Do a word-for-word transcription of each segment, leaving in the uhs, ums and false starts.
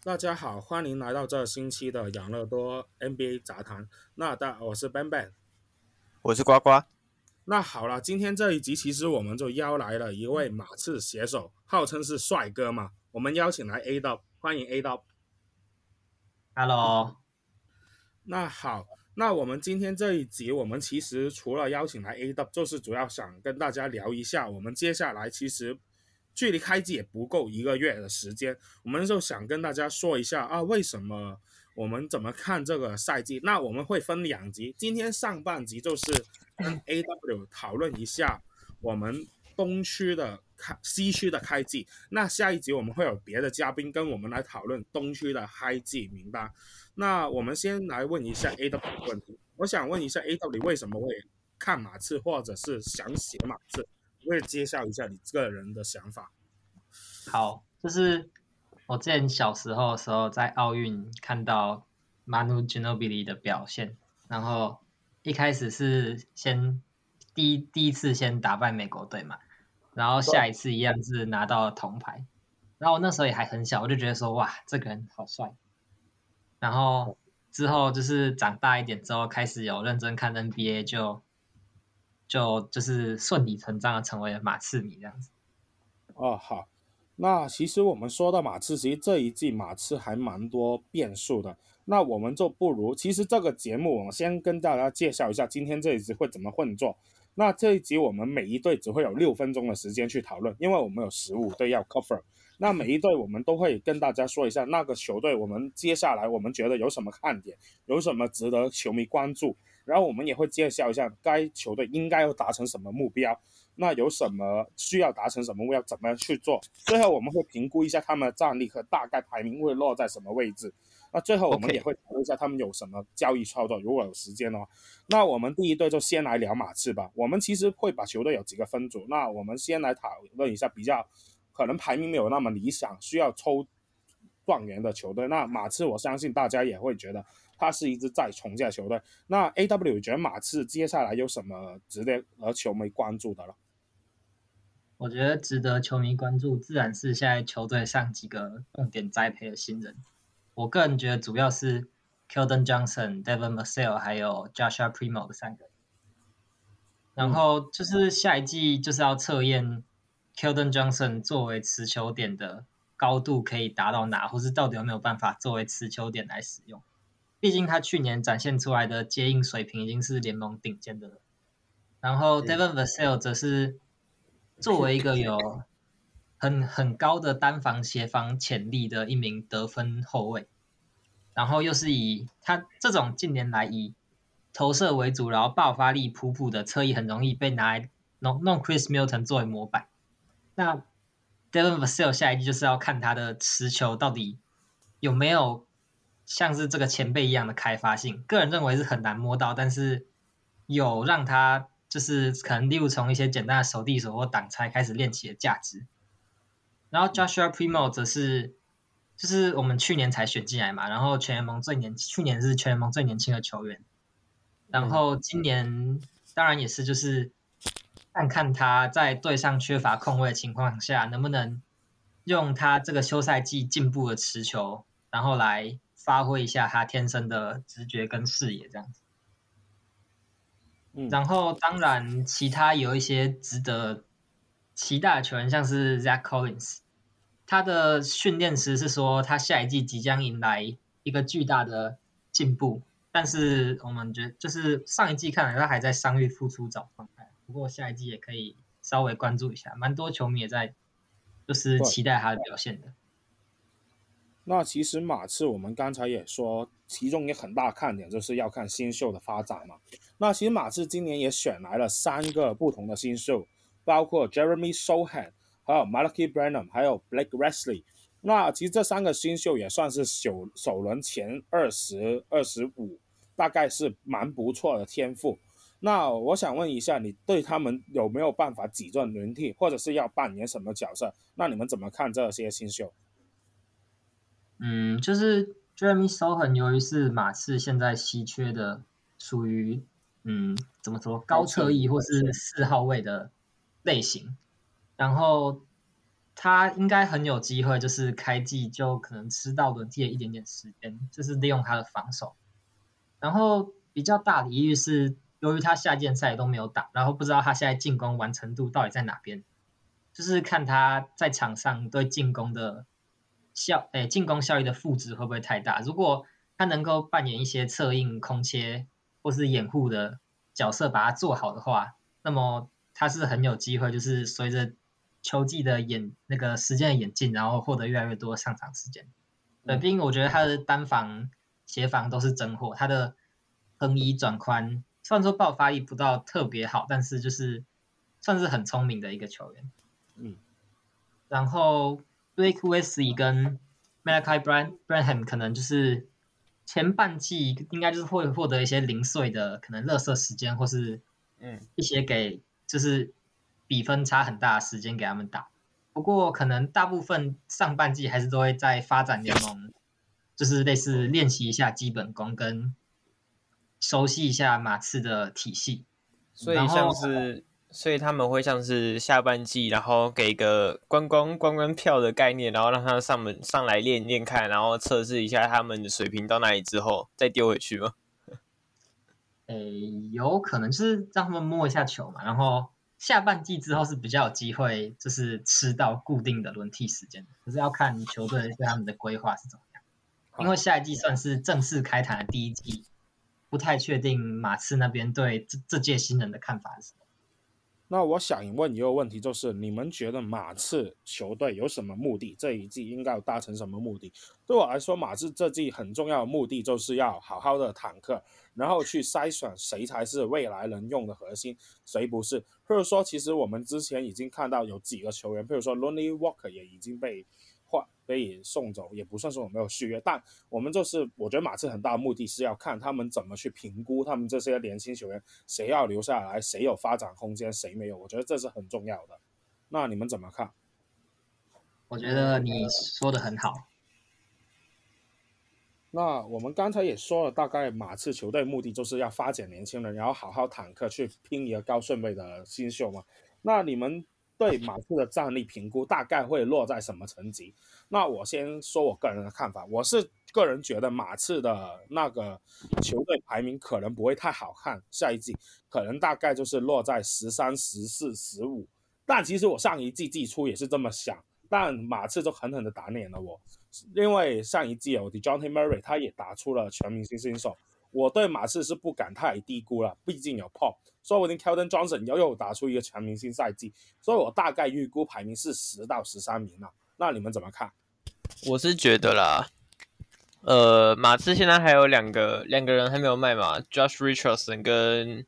大家好，歡迎來到這星期的養樂多 N B A 雜談。那大我是 Ben Ben， 我是呱呱。 那好了，今天這一集其實我們就邀來了一位馬刺寫手，號稱是帥哥嘛。我們邀請來 A-Dub， 歡迎 A-Dub。Hello。 那好，那我們今天這一集，我們其實除了邀請來 A-Dub， 就是主要想跟大家聊一下，我們接下來其實距離開季也不夠一個月的時間，我們就想跟大家說一下啊，為什麼我們怎麼看這個賽季。那我們會分兩集，今天上半集就是跟 A W 討論一下我們東區的開西區的開季，那下一集我們會有別的嘉賓跟我們來討論東區的開季名單。那我們先來問一下 A W 的問題，我想問一下 A W 為什麼會看馬刺，或者是想寫馬刺，我也介紹一下你個人的想法。 好，就是我之前小時候的時候在奧運看到 Manu Ginobili 的表現，然後一開始是先第一第一次先打敗美國隊嘛，然後下一次一樣是拿到了銅牌，然後我那時候也還很小，我就覺得說哇，這個人好帥。然後之後就是長大一點之後，開始有認真看 N B A， 就就就是順理成章的成為了馬刺迷這樣子。 哦，好，那其實我們說到馬刺，其實這一季馬刺還蠻多變數的。那我們就不如，其實這個節目我先跟大家介紹一下今天這一集會怎麼混做。那這一集我們每一隊只會有六分鐘的時間去討論，因為我們有十五隊要 cover。那每一隊我們都會跟大家說一下那個球隊，我們接下來我們覺得有什麼看點，有什麼值得球迷關注，然後我們也會介紹一下該球隊應該要達成什麼目標，那有什麼需要達成什麼目標，怎麼去做。最後我們會評估一下他們的戰力和大概排名會落在什麼位置。那最後我們也會討論一下他們有什麼交易操作，如果有時間的話。那我們第一隊就先來聊馬刺吧。我們其實會把球隊有幾個分組，那我們先來討論一下比較可能排名沒有那麼理想，需要抽狀元的球隊。那馬刺我相信大家也會覺得他是一支在重建球隊。那 A W 覺得馬刺接下來有什麼值得和球迷關注的了？ 我覺得值得球迷關注自然是現在球隊上幾個重點栽培的新人。我個人覺得主要是 Keldon Johnson、Devin Vassell 還有 Joshua Primo 的三個人。然後就是下一季就是要測驗 Keldon Johnson 作為持球點的高度可以達到哪，或是到底有沒有辦法作為持球點來使用。畢竟他去年展現出來的接應水平已經是聯盟頂尖的了。然後 Devin Vassell 則是作為一個有很很高的單防協防潛力的一名得分後衛，然後又是以他這種近年來以投射為主，然後爆發力普普的側翼很容易被拿來弄弄 Chris Middleton 作為模板。那 Devin Vassell 下一季就是要看他的持球到底有沒有像是這個前輩一樣的開發性，個人認為是很難摸到，但是有讓他就是可能例如從一些簡單的手遞手或擋拆開始練起的價值。然後 Joshua Primo 則是就是我們去年才選進來嘛，然後全聯盟最年去年是全聯盟最年輕的球員，然後今年當然也是就是看看他在隊上缺乏控衛的情況下，能不能用他這個休賽季進步的持球，然後來發揮一下他天生的直覺跟視野這樣子。然後當然其他有一些值得期待的球員，像是 Zach Collins， 他的訓練師是說他下一季即將迎來一個巨大的進步，但是我們覺得就是上一季看來他還在傷癒復出找狀態，不過下一季也可以稍微關注一下，蠻多球迷也在就是期待他的表現的。 那其實馬刺我們剛才也說，其中一個很大看點就是要看新秀的發展嘛。那其實馬刺今年也選來了三個不同的新秀，包括 Jeremy Sochan， 還有 Malachi Branham， 還有 Blake Wesley。那其實這三個新秀也算是首首輪前二十、二十五，大概是蠻不錯的天賦。那我想問一下，你對他們有沒有辦法擠進輪替，或者是要扮演什麼角色？那你們怎麼看這些新秀？ 嗯，就是 Jeremy Sochan 由於是馬刺現在稀缺的，屬於嗯怎麼說高側翼或是四號位的類型，然後他應該很有機會，就是開季就可能吃到輪替的一點點時間，就是利用他的防守。然後比較大的疑慮是，由於他夏季賽都沒有打，然後不知道他現在進攻完成度到底在哪邊，就是看他在場上對進攻的效，誒，進攻效益的負值會不會太大。如果他能夠扮演一些策應、空切或是掩護的角色，把它做好的話，那麼他是很有機會，就是隨着球季的演那個時間的演進，然後獲得越來越多上場時間。對，畢竟我覺得他的單防、協防都是真貨，他的橫移轉寬，雖然說爆發力不到特別好，但是就是算是很聰明的一個球員。 嗯， 然後 Blake Wesley 跟 Malachi Branham 可能就是前半季應該就是會獲得一些零碎的可能垃圾時間，或是嗯一些給就是比分差很大的時間給他們打。不過可能大部分上半季還是都會在發展聯盟，就是類似練習一下基本功跟熟悉一下馬刺的體系。 所以像是，所以他們會像是下半季，然後給個觀光觀光票的概念，然後讓他們上門上來練練看，然後測試一下他們的水平到哪裡之後，再丟回去嗎？ 誒，有可能就是讓他們摸一下球嘛，然後下半季之後是比較有機會，就是吃到固定的輪替時間，可是要看球隊對他們的規劃是怎麼樣。因為下一季算是正式開壇的第一季，不太確定馬刺那邊對這這屆新人的看法是什麼。 那我想問一個問題，就是你們覺得馬刺球隊有什麼目的？這一季應該有達成什麼目的？對我來說，馬刺這季很重要的目的就是要好好的坦克，然後去篩選誰才是未來能用的核心，誰不是。或者說，其實我們之前已經看到有幾個球員，比如說 Lonnie Walker 也已經被換被送走，也不算是我沒有續約，但我們就是我覺得馬刺很大的目的是要看他們怎麼去評估他們這些年輕球員，誰要留下來，誰有發展空間，誰沒有，我覺得這是很重要的。那你們怎麼看？ 我覺得你說的很好。 那我們剛才也說了，大概馬刺球隊目的就是要發展年輕人，然後好好坦克去拼一個高順位的新秀嘛。那你們對馬刺的戰力評估大概會落在什麼層級？那我先說我個人的看法，我是個人覺得馬刺的那個球隊排名可能不會太好看，下一季可能大概就是落在十三、十四、十五。但其實我上一季季初也是這麼想，但馬刺就狠狠的打臉了我，因為上一季有 DeJounte Murray 他也打出了全明星新秀，我對馬刺是不敢太低估了，畢竟有 Pop。說不定 Keldon Johnson 又有打出一個全明星賽季，所以我大概預估排名是十到十三名了。那你們怎麼看？ 我是覺得啦，呃，馬刺現在還有兩個兩個人還沒有賣嘛 ，Josh Richardson 跟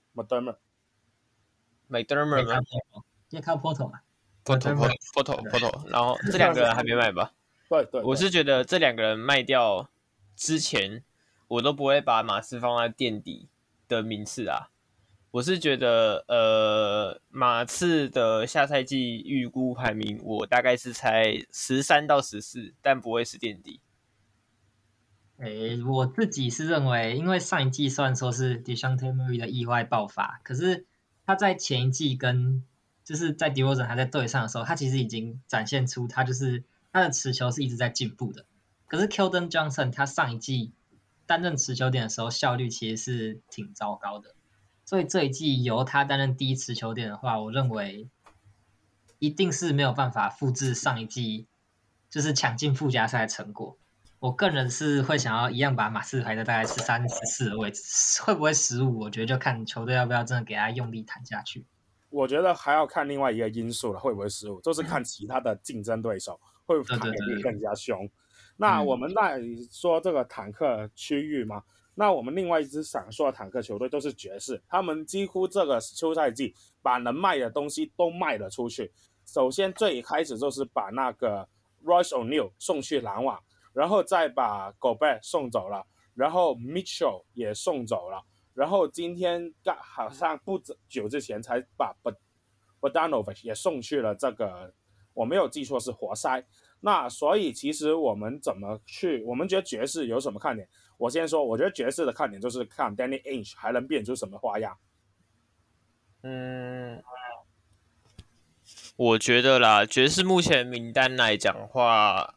McDermott，McDermott 嗎？ 也靠 Porto 嘛 ，Porto Porto Porto， 然後這兩個人還沒賣吧？ 對 對, 對， 我是覺得這兩個人賣掉之前，我都不會把馬刺放在墊底的名次啊。我是覺得，呃，馬刺的下賽季預估排名，我大概是猜十三到十四，但不會是墊底。 誒，我自己是認為，因為上一季雖然說是 DeJounte Murray 的意外爆發，可是他在前一季跟就是在 DeRozan 還在隊上的時候，他其實已經展現出他就是他的持球是一直在進步的。可是 Keldon Johnson 他上一季擔任持球點的時候，效率其實是挺糟糕的。所以這一季由他擔任第一持球點的話，我認為一定是沒有辦法複製上一季就是搶進附加賽的成果。我個人是會想要一樣把馬刺排在大概十三、十四的位置，會不會十五？我覺得就看球隊要不要真的給他用力彈下去。 我覺得還要看另外一個因素了，會不會十五？就是看其他的競爭對手會不會坦克更加兇。對對對對，那我們在說這個坦克區域嘛。那我們另外一支想說的坦克球隊都是爵士，他們幾乎這個休賽季把能賣的東西都賣了出去。首先最開始就是把那個 Royce O'Neal 送去籃網，然後再把 Gobert 送走了，然後 Mitchell 也送走了，然後今天好像不久之前才把 Bogdanovic 也送去了這個，我沒有記錯是活塞。那所以其實我們怎麼去，我們覺得爵士有什麼看點？我先說，我覺得爵士的看點就是看 Danny Ainge 還能變出什麼花樣。 嗯， 我覺得啦，爵士目前名單來講的話，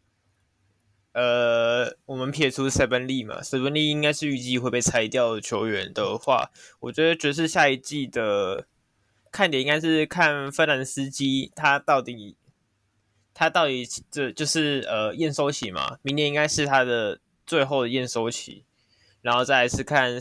呃，我們撇除 Saben Lee 嘛 ，Saben Lee 應該是預計會被裁掉的球員的話，我覺得爵士下一季的看點應該是看芬蘭斯基他到底他到底這就是呃驗收期嘛，明年應該是他的最後的驗收期，然後再來是看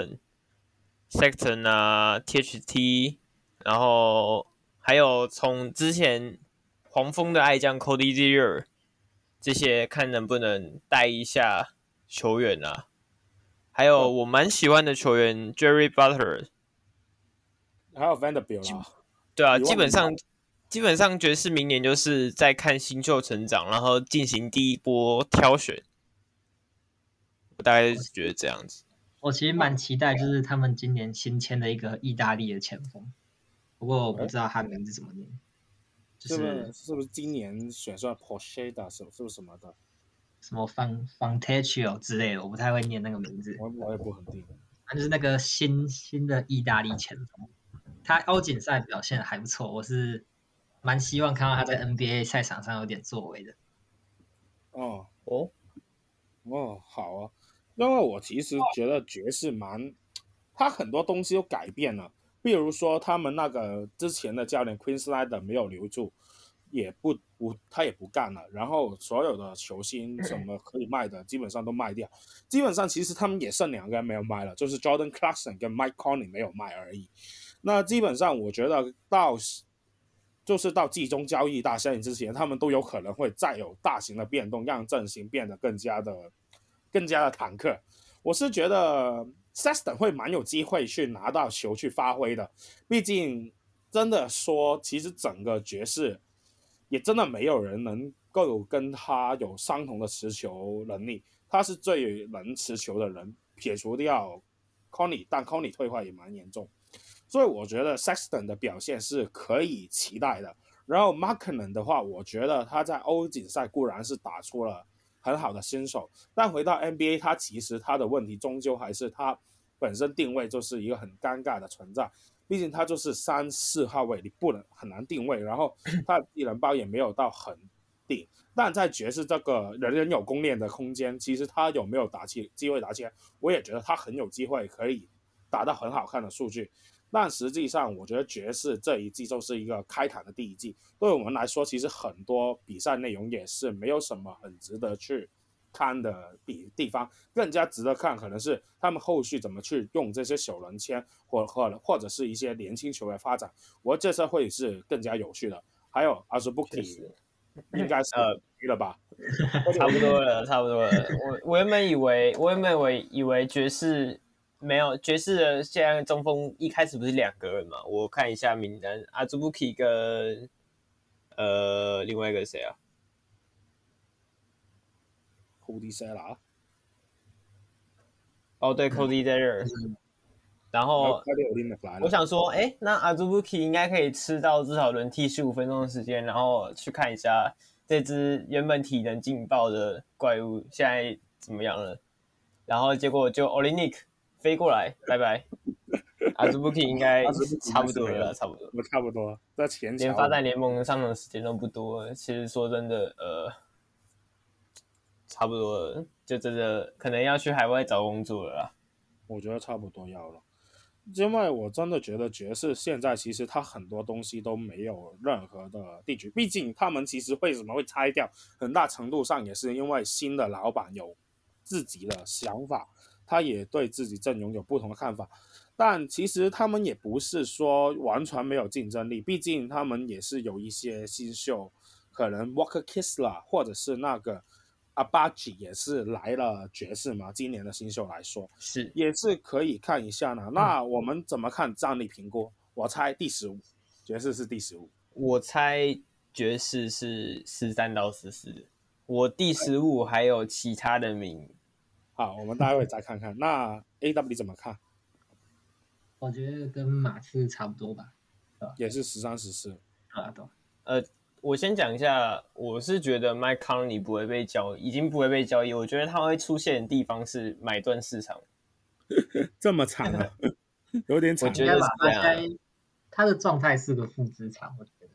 Sexton。Sexton 啊 ，T H T， 然後還有從之前黃蜂的愛將 Cody Zeller 這些看能不能帶一下球員啊，還有我蠻喜歡的球員 Jerry Butler， 還有 Vanderbilt 啊， 對啊，基本上基本上爵士明年就是在看新秀成長，然後進行第一波挑選，我大概是覺得這樣子。 我其實蠻期待，就是他們今年新簽的一個意大利的前鋒，不過我不知道他名字怎麼念，就是是不是是不是今年選出來 Pocheda 是是不是什麼的， 什麼 Fontecchio 之類的，我不太會念那個名字， 我我也不很定。 他就是那個新新的意大利前鋒，他歐錦賽表現還不錯，我是蠻希望看到他在 N B A 賽場上有點作為的。 哦哦哦，好啊。因為我其實覺得爵士蠻，他很多東西都改變了，比如說他們那個之前的教練 Quin Snyder 沒有留住，也不不他也不幹了，然後所有的球星什麼可以賣的基本上都賣掉，基本上其實他們也剩兩個人沒有賣了，就是 Jordan Clarkson 跟 Mike Conley 沒有賣而已。那基本上我覺得到就是到季中交易大限之前，他們都有可能會再有大型的變動，讓陣型變得更加的。更加的坦克，我是覺得 Sexton 會蠻有機會去拿到球去發揮的，畢竟真的說，其實整個爵士也真的沒有人能夠跟他有相同的持球能力，他是最能持球的人，撇除掉 Conley， 但 Conley 退化也蠻嚴重，所以我覺得 Sexton 的表現是可以期待的。然後 Markkanen 的話，我覺得他在歐錦賽固然是打出了很好的新手，但回到 N B A， 他其實他的問題終究還是他本身定位就是一個很尷尬的存在。畢竟他就是三四號位，你不能很難定位，然後他的技能包也沒有到很頂。但在爵士這個人人有攻略的空間，其實他有沒有打起機會打起來，我也覺得他很有機會可以打到很好看的數據。但實際上，我覺得爵士這一季就是一個開壇的第一季，對我們來說，其實很多比賽內容也是沒有什麼很值得去看的地地方，更加值得看可能是他們後續怎麼去用這些小人簽，或或或者是一些年輕球員發展，我覺得這會是更加有趣的。還有 Azubuike 應該是呃了吧， 差不多了，差不多了。我我原本以為，我原本以為以為爵士。沒有，爵士的現在中鋒一開始不是兩個人嘛？我看一下名單，阿祖布基跟呃另外一個誰啊 ？Cody Zeller。 哦，對 ，Cody Zeller。嗯、然後我想說，哎，那阿祖布基應該可以吃到至少輪替十五分鐘的時間，然後去看一下這隻原本體能勁爆的怪物現在怎麼樣了。然後結果就 Olynyk。飛過來，拜拜。Azubuike 應該差不多了，差不多， 差不多。在前連發在聯盟上場時間都不多，其實說真的，呃，差不多了，就真的可能要去海外找工作了啦。 我覺得差不多要了，因為我真的覺得爵士現在其實他很多東西都沒有任何的地區，畢竟他們其實為什麼會拆掉，很大程度上也是因為新的老闆有自己的想法。他也對自己陣容有不同的看法，但其實他們也不是說完全沒有競爭力，畢竟他們也是有一些新秀，可能 Walker Kessler 或者是那個 Agbaji 也是來了爵士嘛，今年的新秀來說是也是可以看一下呢。嗯、那我們怎麼看戰力評估？我猜第十五，爵士是第十五。 我猜爵士是十三到十四，我第十五還有其他的名。 好，我們待會再看看。那 A W 怎麼看？ 我覺得跟馬刺差不多吧， 也是十三、十四。 啊，對。 呃，我先講一下，我是覺得 Mike Conley 不會被交易，已經不會被交易。我覺得他會出現的地方是買斷市場。 這麼慘啊？有點慘。 我覺得是這樣。 他的狀態是個負資產，我覺得。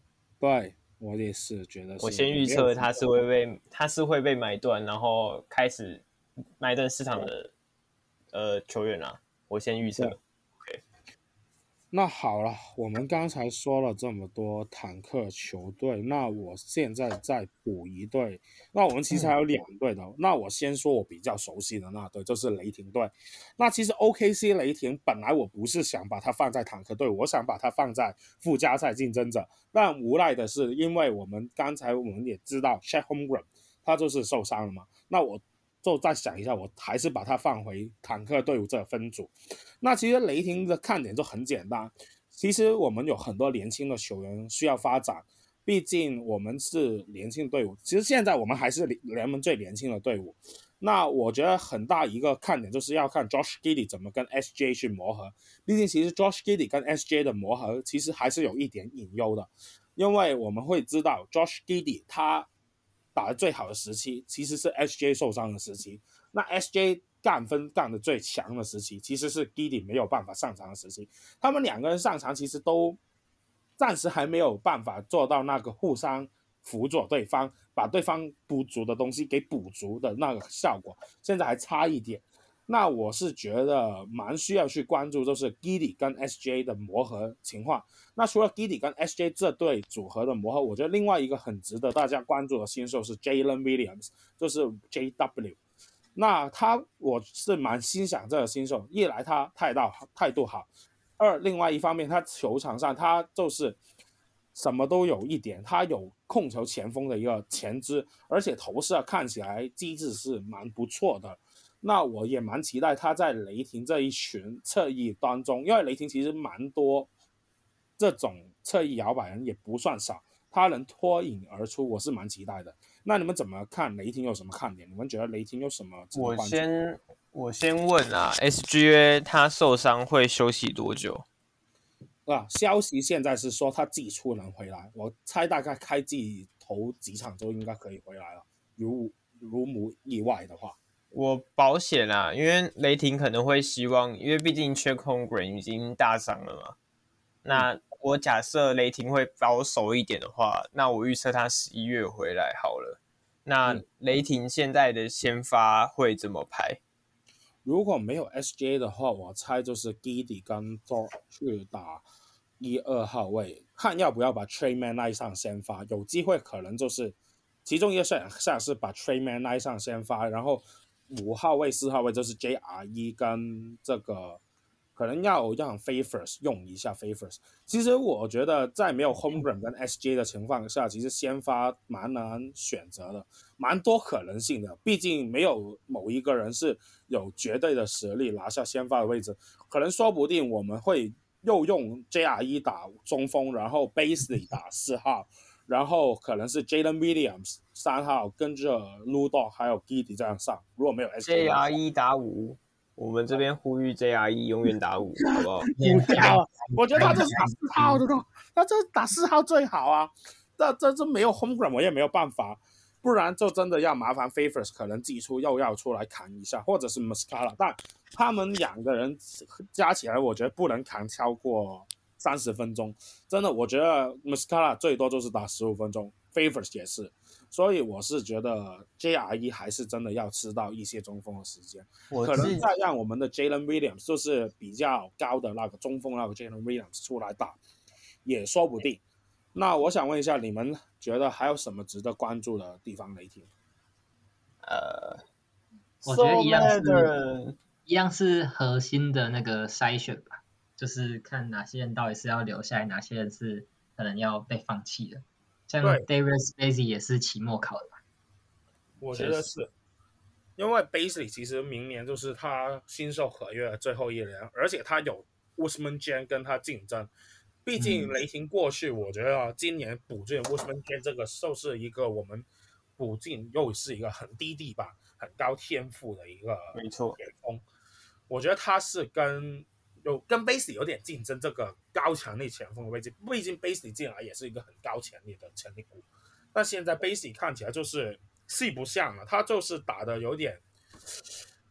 對，我也是覺得是。 我先預測他是會被他是會被買斷，然後開始買斷市場的呃球員啊，我先預測。 那好了，我們剛才說了這麼多坦克球隊，那我現在再補一隊。那我們其實還有兩隊的，嗯、那我先說我比較熟悉的那隊，就是雷霆隊。那其實 O K C 雷霆本來我不是想把它放在坦克隊，我想把它放在附加賽競爭者，但無奈的是，因為我們剛才我們也知道 Chet Holmgren 他就是受傷了嘛，那我就再想一下，我還是把它放回坦克隊伍這個分組。那其實雷霆的看點就很簡單，其實我們有很多年輕的球員需要發展，畢竟我們是年輕的隊伍，其實現在我們還是聯盟最年輕的隊伍。那我覺得很大一個看點就是要看 Josh Giddey 怎麼跟 S J 去磨合，畢竟其實 Josh Giddey 跟 S J 的磨合其實還是有一點隱憂的，因為我們會知道 Josh Giddey 他打得最好的時期其實是 S J 受傷的時期，那 S J 幹分幹得最強的時期其實是 Giddey 沒有辦法上場的時期，他們兩個人上場其實都暫時還沒有辦法做到那個互相輔佐對方，把對方不足的東西給補足的那個效果，現在還差一點。那我是覺得蠻需要去關注，就是 Giddey 跟 S J 的磨合情況。那除了 Giddey 跟 S J 這對組合的磨合，我覺得另外一個很值得大家關注的新秀是 Jalen Williams， 就是 J W。那他我是蠻欣賞這個新秀，一來他態度態度好，二另外一方面他球場上他就是什麼都有一點，他有控球前鋒的一個潛質，而且投射看起來機制是蠻不錯的。那我也蠻期待他在雷霆這一群側翼當中，因為雷霆其實蠻多這種側翼搖擺人也不算少，他能脫穎而出，我是蠻期待的。那你們怎麼看雷霆有什麼看點？你們覺得雷霆有什麼值得關注？ 我先我先問啊 ，S G A 他受傷會休息多久？ 啊，消息現在是說他季初能回來，我猜大概開季頭幾場就應該可以回來了，如如無意外的話。 我保險啊，因為雷霆可能會希望，因為畢竟 Chet Holmgren 已經大傷了嘛。那我假設雷霆會保守一點的話，那我預測他十一月回來好了。那雷霆現在的先發會怎麼排？ 如果沒有 S J 的話，我猜就是 Giddey 跟 Thor 去打一二號位，看要不要把 Tre Mann 拉上先發。有機會可能就是其中一個選項是把 Tre Mann 拉上先發，然後五號位、四號位就是 J R E 跟這個可能要讓 Favors 用一下 Favors。其實我覺得在沒有 Holmgren 跟 S J 的情況下，其實先發蠻難選擇的，蠻多可能性的。畢竟沒有某一個人是有絕對的實力拿下先發的位置，可能說不定我們會又用 J R E 打中鋒，然後 Bazley 打四號。然後可能是 Jalen Williams 三號跟着 Ludo 還有 Giddey 這樣上，如果沒有 S J R E 打五，我們這邊呼籲 J R E 永遠打五，好不好？ 不要啊！我覺得他就是打四號的，他這打四號最好啊。這這這沒有 Holmgren 我也沒有辦法，不然就真的要麻煩 Favors 可能季初又要出來扛一下，或者是 Muscala， 但他們兩個人加起來，我覺得不能扛超過三十分鐘，真的，我覺得 Muscala 最多就是打十五分鐘 ，Favors 也是，所以我是覺得 J R E 還是真的要吃到一些中鋒的時間，可能再讓我們的 Jalen Williams 就是比較高的那個中鋒那個 Jalen Williams 出來打，也說不定。那我想問一下，你們覺得還有什麼值得關注的地方？雷霆？ 呃， 我覺得一樣是，一樣是核心的那個篩選吧。就是看哪些人到底是要留下來，哪些人是可能要被放棄的。像 Darius Bazley 也是期末考的吧？ 我覺得是，因為 Bazley 其實明年就是他新秀合約的最後一年，而且他有 Ousmane Dieng 跟他競爭。畢竟雷霆過去，我覺得今年補進 Ousmane Dieng 這個就是一個我們補進又是一個很低地板、很高天賦的一個沒錯前鋒。我覺得他是跟有跟 Bazley 有點競爭，這個高潛力前鋒的位置，畢竟 Bazley 進來也是一個很高潛力的潛力股，但現在 Bazley 看起來就是細不像了，他就是打的有點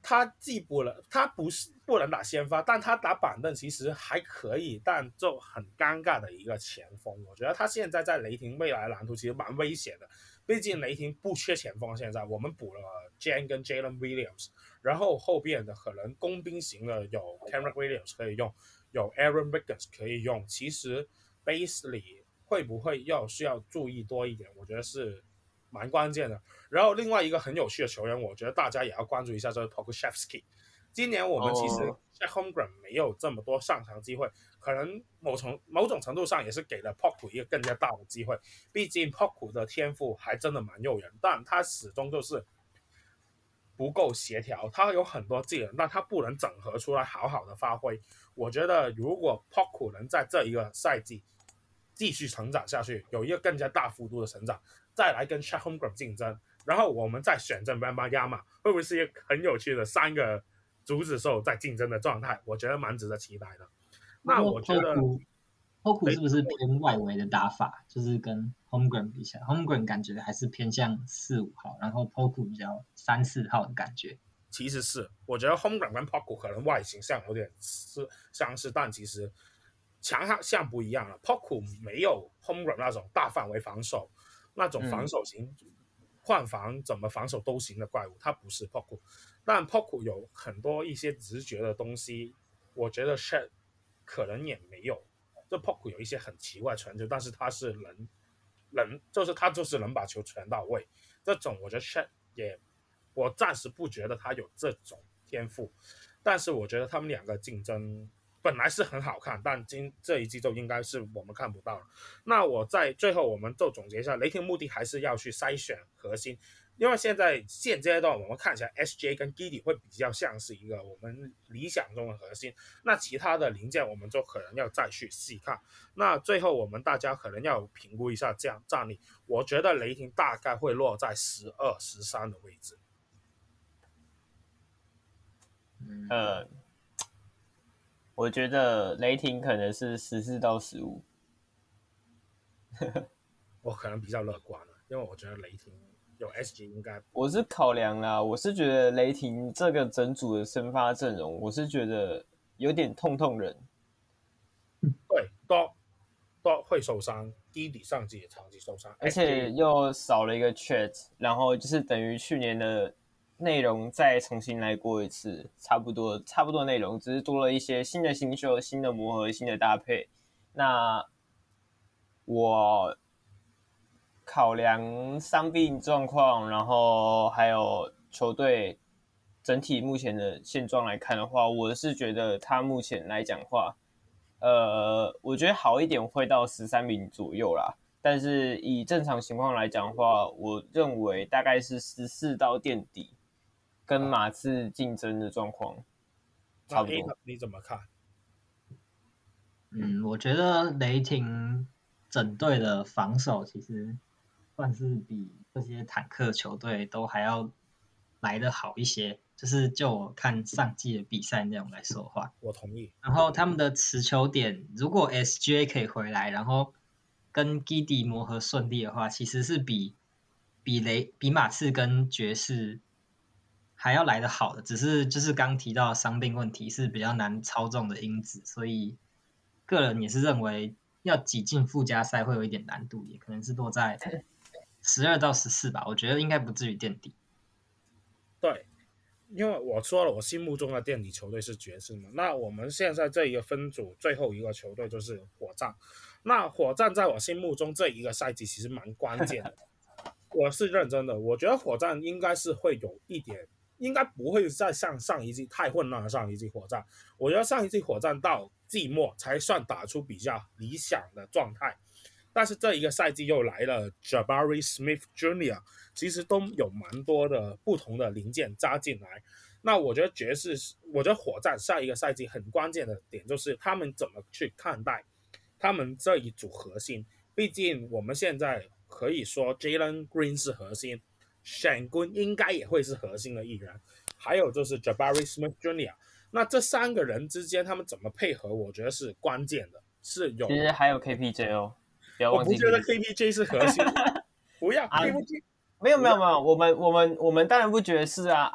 他既不能，他不是不能打先發，但他打板凳其實還可以，但就很尷尬的一個前鋒。我覺得他現在在雷霆未來的藍圖其實蠻危險的，畢竟雷霆不缺前鋒，現在我們補了 Jan 跟 Jalen Williams， 然後後邊的可能工兵型的有 Kenrich Williams 可以用，有 Aaron Wiggins 可以用。其實 Bazley 會不會要需要注意多一點，我覺得是蠻關鍵的。然後另外一個很有趣的球員，我覺得大家也要關注一下，就是 Pokusevski。今年我們其實在 Holmgren 沒有這麼多上場機會，可能某種某種程度上也是給了 Poku 一個更加大的機會。畢竟 Poku 的天賦還真的蠻誘人，但他始終就是不夠協調。他有很多技能，但他不能整合出來好好的發揮。我覺得如果 Poku 能在這一個賽季繼續成長下去，有一個更加大幅度的成長，再來跟 Chet Holmgren 競爭，然後我們再選擇 Wembanyama， 會不會是一個很有趣的三個竹子獸在競爭的狀態？我覺得蠻值得期待的。那我覺得 Poku 是不是偏外圍的打法？就是跟 Holmgren 比起來 ，Holmgren 感覺還是偏向四五號，然後 Poku 比較三四號的感覺。 其實是，我覺得 Holmgren 跟 Poku 可能外形上有點相似，但其實強項不一樣了。Poku 沒有 Holmgren 那種大範圍防守，那種防守型、嗯、換防怎麼防守都行的怪物，他不是 Poku。但 Poku 有很多一些直覺的東西，我覺得 Chet 可能也沒有。這 Poku 有一些很奇怪的傳球，但是他是能能，就是他就是能把球傳到位。這種我覺得 Chet 也，我暫時不覺得他有這種天賦，但是我覺得他們兩個競爭本來是很好看，但今這一季就應該是我們看不到了。那我在最後我們就總結一下，雷霆目的還是要去篩選核心，因為現在現階段我們看起來 S J 跟 Giddey 會比較像是一個我們理想中的核心，那其他的零件我們就可能要再去細看。那最後我們大家可能要評估一下這樣戰力，我覺得雷霆大概會落在十二、十三的位置。 呃，我覺得雷霆可能是十四到十五。 我可能比較樂觀了，因為我覺得雷霆有 S G 應該。 我是考量啦，我是覺得雷霆這個整組的先發陣容，我是覺得有點痛痛人。 對，都都會受傷，低底上季也長期受傷， 而且又少了一個 Chet， 然後就是等於去年的內容再重新來過一次，差不多差不多內容，只是多了一些新的新秀、新的磨合、新的搭配。那我考量傷病狀況，然後還有球隊整體目前的現狀來看的話，我是覺得他目前來講的話，呃，我覺得好一點會到十三名左右啦。但是以正常情況來講的話，我認為大概是十四到墊底。跟馬刺競爭的狀況差不多。 你怎麼看？ 嗯，我覺得雷霆整隊的防守其實算是比這些坦克球隊都還要來得好一些。就是就我看上季的比賽內容來說的話， 我同意。 然後他們的持球點，如果 S G A 可以回來，然後跟 Giddey 磨合順利的話，其實是比比雷比馬刺跟爵士還要來得好的，只是就是剛提到的傷病問題是比較難操縱的因子，所以個人也是認為要擠進附加賽會有一點難度，也可能是落在十二到十四吧，我覺得應該不至於墊底。 對，因為我說了，我心目中的墊底球隊是爵士嘛，那我們現在這一個分組最後一個球隊就是火箭，那火箭在我心目中這一個賽季其實蠻關鍵的，我是認真的，我覺得火箭應該是會有一點。應該不會再像上一季太混亂的上一季火箭，我覺得上一季火箭到季末才算打出比較理想的狀態，但是這一個賽季又來了 Jabari Smith Junior 其實都有蠻多的不同的零件加進來。那我覺得爵士，我覺得火箭下一個賽季很關鍵的點就是他們怎麼去看待他們這一組核心，畢竟我們現在可以說 Jalen Green 是核心。Sengun 應該也會是核心的一員，還有就是 Jabari Smith Junior 那這三個人之間他們怎麼配合，我覺得是關鍵的，是有。 其實還有 K P J 哦，不要忘記。 我不覺得 K P J 是核心，不要、啊、K P J 沒有沒有沒有，我們我們我們當然不覺得是啊，按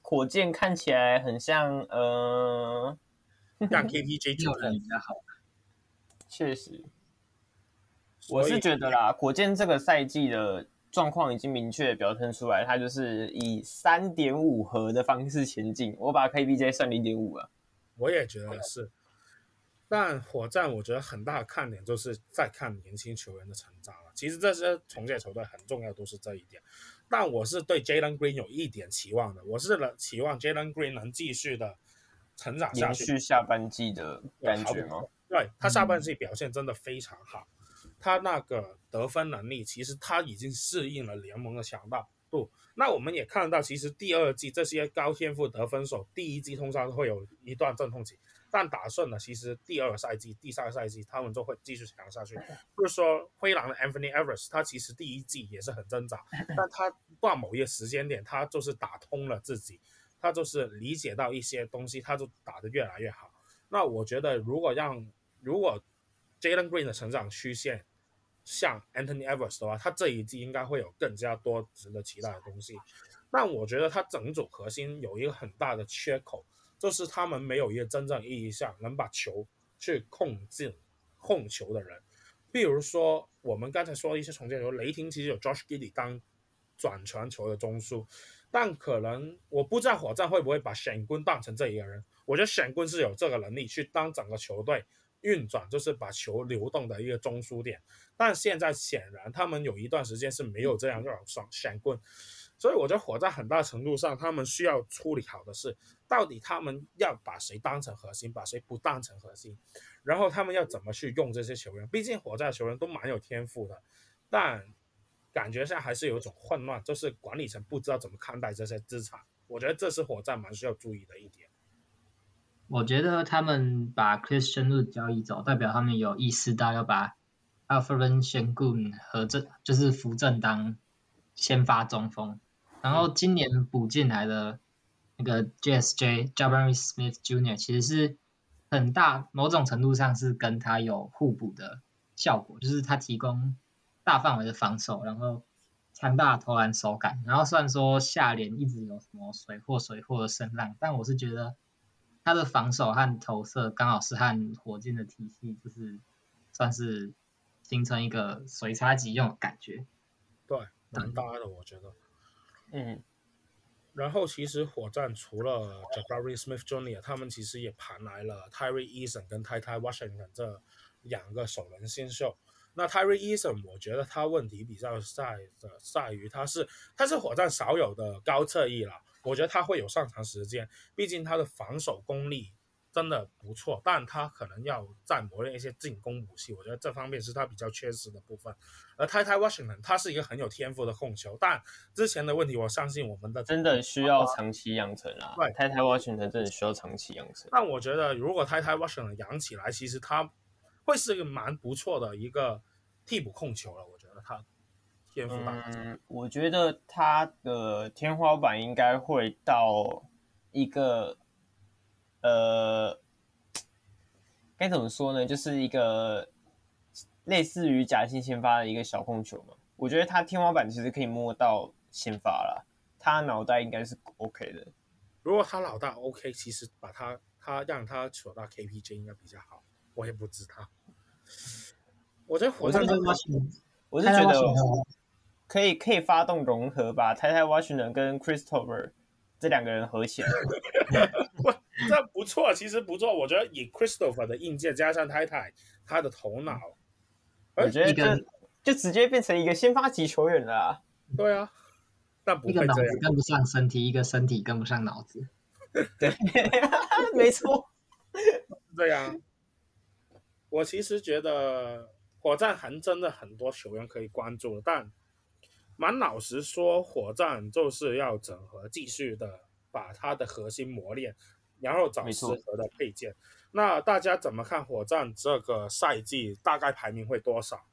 火箭看起來很像呃， 讓 K P J 有人比較好。 確實，我是覺得啦，火箭這個賽季的狀況已經明確表現出來，它就是以 三點五 核的方式前進。我把 K P J 算 零點五 了。 我也覺得是。但火箭我覺得很大的看點就是在看年輕球員的成長了。其實這些重建球隊很重要，都是這一點。但我是對 Jalen Green 有一點期望的，我是期望 Jalen Green 能繼續的成長下去， 延續下半季的感覺嗎？ 對，他下半季表現真的非常好，嗯、他那個得分能力，其實他已經適應了聯盟的強大度。那我們也看到，其實第二季這些高天賦得分手，第一季通常會有一段陣痛期，但打順了，其實第二個賽季、第三個賽季他們就會繼續強下去。就是說，灰狼的 Anthony Edwards， 他其實第一季也是很掙扎，但他到某一個時間點，他就是打通了自己，他就是理解到一些東西，他就打得越來越好。那我覺得，如果讓如果 Jalen Green 的成長曲線像 Anthony Edwards 的話，他這一季應該會有更加多值得期待的東西。但我覺得他整組核心有一個很大的缺口，就是他們沒有一個真正意義上能把球去控制控球的人。比如說我們剛才說的一些重建球，雷霆其實有 Josh Giddey 當轉傳球的中樞，但可能我不知道火箭會不會把選棍當成這一個人。我覺得選棍是有這個能力去當整個球隊運轉，就是把球流動的一個中樞點。但現在顯然他們有一段時間是沒有這樣一種選棍，所以我覺得火箭很大程度上他們需要處理好的是，到底他們要把誰當成核心，把誰不當成核心，然後他們要怎麼去用這些球員。畢竟火箭的球員都蠻有天賦的，但感覺上還是有一種混亂，就是管理層不知道怎麼看待這些資產。我覺得這是火箭蠻需要注意的一點。 我覺得他們把 Christian Wood 交易走，代表他們有意識到要把 Alperen Sengun 和正就是扶正當先發中鋒，然後今年補進來的那個 J S J Jabari Smith Junior 其實是很大某種程度上是跟他有互補的效果，就是他提供大範圍的防守，然後強大的投籃手感。然後雖然說下聯一直有什麼水貨水貨的聲浪，但我是覺得他的防守和投射剛好是和火箭的體系就是算是形成一個隨插即用的感覺。 對，蠻搭的，我覺得。 嗯。 然後其實火箭除了 Jabari Smith Junior 他們其實也盤來了 Tyrese Eason 跟 Ty Ty Washington 這兩個首輪新秀。那 Tyrese Eason 我覺得他問題比較在的在於他是他是火箭少有的高側翼了，我覺得他會有上場時間，畢竟他的防守功力真的不錯，但他可能要再磨練一些進攻武器，我覺得這方面是他比較缺失的部分。而 Ty Ty Washington 他是一個很有天賦的控球，但之前的問題我相信我們的真的需要長期養成啦。 對 Ty Ty Washington 真的需要長期養成。 但我覺得如果 Ty Ty Washington 養起來，其實他會是一個蠻不錯的一個替補控球了，我覺得他天賦大。 嗯，我覺得他的天花板應該會到一個呃，該怎麼說呢？就是一個類似於假性先發的一個小控球嘛。我覺得他天花板其實可以摸到先發啦，他腦袋應該是 OK 的。 如果他腦袋 OK， 其實把他他讓他取到 K P J 應該比較好。我也不知道。我覺得火箭， 我是覺得可以可以發動融合吧，Ty Ty Washington跟 Christopher 這兩個人合起來。 這不錯，其實不錯。我覺得以 Christopher 的硬件加上 Ty Ty 他的頭腦， 我覺得就就直接變成一個先發級球員了啊。 對啊，但不會這樣。 一個腦子跟不上身體，一個身體跟不上腦子。 對，沒錯， 這樣。我其實覺得火箭還真的很多球員可以關注，但蠻老實說，火箭就是要整合，繼續的把它的核心磨練，然後找適合的配件。那大家怎麼看火箭這個賽季大概排名會多少？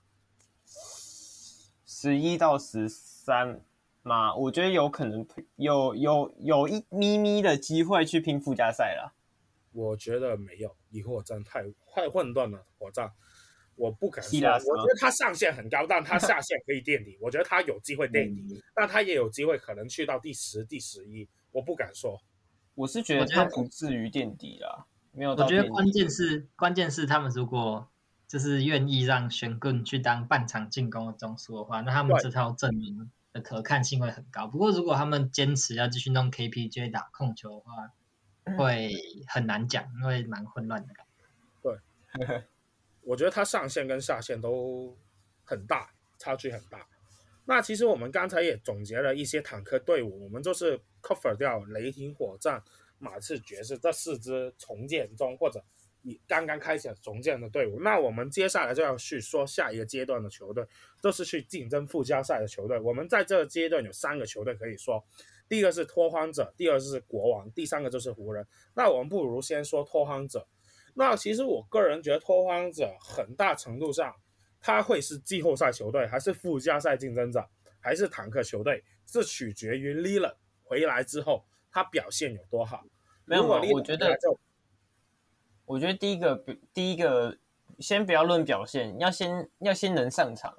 十一到十三嘛，我覺得有可能有有有一咪咪的機會去拼附加賽啦。 我覺得沒有，以火箭太太混亂了，火箭。 我不敢說，我覺得他上限很高，但他下限可以墊底。我覺得他有機會墊底，嗯、但他也有機會可能去到第十、第十一，我不敢說。 我是覺得他不至於墊底啦，沒有到墊底。 我覺得關鍵是關鍵是他們如果就是願意讓玄棍去當半場進攻的中樞的話，那他們這套陣容的可看性會很高。不過如果他們堅持要繼續弄 K P J 打控球的話，會很難講，因為蠻混亂的感覺。 對。我覺得它上限跟下限都很大，差距很大。那其實我們剛才也總結了一些坦克隊伍，我們就是 cover 掉雷霆、火箭、馬刺、爵士這四支重建中或者你剛剛開始重建的隊伍。那我們接下來就要去說下一個階段的球隊，就是去競爭附加賽的球隊。我們在這個階段有三個球隊可以說，第一個是拓荒者，第二個是國王，第三個就是湖人。那我們不如先說拓荒者。那其實我個人覺得拓荒者很大程度上，他會是季後賽球隊，還是附加賽競爭者，還是坦克球隊，這取決於 Lillard 回來之後他表現有多好。 沒有，我覺得，我覺得第一個第一個先不要論表現，要先要先能上場，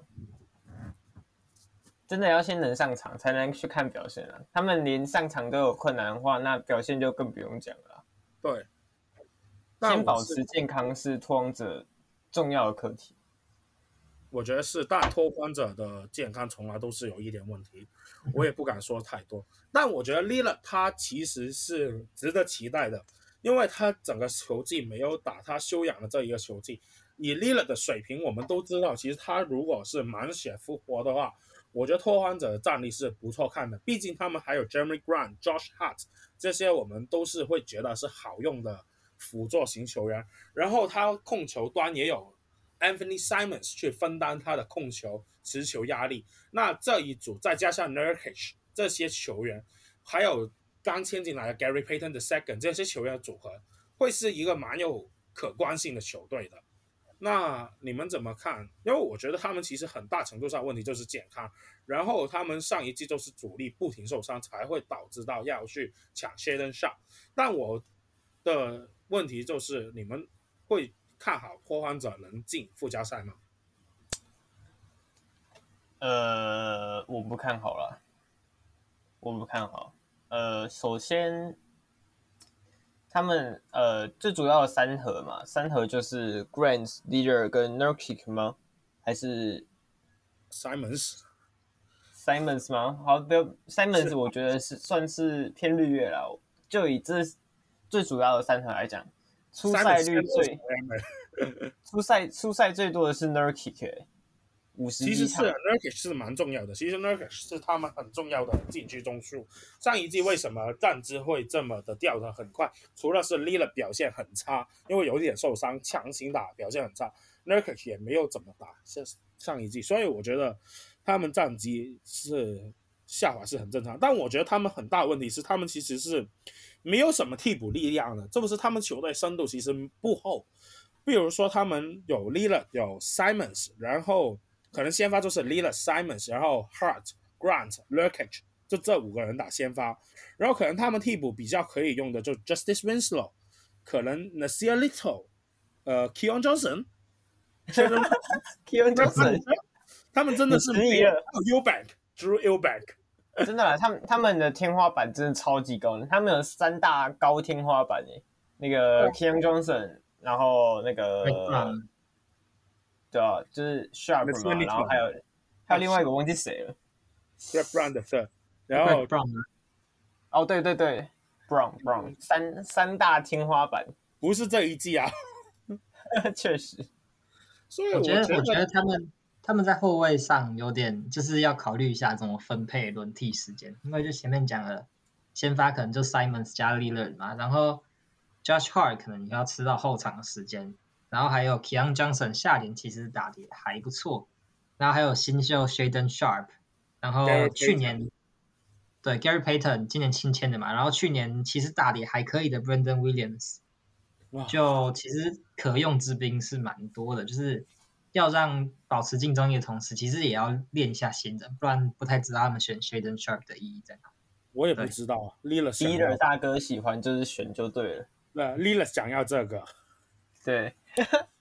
真的要先能上場才能去看表現啊。他們連上場都有困難的話，那表現就更不用講了。 對。 先保持健康是拓荒者重要的課題， 我覺得是，但拓荒者的健康從來都是有一點問題，我也不敢說太多。但我覺得 Lillard 他其實是值得期待的，因為他整個球季沒有打他休養的這一個球季，以 Lillard 的水平，我們都知道，其實他如果是滿血復活的話，我覺得拓荒者的戰力是不錯看的。畢竟他們還有 Jeremy Grant、Josh Hart 這些，我們都是會覺得是好用的輔助型球員，然後他控球端也有 Anthony Simons 去分擔他的控球持球壓力。那這一組再加上 Nurkic 這些球員，還有剛簽進來的 Gary Payton the Second 這些球員的組合，會是一個蠻有可觀性的球隊的。那你們怎麼看？因為我覺得他們其實很大程度上問題就是健康，然後他們上一季就是主力不停受傷，才會導致到要去搶 Shaedon Sharpe。但我的問題就是你們會看好拓荒者能進附加賽嗎？ 呃，我不看好了，我不看好。呃，首先，他們呃最主要的三核嘛，三核就是 Grant、Lillard 跟 Nurkic 嗎？還是 Simons？Simons 嗎？好，不要 Simons， 我覺得是算是偏綠葉了。就以這最主要的三核來講，出賽率最出賽出賽最多的是 Nurkic， 五十幾場。 其實是 Nurkic 是蠻重要的，其實 Nurkic 是他們很重要的禁區中樞。上一季為什麼戰績會這麼的掉得很快？除了是 Lillard 表現很差，因為有點受傷，強行打表現很差 ，Nurkic 也沒有怎麼打上一季，所以我覺得他們戰績是下滑是很正常。但我覺得他們很大的問題是，他們其實是沒有什麼替補力量的，這不是他們球隊深度其實不厚。比如說他們有 Lillard 有 Simons， 然後可能先發就是 Lillard Simons， 然後 Hart Grant Nurkic 就這五個人打先發，然後可能他們替補比較可以用的就 Justice Winslow， 可能 Nasir Little， 呃 Keon Johnson Keon Johnson 他們真的是沒有 Eubank Drew Eubank， 真的啦，他們他們的天花板真的超級高的，他們有三大高天花板誒，那個 Keon Johnson， 然後那個對啊，就是 Sharp 嘛，然後還有還有另外一個我忘記誰了 Brown 的是，然後 Brown 哦對對對 Brown Brown 三三大天花板， 不是這一季啊， 確實， 所以我覺得我覺得他們他們在後衛上有點就是要考慮一下怎麼分配輪替時間，因為就前面講了，先發可能就 Simons 加 Lillard 嘛，然後 Josh Hart 可能你要吃到後場的時間。然後還有 Keon Johnson 下聯其實打得也還不錯，然後還有新秀 Shaedon Sharpe， 然後去年對 Gary Payton 今年新簽的嘛，然後去年其實打得也還可以的 Brandon Williams， 就其實可用之兵是蠻多的，就是要讓保持競爭力的同時，其實也要練一下新人，不然不太知道他們選 Shaedon Sharpe 的意義在哪。 我也不知道啊 Lillard 大哥喜歡就是選就對了， 那 Lillard 想要這個。 對，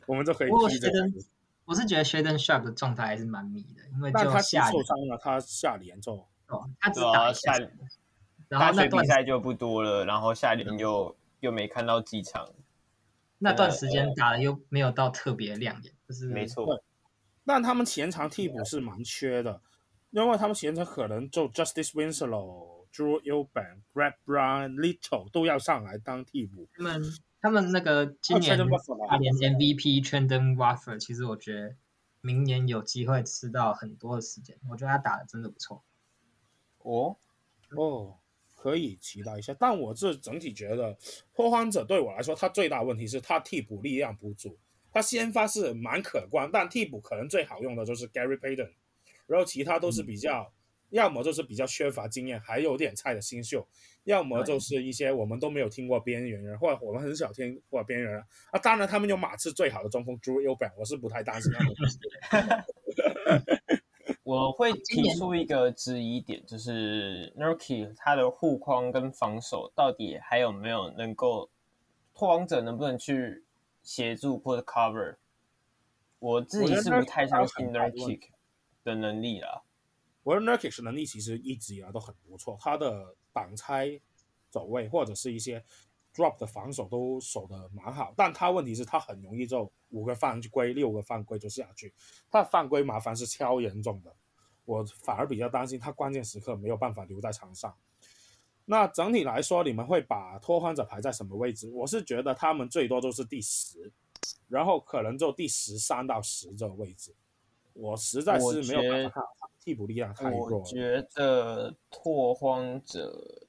我們就可以踢這個。 我是覺得 Shaedon Sharpe 的狀態還是蠻迷的，因為就但他下受傷了，他下聯就哦，他只打一下，然後大學比賽就不多了，然後下聯又、嗯、又沒看到幾場， 那段時間打的又沒有到特別亮眼，就是沒錯。 但他們前場替補是蠻缺的，因為他們前場可能就 Justice Winslow、Drew Eubank、Brett Brown、Little 都要上來當替補。 他們他們那個今年大聯 M V P Trendon Watford，其實我覺得明年有機會吃到很多的時間，我覺得他打的真的不錯。 哦哦，可以期待一下。但我是整體覺得拓荒者對我來說，他最大的問題是他替補力量不足。他先發是蠻可觀，但替補可能最好用的就是 Gary Payton， 然後其他都是比較，嗯、要麼就是比較缺乏經驗，還有點菜的新秀，要麼就是一些我們都沒有聽過邊緣人，或者我們很少聽過邊緣人啊。當然，他們有馬刺最好的中鋒 Drew Eubank， 我是不太擔心他們。 我會提出一個質疑點，就是 Nurkic 他的護框跟防守到底還有沒有能夠，拓荒者能不能去協助或者 cover， 我自己是不太相信 Nurkic 的能力啦。 我覺得 Nurkic 的能力其實一直以來都很不錯，他的擋拆走位或者是一些 drop 的防守都守得蠻好，但他問題是他很容易就五個犯規六個犯規就下去，他的犯規麻煩是超嚴重的，我反而比較擔心他關鍵時刻沒有辦法留在場上。那整體來說，你們會把拓荒者排在什麼位置？我是覺得他們最多就是第十，然後可能就第十三到十這個位置。我實在是沒有辦法看，替補力量太弱了。 我覺得拓荒者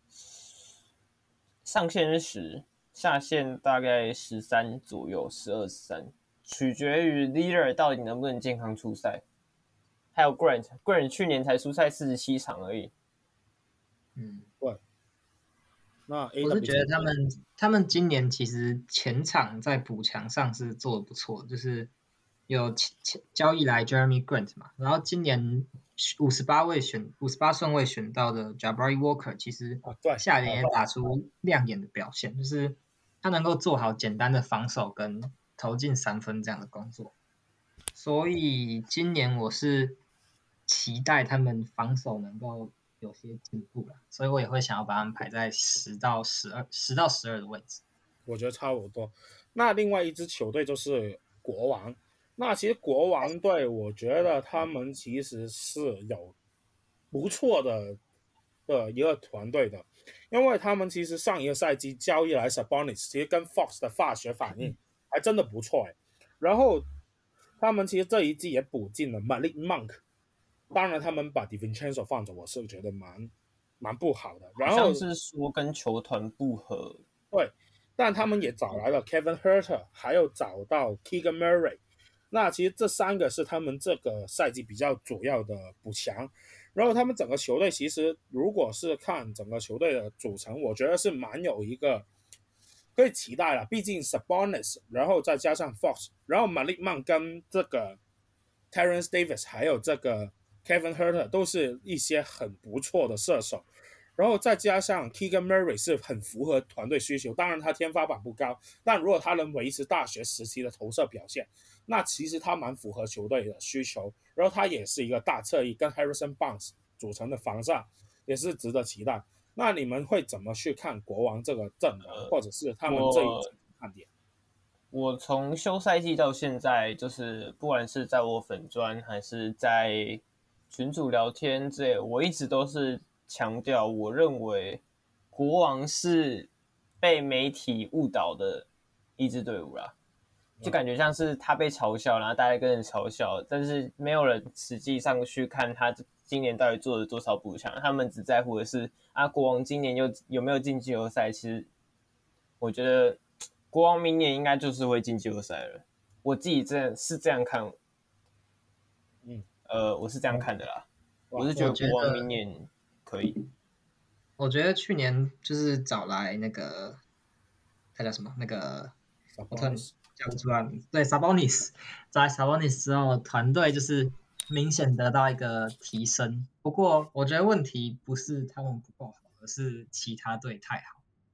上限是十，下限大概十三左右，十二、十三，取決於 Leader 到底能不能健康出賽。還有 Grant，Grant 去年才出賽四十七場而已。 嗯， 對。那 A W 我是覺得他們他們今年其實前場在補強上是做得不錯，就是有交易來 Jeremy Grant 嘛，然後今年五十八位選五十八順位選到的 Jabari Walker， 其實下聯也打出亮眼的表現，就是他能夠做好簡單的防守跟投進三分這樣的工作，所以今年我是期待他們防守能夠有些進步了，所以我也會想要把他們排在十到十二、十到十二的位置。 我覺得差不多。那另外一支球隊就是國王。那其實國王隊，我覺得他們其實是有不錯的的一個團隊的，因為他們其實上一個賽季交易來 Sabonis， 其實跟 Fox 的化學反應還真的不錯哎。然後他們其實這一季也補進了 Malik Monk。當然，他們把 DiVincenzo 放走，我是覺得蠻蠻不好的。然後像是說跟球團不合， 對，但他們也找來了 Kevin Huerter， 還有找到 Keegan Murray。那其實這三個是他們這個賽季比較主要的補強。然後他們整個球隊其實，如果是看整個球隊的組成，我覺得是蠻有一個可以期待了。畢竟 Sabonis， 然後再加上 Fox， 然後 Malik Monk 跟這個 Terrence Davis， 還有這個Kevin Huerter 都是一些很不錯的射手，然後再加上 Keegan Murray 是很符合團隊需求，當然他天花板不高，但如果他能維持大學時期的投射表現，那其實他蠻符合球隊的需求，然後他也是一個大側翼，跟 Harrison Barnes 組成的防上也是值得期待。那你們會怎麼去看國王這個陣容，呃、或者是他們這一季看點？ 我從休賽季到現在，就是不管是在我粉專還是在群組聊天之類，我一直都是強調，我認為國王是被媒體誤導的一支隊伍啦，就感覺像是他被嘲笑，然後大家跟着嘲笑，但是沒有人實際上去看他今年到底做了多少補強，他們只在乎的是啊，國王今年又有沒有進季後賽？其實我覺得國王明年應該就是會進季後賽了，我自己這樣是這樣看。 嗯， 呃，我是這樣看的啦，我是覺得國王明年可以。 我覺得去年就是找來那個他叫什麼？那個我突然叫不出來名字。對 ，Sabonis， 找來 Sabonis 之後，團隊就是明顯得到一個提升。不過，我覺得問題不是他們不夠好，而是其他隊太好。我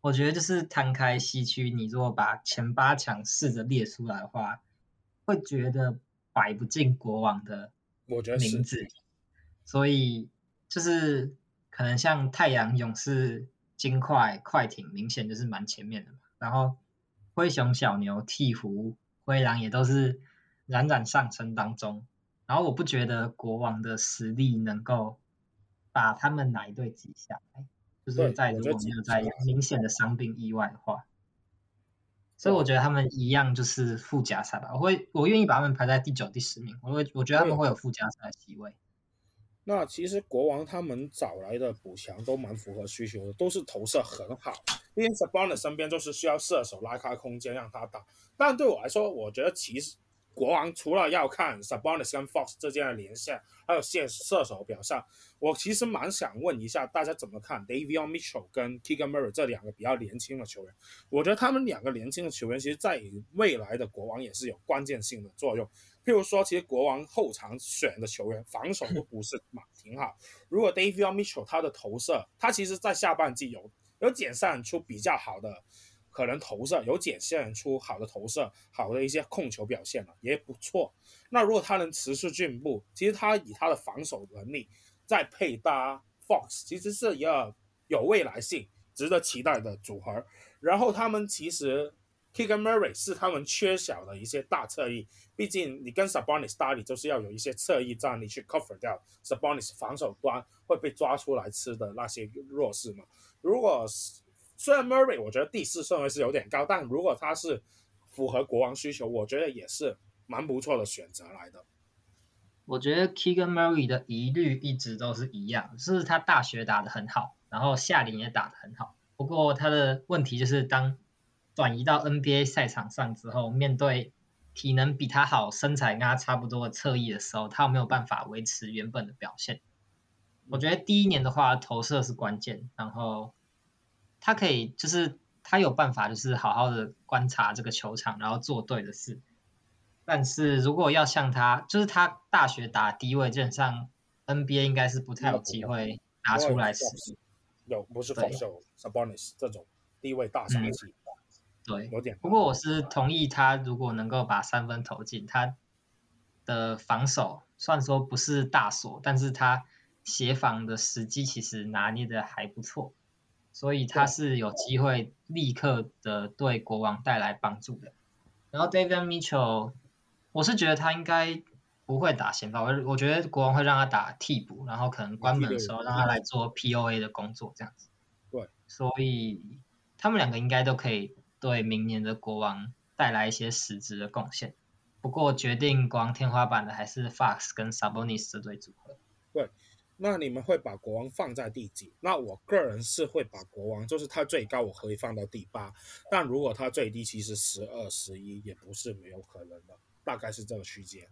我覺得就是攤開西區，你如果把前八強試着列出來的話，會覺得擺不進國王的名字，所以就是可能像太陽、勇士、金塊、快艇，明顯就是蠻前面的嘛。然後灰熊、小牛、鵜鶘、灰狼也都是冉冉上升當中。然後我不覺得國王的實力能夠把他們哪一隊擠下來，就是在如果沒有在明顯的傷病意外的話，所以我覺得他們一樣就是附加賽吧。我會我願意把他們排在第九、第十名。我會我覺得他們會有附加賽的席位。 那其實國王他們找來的補強都蠻符合需求的，都是投射很好。因為 Sabonis 身邊就是需要射手拉開空間讓他打。但對我來說，我覺得其實國王除了要看 Sabonis 跟 Fox 之間的連線，還有射射手表現，我其實蠻想問一下大家怎麼看 Davion Mitchell 跟 Keegan Murray 這兩個比較年輕的球員。我覺得他們兩個年輕的球員其實在未來的國王也是有關鍵性的作用。譬如說，其實國王後場選的球員防守都不是挺好。如果 Davion Mitchell 他的投射，他其實在下半季有有展現出比較好的可能投射，有展現出好的投射，好的一些控球表現了，也不錯。那如果他能持續進步，其實他以他的防守能力再配搭 Fox， 其實是一個有未来性、值得期待的組合。然後他們其實 Keegan Murray 是他們缺少的一些大侧翼，畢竟你跟 Sabonis 搭理就是要有一些側翼戰力去 cover 掉 Sabonis 防守端會被抓出來吃的那些弱勢嘛。如果雖然 Murray 我覺得第四順位是有點高，但如果他是符合國王需求，我覺得也是蠻不錯的選擇來的。 我覺得 Keegan Murray 的疑慮一直都是一樣，就是他大學打得很好，然後夏聯也打得很好，不過他的問題就是當轉移到 N B A 賽場上之後，面對體能比他好、身材跟他差不多的側翼的時候，他有沒有辦法維持原本的表現？我覺得第一年的話，投射是關鍵，然後他可以就是他有辦法，就是好好的觀察這個球場，然後做對的事。但是如果要像他，就是他大學打低位，基本上 N B A 應該是不太有機會拿出來使用。 有不是 Fox 有 Sabonis 這種低位大殺器。 對， 有點。 不過我是同意他，如果能夠把三分投進，他的防守雖然說不是大鎖，但是他協防的時機其實拿捏的還不錯，所以他是有機會立刻的對國王帶來幫助的。然後 Davion Mitchell， 我是覺得他應該不會打先發，我我覺得國王會讓他打替補，然後可能關門的時候讓他來做 P O A 的工作這樣子。 對， 所以他們兩個應該都可以對明年的國王帶來一些實質的貢獻。不過決定國王天花板的還是 Fox 跟 Sabonis 這對組合。 對，那你們會把國王放在第幾？那我個人是會把國王，就是他最高我可以放到第八，但如果他最低其實十二、十一也不是沒有可能的，大概是這個區間。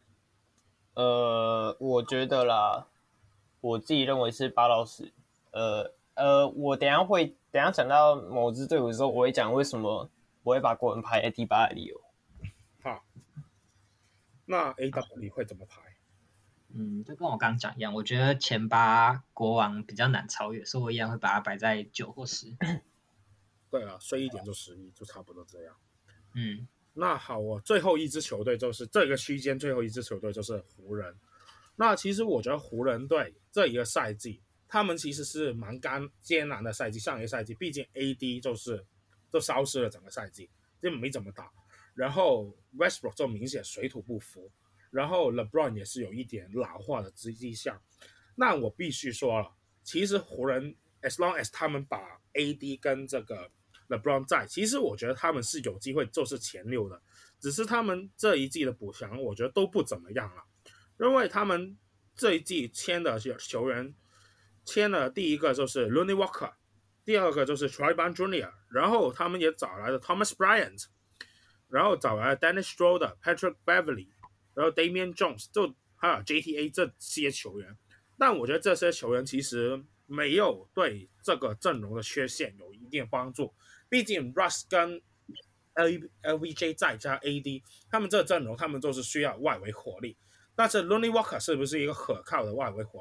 呃，我覺得啦，我自己認為是八到十。呃呃，我等一下會等一下講到某支隊伍的時候，我會講為什麼我會把國王排在第八的理由。 好，那 A W 你會怎麼排？ 嗯，就跟我剛剛講一樣，我覺得前八國王比較難超越，所以我一樣會把它擺在九或十。 對啊，衰一點就十一，就差不多這樣。 嗯， 那好，我最後一支球隊就是這個區間最後一支球隊就是湖人。那其實我覺得湖人隊這一個賽季，他們其實是蠻艱艱難的賽季。上一個賽季，畢竟 A D 就是就消失了整個賽季，就沒怎麼打。然後 Westbrook 就明顯水土不服。然後 LeBron 也是有一點老化的跡象。那我必須說了，其實湖人 as long as 他們把 A D 跟這個 LeBron 在，其實我覺得他們是有機會就是前六的。只是他們這一季的補強，我覺得都不怎麼樣了。因為他們這一季簽的球員，簽了第一個就是 Lonnie Walker， 第二個就是 Troy Brown Junior， 然後他們也找來了 Thomas Bryant， 然後找來了 Dennis Schroeder、Patrick Beverly。然後 Damian Jones 就還有 J T A 這些球員，但我覺得這些球員其實沒有對這個陣容的缺陷有一定的幫助。畢竟 Russ 跟 L B J 再加 A D， 他們這個陣容他們都是需要外圍火力。但是 Lonnie Walker 是不是一個可靠的外圍火力？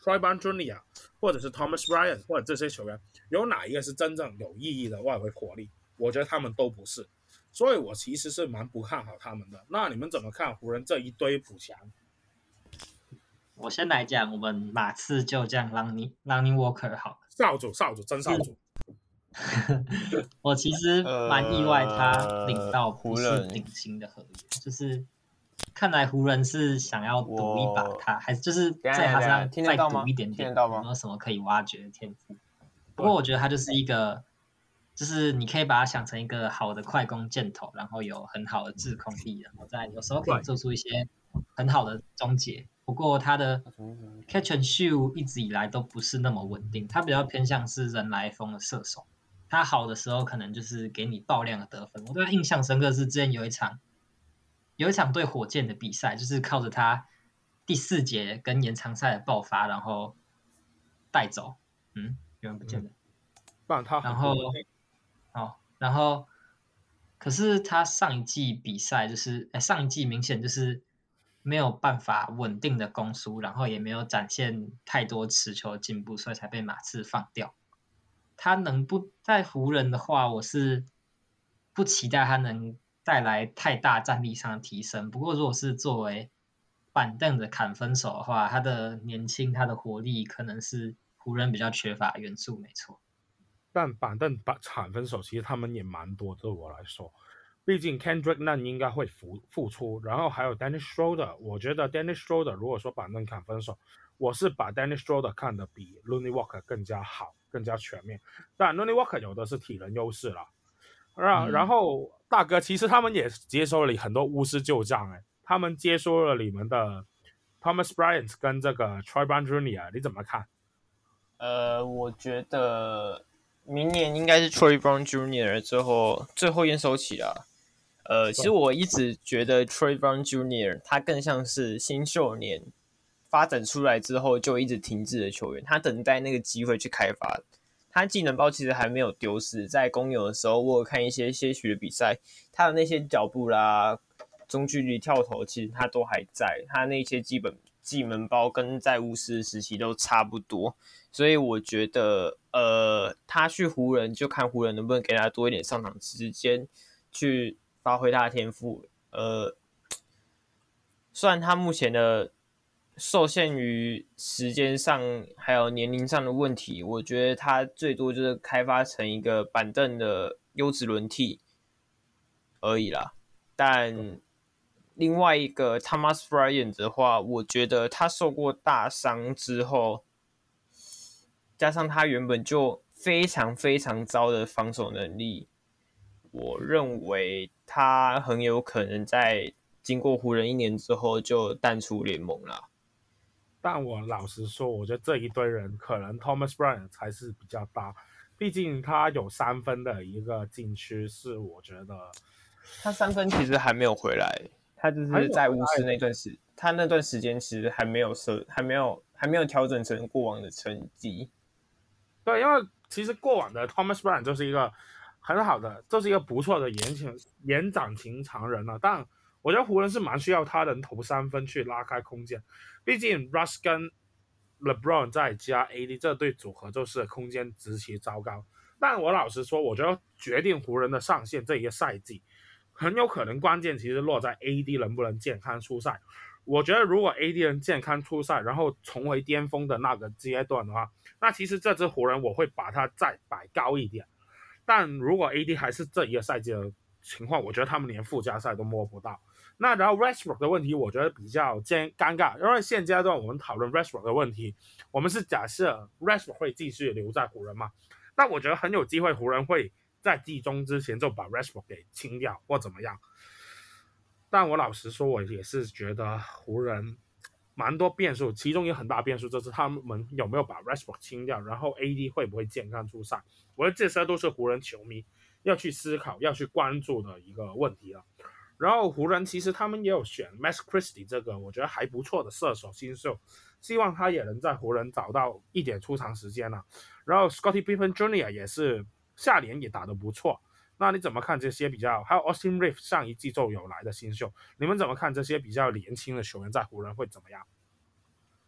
Troy Brown Junior 或者是 Thomas Bryant 或者這些球員，有哪一個是真正有意義的外圍火力？我覺得他們都不是，所以我其實是蠻不看好他們的。那你們怎麼看湖人這一堆補強？ 我先來講，我們馬刺就這樣 Lonnie Lonnie Walker 好了， 少主少主真少主。 我其實蠻意外，他領到不是頂薪的合約，呃、就是看來湖人是想要賭一把他，還是就是在他身上再賭一點點，有沒有什麼可以挖掘的天賦？不過我覺得他就是一個，就是你可以把他想成一個好的快攻箭頭，然後有很好的制空力，然後再有時候可以做出一些很好的終結。不過他的 catch and shoot 一直以來都不是那麼穩定，他比較偏向是人來瘋的射手。他好的時候可能就是給你爆量的得分。我對他印象深刻是之前有一場有一場對火箭的比賽，就是靠着他第四節跟延長賽的爆發，然後帶走。嗯，有人不見了。 嗯、他然後，哦，然後，可是他上一季比賽就是，哎，上一季明顯就是沒有辦法穩定的攻輸，然後也沒有展現太多持球的進步，所以才被馬刺放掉。他能不在湖人的話，我是不期待他能帶來太大戰力上的提升。不過，如果是作為板凳的砍分手的話，他的年輕、他的活力可能是湖人比較缺乏的元素，沒錯。 但板凳砍分手其實他們也蠻多，對我來說，畢竟 Kendrick Nunn 應該會復復出，然後還有 Dennis Schroeder， 我覺得 Dennis Schroeder 如果說板凳砍分手，我是把 Dennis Schroeder 看得比 Lonnie Walker 更加好，更加全面。但 Lonnie Walker 有的是體能優勢啦，然、嗯、然後大哥其實他們也接收了很多巫師舊將，哎，他們接收了你們的 Thomas Bryant 跟這個 Troy Brown Junior 你怎麼看？ 呃，我覺得明年應該是 Troy Brown Junior 最後最後驗收期啦。呃，其實我一直覺得 Troy Brown Junior 他更像是新秀年發展出來之後就一直停滯的球員，他等待那個機會去開發。他技能包其實還沒有丟失，在公牛的時候，我有看一些些許的比賽，他的那些腳步啦、中距離跳投，其實他都還在，他那些基本技能包跟在巫師時期都差不多，所以我覺得，呃，他去湖人就看湖人能不能給他多一點上場時間，去發揮他的天賦。呃，雖然他目前的受限於時間上還有年齡上的問題，我覺得他最多就是開發成一個板凳的優質輪替而已啦。但另外一個 Thomas Bryant 的話，我覺得他受過大傷之後，加上他原本就非常非常糟的防守能力，我認為他很有可能在經過湖人一年之後就淡出聯盟啦。 但我老實說，我覺得這一堆人可能 Thomas Bryant 才是比較大，畢竟他有三分的一個禁區，是我覺得他三分其實還沒有回來，他就是在巫師那段時，他那段時間其實還沒有設，還沒有還沒有調整成過往的成績。 對，因為其實過往的 Thomas Bryant 就是一個很好的，就是一個不錯的延長延長型長人了，但我覺得湖人是蠻需要他能投三分去拉開空間，畢竟 Russ 跟 LeBron 再加 A D 這對組合就是空間極其糟糕。但我老實說，我覺得決定湖人的上限這一個賽季，很有可能關鍵其實落在 A D 能不能健康出賽。我覺得如果 A D 能健康出賽，然後重回巔峰的那個階段的話，那其實這支湖人我會把它再擺高一點。但如果 A D 還是這一個賽季的情況，我覺得他們連附加賽都摸不到。那然後 Westbrook 的問題，我覺得比較尷尬，因為現階段我們討論 Westbrook 的問題，我們是假設 Westbrook 會繼續留在湖人嘛？那我覺得很有機會湖人會在季中之前就把 Westbrook 給清掉或怎麼樣。但我老實說，我也是覺得湖人蠻多變數，其中有很大變數就是他們有沒有把 Westbrook 清掉，然後 A D 會不會健康出賽。我覺得這些都是湖人球迷要去思考、要去關注的一個問題了。然後湖人其實他們也有選 Max Christie 這個我覺得還不錯的射手新秀，希望他也能在湖人找到一點出場時間了。然後 Scottie Pippen Junior 也是下聯也打得不錯。那你怎麼看這些比較？還有 Austin Reeves 上一季就有來的新秀，你們怎麼看這些比較年輕的球員在湖人會怎麼樣？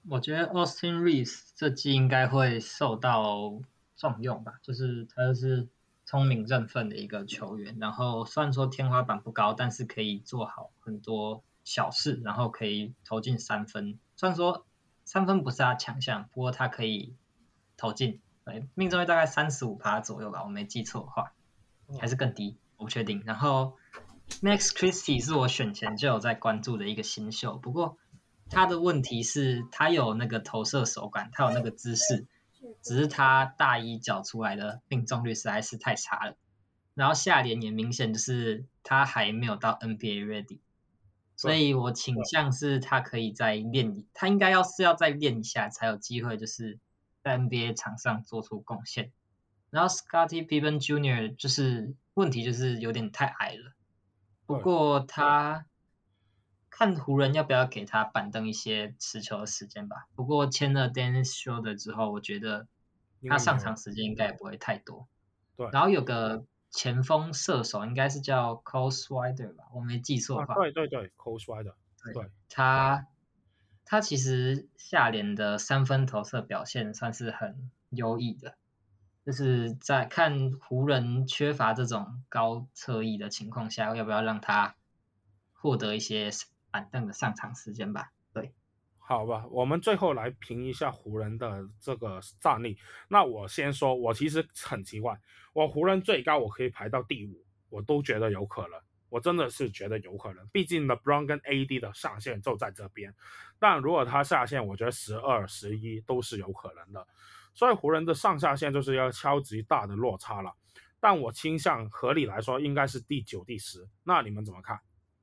我覺得 Austin Reeves 這季應該會受到重用吧，就是他就是聰明認分的一個球員，然後雖然說天花板不高，但是可以做好很多小事，然後可以投進三分。雖然說三分不是他強項，不過他可以投進，對，命中率大概 百分之三十五 左右吧，我沒記錯的話，還是更低，我不確定。然後 Max Christie 是我選前就有在關注的一個新秀，不過他的問題是他有那個投射手感，他有那個姿勢，只是他大一繳出來的命中率實在是太差了。然後下聯也明顯就是他還沒有到 N B A ready， 所以我傾向是他可以再練，他應該要是要再練一下才有機會就是在 N B A 場上做出貢獻。然後 Scottie Pippen Junior 就是問題就是有點太矮了，不過他看湖人要不要給他板凳一些持球的時間吧。不過簽了 Dennis Schroeder 之後，我覺得他上場時間應該也不會太多。 對， 然後有個前鋒射手應該是叫 Cole Swider 吧，我沒記錯的話。 啊、對對對 Cole Swider， 對， 他他其實下聯的三分投射表現算是很優異的，就是在看湖人缺乏這種高側翼的情況下，要不要讓他獲得一些板凳的上場時間吧？對， 好吧，我們最後來評一下湖人的這個戰力。那我先說，我其實很奇怪，我湖人最高我可以排到第五，我都覺得有可能，我真的是覺得有可能。畢竟 LeBron 跟 A D 的上限就在這邊，但如果他下限，我覺得十二、十一都是有可能的。所以湖人的上下限就是要超級大的落差了，但我傾向合理來說應該是第九、第十。那你們怎麼看？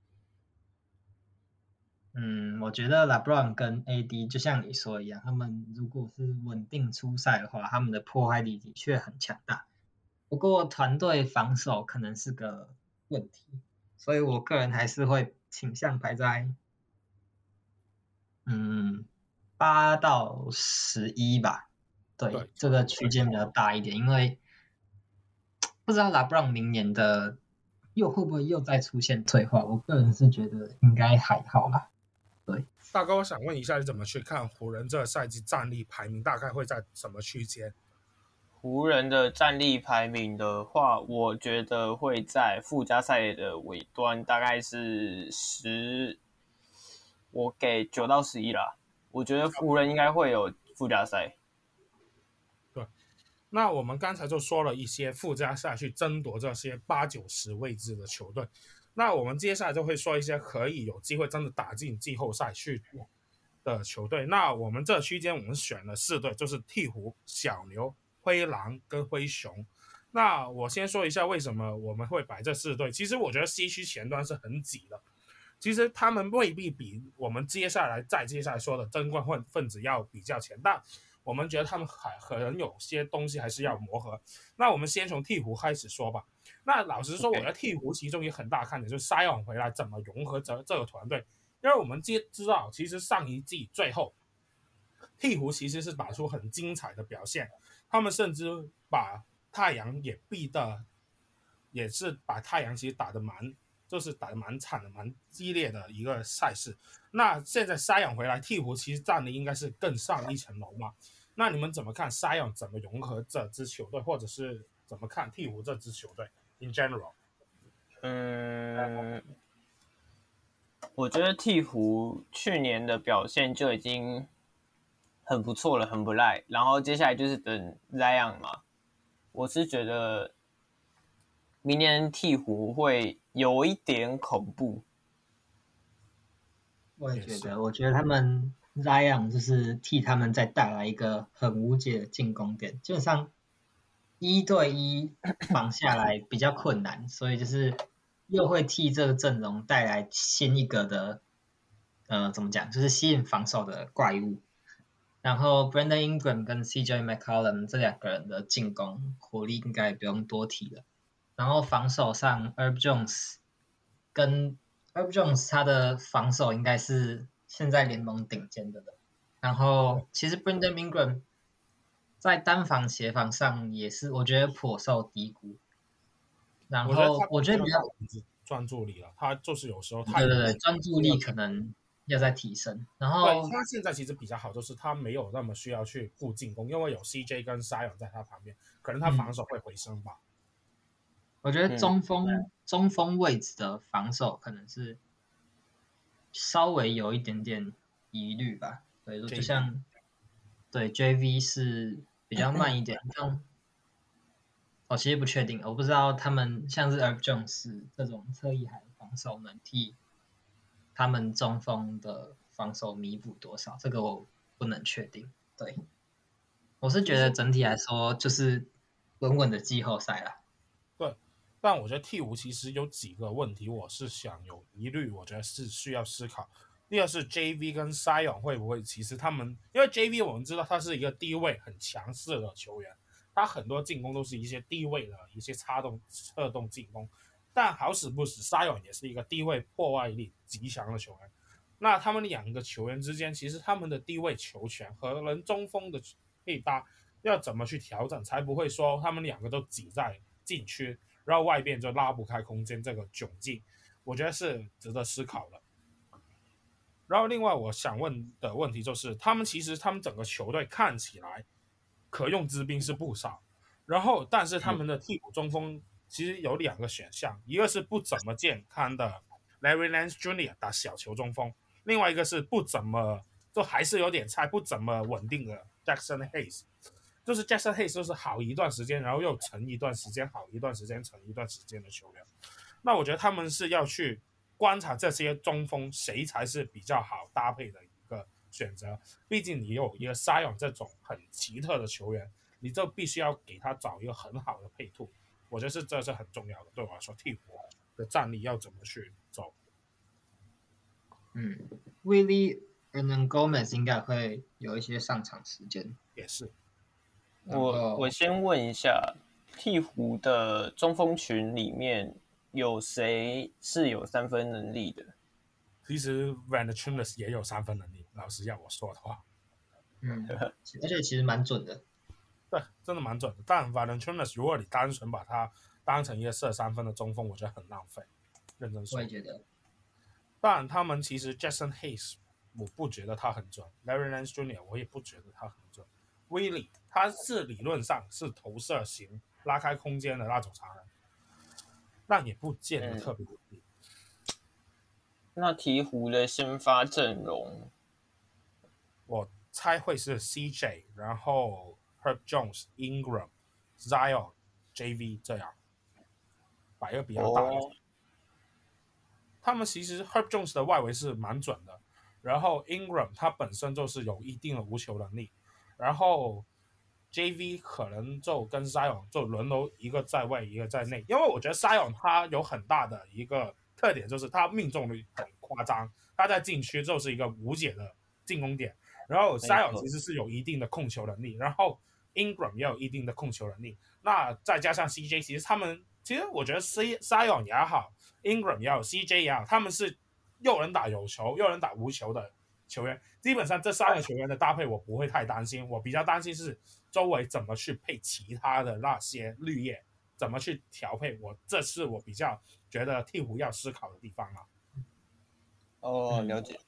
嗯，我覺得 LeBron 跟 A D 就像你說一樣，他們如果是穩定出賽的話，他們的破壞力的確很強大。不過團隊防守可能是個問題，所以我個人還是會傾向排在嗯八到十一吧。對，對這個區間比較大一點，因為不知道 LeBron 明年的又會不會又再出現退化，我個人是覺得應該還好啦。對， 大哥，我想問一下，你怎麼去看湖人這個賽季戰力排名大概會在什麼區間？ 湖人的戰力排名的話，我覺得會在附加賽的尾端，大概是十，我給九到十一啦。我覺得湖人應該會有附加賽。 對，那我們剛才就說了一些附加賽去爭奪這些八九十位置的球隊。那我們接下來就會說一些可以有機會真的打進季後賽去的球隊。那我們這區間我們選了四隊，就是鵜鶘、小牛、灰狼跟灰熊。那我先說一下為什麼我們會擺這四隊。其實我覺得西區前端是很擠的，其實他們未必比我們接下來再接下來說的爭冠分子要比較強，但我們覺得他們還可能有些東西還是要磨合。那我們先從鵜鶘開始說吧。那老實說，我覺得鵜鶘其中一個很大看點就是塞昂回來怎麼融合這這個團隊，因為我們知知道，其實上一季最後鵜鶘其實是打出很精彩的表現，他們甚至把太陽也逼得，也是把太陽其實打得蠻，就是打得蠻慘的、蠻激烈的一個賽事。那現在塞昂回來，鵜鶘其實戰力應該是更上一層樓嘛。那你們怎麼看塞昂怎麼融合這支球隊，或者是怎麼看鵜鶘這支球隊 in general？ 嗯，我覺得鵜鶘去年的表現就已經很不錯了，很不賴。然後接下來就是等 Zion 嘛，我是覺得明年鵜鶘會有一點恐怖。 我也覺得，我覺得他們 Zion 就是替他們再帶來一個很無解的進攻點，基本上一對一防下來比較困難，所以就是又會替這個陣容帶來新一個的，呃，怎麼講，就是吸引防守的怪物。然後 Brandon Ingram 跟 C J McCollum 這兩個人的進攻火力應該也不用多提了。然後防守上 Herb Jones 跟 Herb Jones 他的防守應該是現在聯盟頂尖的了。然後其實 Brandon Ingram 在單防協防上也是我覺得頗受低估。然後我覺得比較專注力了，他就是有時候太對對對專注力可能要再提升。然後對，他現在其實比較好，就是他沒有那麼需要去顧進攻，因為有 C J 跟 Zion 在他旁邊，可能他防守會回升吧。嗯、 我覺得中鋒、嗯、中鋒位置的防守可能是稍微有一點點疑慮吧。對，就像對 J V 是比較慢一點，像我其實不確定，我不知道他們像是 Herb Jones 這種側翼海防守能替他們中鋒的防守彌補多少，這個我不能確定。對，我是覺得整體來說就是穩穩的季後賽啦。 對，但我覺得鹈鶘其實有幾個問題，我是想有疑慮，我覺得是需要思考。第二是 J V 跟 Zion 會不會，其實他們因為 J V 我們知道他是一個低位很強勢的球員，他很多進攻都是一些低位的一些插動側動進攻，但好死不死 Zion 也是一個低位破壞力極強的球員。那他們兩個球員之間，其實他們的低位球權和人中鋒的配搭要怎麼去調整，才不會說他們兩個都擠在禁區，然後外邊就拉不開空間，這個窘境，我覺得是值得思考的。然後另外我想問的問題就是他們其實他們整個球隊看起來可用之兵是不少，然後但是他們的替補中鋒其實有兩個選項，一個是不怎麼健康的 Larry Nance Junior 打小球中鋒，另外一個是不怎麼就還是有點菜不怎麼穩定的 Jackson Hayes， 就是 Jackson Hayes 就是好一段時間然后又沉一段時間好一段時間沉一段時間的球員。那我覺得他們是要去觀察這些中鋒誰才是比較好搭配的一個選擇，畢竟你有一個 Zion 這種很奇特的球員，你就必須要給他找一個很好的配套，我覺得是這是很重要的。對我來說，替補的戰力要怎麼去走？ 嗯 ，Willie Hernangomez 應該會有一些上場時間， 也是。 我我先問一下，鹈鶘的中鋒群裡面有誰是有三分能力的？ 其實 Valanciunas 也有三分能力，老實要我說的話， 嗯，而且其實蠻準的， 對，真的蠻準的。但 Valanciunas 如果你單純把它當成一個射三分的中鋒，我覺得很浪費。認真說， 我也覺得。 但他們其實 Jackson Hayes 我不覺得他很準 ，Larry Nance Junior 我也不覺得他很準 ，Willie 他是理論上是投射型拉開空間的那種常人，但也不見得特別穩定。 那鹈鶘的先發陣容， 我猜會是 C J， 然後 Herb Jones、Ingram、Zion、J V 這樣，擺個比較大的。Oh. 他們其實 Herb Jones 的外圍是蠻準的，然後 Ingram 他本身就是有一定的無球能力，然後 J V 可能就跟 Zion 就輪流一個在外一個在內，因為我覺得 Zion 他有很大的一個特點就是他命中率很誇張，他在禁區就是一個無解的進攻點，然後 Zion 其實是有一定的控球能力，然後 Ingram 也有一定的控球能力，那再加上 C J， 其實他們其實我覺得 Zion 也好 Ingram 也好 C J 也好，他們是又能打有球又能打無球的球員，基本上這三個球員的搭配我不會太擔心，我比較擔心是周圍怎麼去配其他的那些綠葉，怎麼去調配，我這是我比較覺得鹈鶘要思考的地方啊。 哦，了解。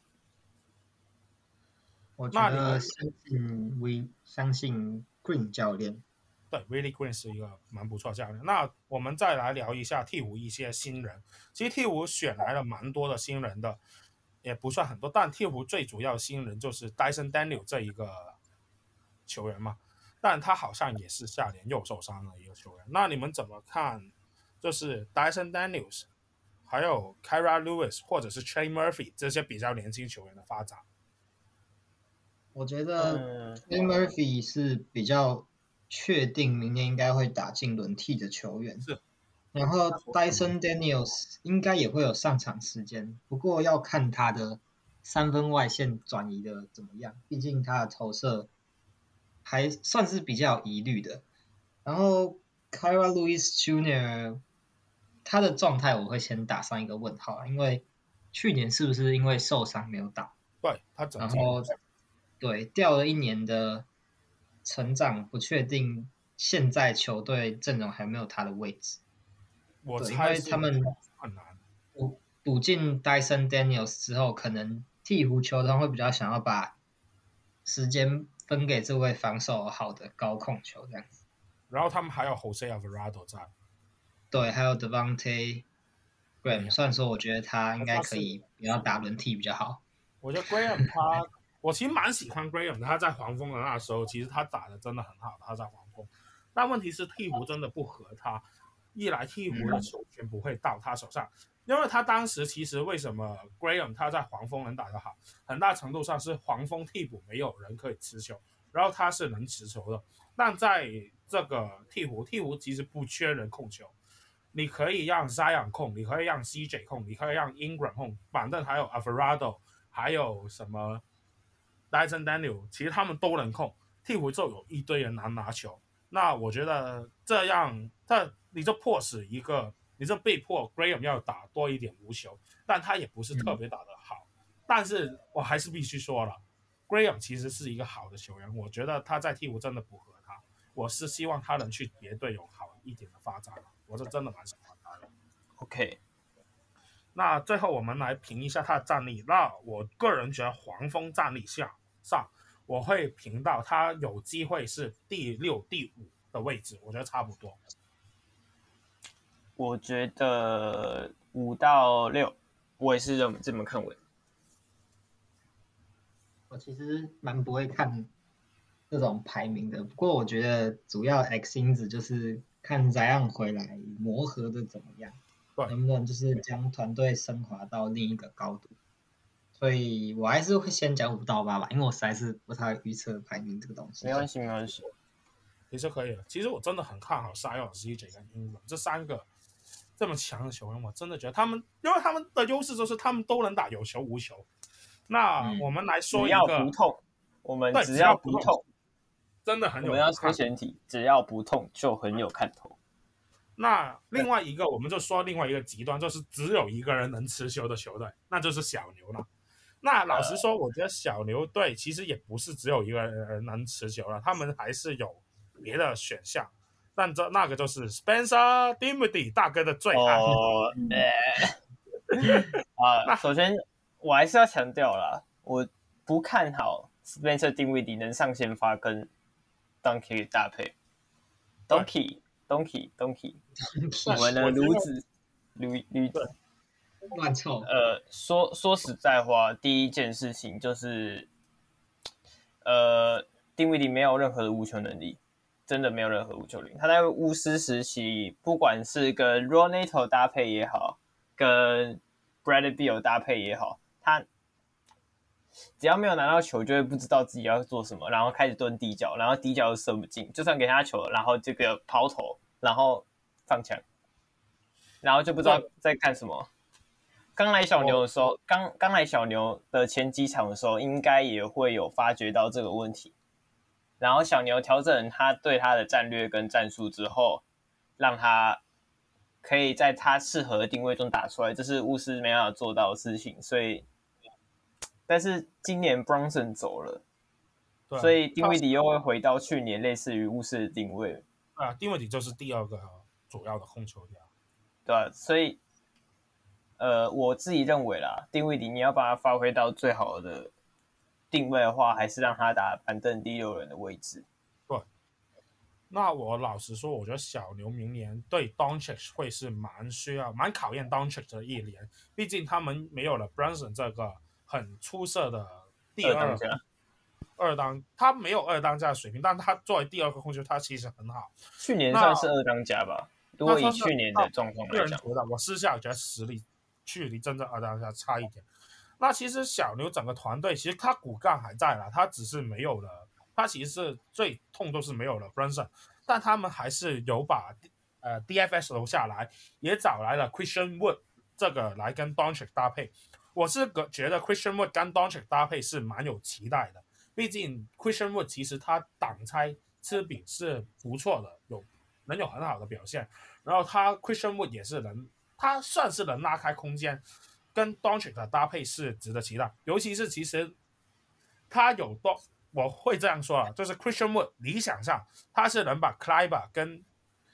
我覺得相信 We 相信 Green 教練， 對 ，Willie Green 是一個蠻不錯的教練。那我們再來聊一下鹈鶘一些新人。其實鹈鶘選來了蠻多的新人的，也不算很多，但鹈鶘最主要的新人就是 Dyson Daniel 這一個球員嘛。但他好像也是下聯又受傷的一個球員。那你們怎麼看？就是 Dyson Daniels， 還有 Kira Lewis 或者是 Trey Murphy 這些比較年輕球員的發展？ 我覺得 Trey Murphy 是比較確定明年應該會打進輪替的球員。 是。 然後 Dyson Daniels 應該也會有上場時間，不過要看他的三分外線轉移的怎麼樣，畢竟他的投射還算是比較有疑慮的。然後 Kira Lewis Junior 他的狀態我會先打上一個問號，因為去年是不是因為受傷沒有打？ 對，他整然後對掉了一年的成長，不確定現在球隊陣容還沒有他的位置。 我猜因為他們很難補補進 Dyson Daniels 之後，可能鵜鶘球團會比較想要把時間分給這位防守好的高控球這樣子。 然後他們還有 Jose Alvarado 在， 對，還有 Devontae Graham，雖然說我覺得他應該可以不要打輪替比較好。 我覺得 Graham 他，我其實蠻喜歡 Graham 的，他在黃蜂的那時候，其實他打的真的很好，他在黃蜂。但問題是鵜鶘真的不合他，一來鵜鶘的球權不會到他手上，嗯、因為他當時其實為什麼 Graham 他在黃蜂能打得好，很大程度上是黃蜂替補沒有人可以持球，然後他是能持球的。但在這個鵜鶘，鵜鶘其實不缺人控球，你可以讓 Zion 控，你可以讓 C J 控，你可以讓 Ingram 控，反正還有 Alvarado， 還有什麼 Dyson Daniel， 其實他們都能控，鵜鶘就有一堆人能拿球。那我覺得這樣，他你就迫使一個，你就被迫 Graham 要打多一點無球，但他也不是特別打得好。嗯、但是我還是必須說了 ，Graham 其實是一個好的球員，我覺得他在鵜鶘真的不合他。我是希望他能去別隊有好一點的發展，我是真的蠻喜歡他的。 OK， 那最後我們來評一下他的戰力。那我個人覺得黃蜂戰力上上。我會評到他有機會是第六、第五的位置，我覺得差不多。 我覺得五到六，我也是這麼這麼看穩。 我其實蠻不會看這種排名的，不過我覺得主要 X 因子就是看 Zion 回來磨合的怎麼樣，對，能不能就是將團隊升華到另一個高度。所以我還是會先講五到八吧，因為我實在是不太預測排名這個東西。 沒關係，沒關係， 其實可以了。其實我真的很看好 Zion、C J 跟 Ingram 這三個這麼強的球員，我真的覺得他們，因為他們的優勢就是他們都能打有球無球。那我們來說一個， 只要不痛，我們只要不痛， 真的很有看頭。 我們要說前提，只要不痛就很有看頭。 那另外一個，我們就說另外一個極端，就是只有一個人能持球的球隊，那就是小牛了。那老實說，我覺得小牛隊其實也不是只有一個人能持球了，他們還是有別的選項。但這那個就是 Spencer Dinwiddie 大哥的最愛。 哦，啊，那首先我還是要強調啦，我不看好 Spencer Dinwiddie 能上先發跟 Doncic 搭配。Doncic Doncic Doncic 我們的驢子驢驢子。 亂湊。 呃，說說實在話，第一件事情就是，呃，丁威迪沒有任何的無球能力，真的沒有任何無球能力。他在巫師時期，不管是跟 Roneto 搭配也好，跟 Bradley Beal 搭配也好，他只要沒有拿到球，就會不知道自己要做什麼，然後開始蹲低腳，然後低腳又射不進，就算給他球，然後這個拋投，然後放槍，然後就不知道在幹什麼。剛來小牛的時候，剛剛來小牛的前幾場的時候，應該也會有發覺到這個問題。然後小牛調整他對他的戰略跟戰術之後，讓他可以在他適合的定位中打出來，這是巫師沒辦法做到的事情。所以，但是今年 Brunson 走了， 對， 所以丁威迪又會回到去年類似於巫師的定位。 啊，丁威迪就是第二個主要的控球點， 對啊，所以。呃，我自己認為啦，丁威迪你要把它發揮到最好的定位的話，還是讓他打板凳第六人的位置。 對，那我老實說，我覺得小牛明年對 Doncic 會是蠻需要、蠻考驗 Doncic 的一年，畢竟他們沒有了 Brunson 這個很出色的第二二當家， 二當他沒有二當家的水平，但他作為第二個控球，他其實很好。 去年算是二當家吧，如果以去年的狀況來講， 我私下覺得實力。距離真正二當家差一點。那其實小牛整個團隊，其實他骨幹還在啦，他只是沒有了，他其實是最痛都是沒有了 Brunson， 但他們還是有把呃 D F S 留下來，也找來了 Christian Wood 這個來跟 Doncic 搭配。我是覺得 Christian Wood 跟 Doncic 搭配是蠻有期待的，畢竟 Christian Wood 其實他擋拆吃餅是不錯的，有能有很好的表現，然後他 Christian Wood 也是能。他算是能拉開空間，跟 Doncic 的搭配是值得期待。尤其是其實他有多，我會這樣說啊，就是 Christian Wood 理想上他是能把 Kleber 跟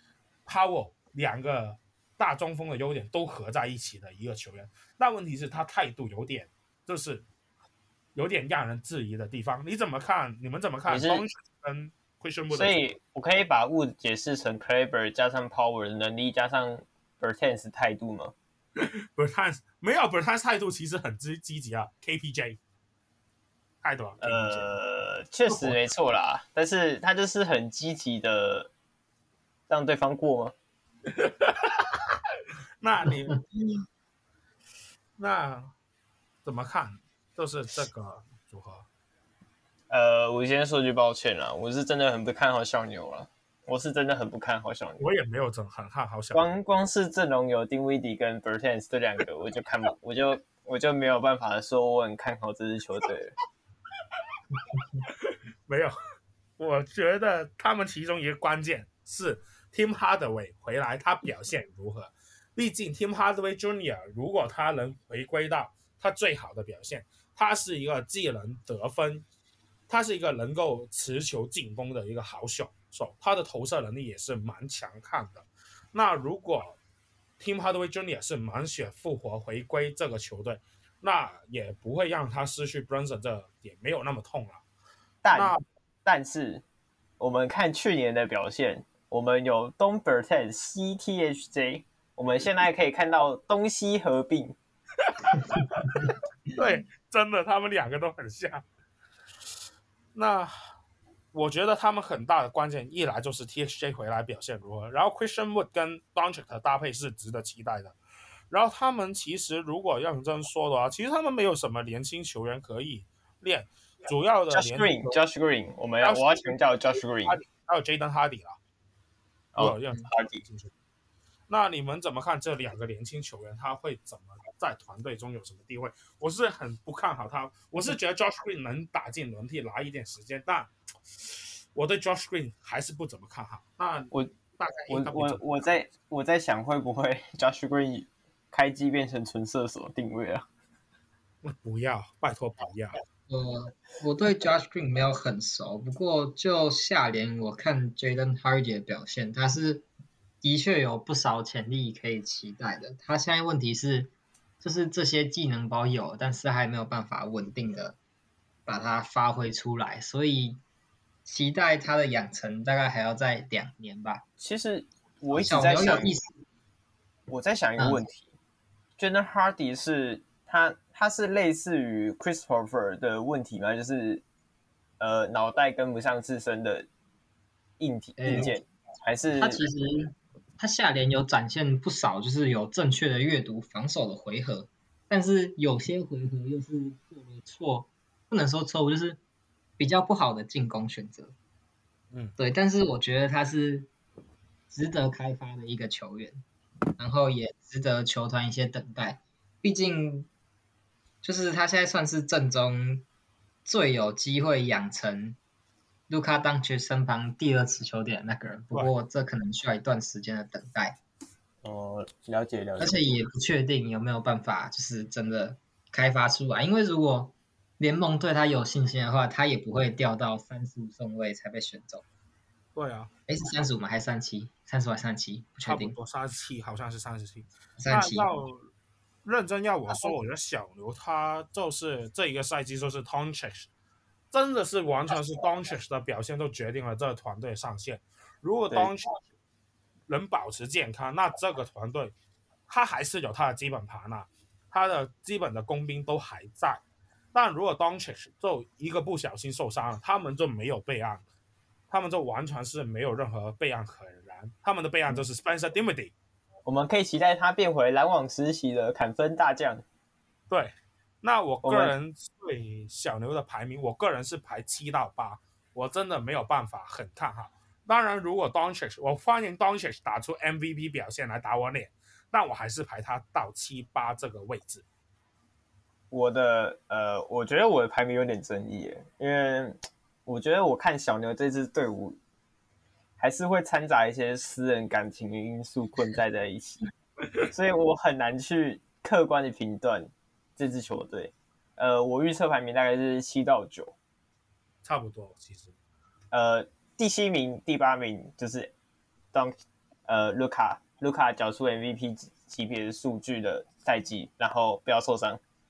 Powell 兩個大中鋒的優點都合在一起的一個球員。那問題是他態度有點就是有點讓人質疑的地方。你怎麼看？你們怎麼看 Doncic 跟 Christian Wood？ 所以我可以把 Wood 解釋成 Kleber 加上 Power 的能力加上 Bertans 態度嗎？ Bertans 沒有 Bertans 態度其實很積積極啊 ，K P J 態度啊， 呃，確實沒錯啦，但是他就是很積極的讓對方過嗎？ 那你那怎麼看？就是這個組合。 呃，我先說句抱歉啦，我是真的很不看好小牛了。我是真的很不看好小牛。 我也沒有很看好小牛。 光光是陣容有丁威迪跟 Bertans 這兩個，我就看不，我就我就沒有辦法說我很看好這支球隊了。 沒有，我覺得他們其中一個關鍵是 Tim Hardaway 回來，他表現如何？畢竟 Tim Hardaway Junior 如果他能回歸到他最好的表現，他是一個既能得分，他是一個能夠持球進攻的一個好手手，他的投射能力也是蠻強悍的。那如果 Tim Hardaway Junior 是滿血復活回歸這個球隊，那也不會讓他失去 Brunson 這點沒有那麼痛了。 但但是我們看去年的表現，我們有東 Bertans 西 T H J， 我們現在可以看到東西合併。 對，真的，他們兩個都很像。那我覺得他們很大的關鍵，一來就是 T H J 回來表現如何，然後 Christian Wood 跟 Doncic 的搭配是值得期待的。然後他們其實如果認真說的話，其實他們沒有什麼年輕球員可以練，主要的 Josh Green，Josh Green， 我們要我要強調 Josh Green， 還有 Jaden Hardy 啦。 哦 ，Hardy。 那你們怎麼看這兩個年輕球員？他會怎麼在團隊中有什麼地位？我是很不看好他，我是覺得 Josh Green 能打進輪替拿一點時間，但我對 Josh Green 還是不怎麼看好。那我大概我我我在我在想會不會 Josh Green 開機變成純射手定位啊？ 不要，拜託不要。 呃，我對 Josh Green 沒有很熟，不過就下聯我看 Jaden Hardy 的表現，他是的確有不少潛力可以期待的。他現在問題是，就是這些技能包有，但是還沒有辦法穩定的把它發揮出來，所以期待他的養成大概還要再兩年吧。 其實我一直在想，我在想一個問題，嗯，Jaden Hardy 是他他是類似於 Christopher 的問題嗎？就是呃腦袋跟不上自身的硬體硬件，欸，還是他其實他下聯有展現不少，就是有正確的閱讀防守的回合，但是有些回合又是做了錯，不能說錯誤，就是比較不好的進攻選擇。 嗯， 對，但是我覺得他是值得開發的一個球員，然後也值得球團一些等待。畢竟，就是他現在算是陣中最有機會養成盧卡當局身旁第二持球點的那個人，不過這可能需要一段時間的等待。 哦，了解了解。 而且也不確定有沒有辦法，就是真的開發出來。因為如果聯盟對他有信心的話，他也不會掉到三十五順位才被選走。 對啊， 哎，是三十五嗎？還是三十七？三十還是三十七？不確定。 差不多三十七，好像是三十七。 三十七。 要認真要我說，我覺得小牛他就是這一個賽季就是 Doncic， 真的是完全是 Doncic 的表現都決定了這個團隊上限。如果 Doncic 能保持健康，那這個團隊他還是有他的基本盤吶，他的基本的工兵都還在。但如果 Doncic 就一個不小心受傷了，他們就沒有備案，他們就完全是沒有任何備案可言。他們的備案就是 Spencer Dinwiddie。 我們可以期待他變回籃網時期的砍分大將。 對，那我個人對小牛的排名，我個人是排七到八，我真的沒有辦法很看好。當然，如果 Doncic， 我歡迎 Doncic 打出 M V P 表現來打我臉，但我還是排他到七八這個位置。 我的呃，我覺得我的排名有點爭議耶，因為我覺得我看小牛這支隊伍，還是會摻雜一些私人感情的因素混在在一起，所以我很難去客觀的評斷這支球隊。呃，我預測排名大概是七到九， 差不多其實。 呃，第七名、第八名就是當呃盧卡盧卡繳出 M V P 級別的數據的賽季，然後不要受傷。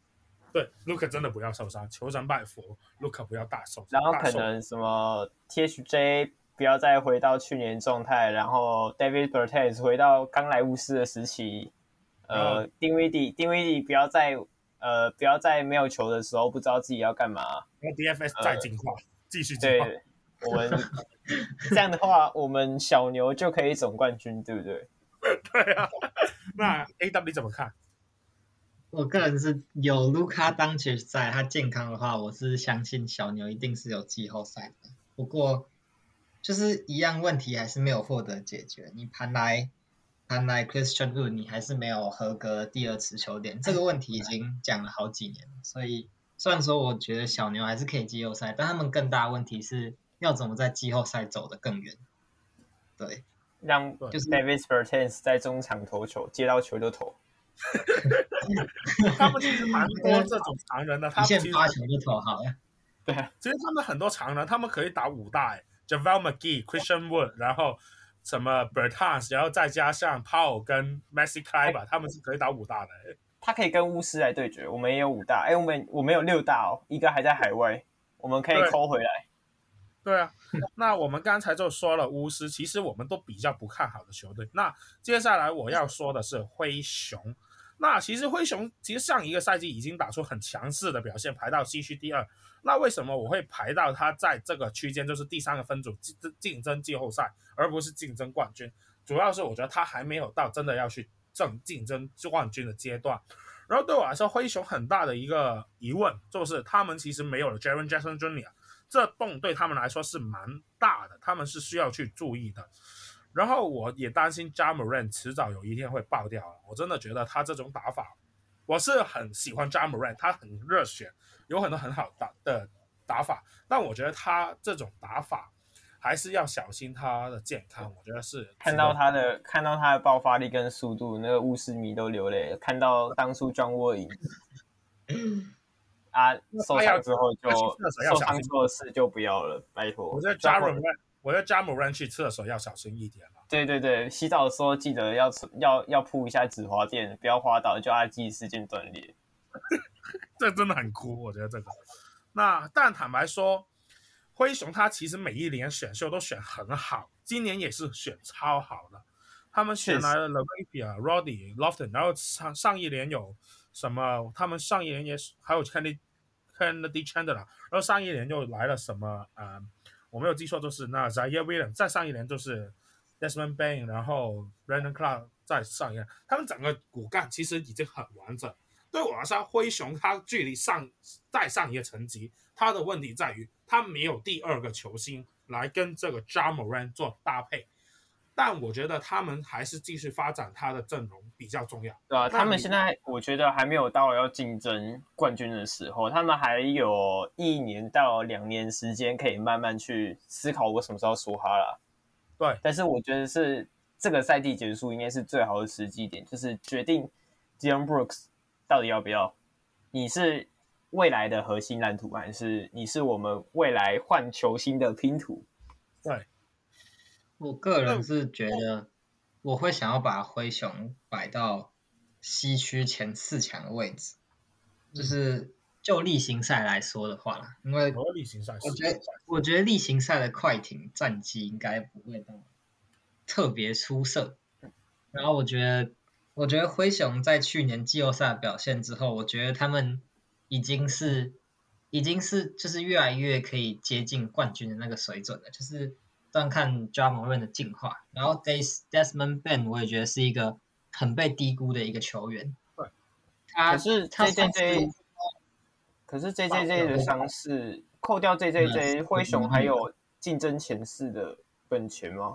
對 ，Luka 真的不要受傷，求神拜佛 ，Luka 不要大受傷。 然後可能什麼 T H J 不要再回到去年狀態，然後 David Bertans 回到剛來巫師的時期，呃，丁威迪丁威迪不要再呃不要在沒有球的時候不知道自己要幹嘛。 然後 D F S 再進化，呃、繼續進化。 對，我們這樣的話，我們小牛就可以總冠軍，對不對？ 對啊。那 A W 你怎麼看？ 我個人是有盧卡當前在，他健康的話，我是相信小牛一定是有季後賽的。不過，就是一樣問題還是沒有獲得解決。你盤來盤來 Christian Wood， 你還是沒有合格的第二持球點，這個問題已經講了好幾年了。所以，雖然說我覺得小牛還是可以季後賽，但他們更大的問題是要怎麼在季後賽走得更遠。對， 讓就是 David Bertans 在中場投球，接到球就投。 他們其實蠻多這種常人的，他們其實發球就投好了。 對， 其實他們很多常人，他們可以打五大欸 ，JaVale McGee、Christian Wood， 然後什麼 Bertans， 然後再加上 Powell 跟 Maxi Kleber，他們是可以打五大的欸。 他可以跟巫師來對決，我們也有五大，哎，我們我們有六大哦，一個還在海外，我們可以摳回來。 對啊，那我們剛才就說了巫師，其實我們都比較不看好的球隊。那接下來我要說的是灰熊。那其實灰熊其實上一個賽季已經打出很強勢的表現，排到西區第二。那為什麼我會排到他在這個區間，就是第三個分組競爭季後賽，而不是競爭冠軍？主要是我覺得他還沒有到真的要去爭競爭冠軍的階段。然後對我來說，灰熊很大的一個疑問就是他們其實沒有了 Jaren Jackson Junior， 這洞對他們來說是蠻大的，他們是需要去注意的。然後我也擔心 Ja Morant 遲早有一天會爆掉了，我真的覺得他這種打法，我是很喜歡 Ja Morant， 他很熱血，有很多很好打的打法，但我覺得他這種打法還是要小心他的健康。我覺得是看到他的看到他的爆發力跟速度，那個巫師迷都流淚了。看到當初 John Wall 贏啊，受傷之後就受傷做事就不要了，拜託。 我覺得 Ja Morant我要Ja Morant去廁所要小心一點了。 對对對，洗澡的時候記得要要要鋪一下止滑墊，不要滑倒就按記時間斷裂。 這真的很酷，我覺得這個。那但坦白說，灰熊他其實每一年選秀都選很好，今年也是選超好的。他們選來了 LaRavia、Roddy、Lofton， 然後上上一年有什麼？他們上一年也還有 Kennedy Kennedy Chandler， 然後上一年又來了什麼？呃我沒有記錯，就是那 Zaire Williams， 再上一年就是 Desmond Bane， 然後 Brandon Clark 再上一年，他們整個骨幹其實已經很完整。對我來說，灰熊他距離上再上一個層級，他的問題在於他沒有第二個球星來跟這個 Ja Morant 做搭配。但我覺得他們還是繼續發展他的陣容比較重要。 對啊，他們現在我覺得還沒有到要競爭冠軍的時候，他們還有一年到兩年時間可以慢慢去思考我什麼時候說哈啦。 對， 但是我覺得是這個賽季結束應該是最好的時機點，就是決定 Dillon Brooks 到底要不要。你是未來的核心藍圖，還是你是我們未來換球星的拼圖？ 對。 我個人是覺得，我會想要把灰熊擺到西區前四強的位置，嗯、就是就例行賽來說的話啦，因為我覺得我覺得例行賽的快艇戰績應該不會到特別出色，然後我覺得我覺得灰熊在去年季後賽表現之後，我覺得他們已經是已經是就是越來越可以接近冠軍的那個水準了，就是這樣看 Ja Morant 的進化，然後 Desmond Bane 我也覺得是一個很被低估的一個球員。 對， 他可是 J J J， 可是 J J J 的傷勢，扣掉 J J J， 灰熊還有競爭前四的本錢嗎？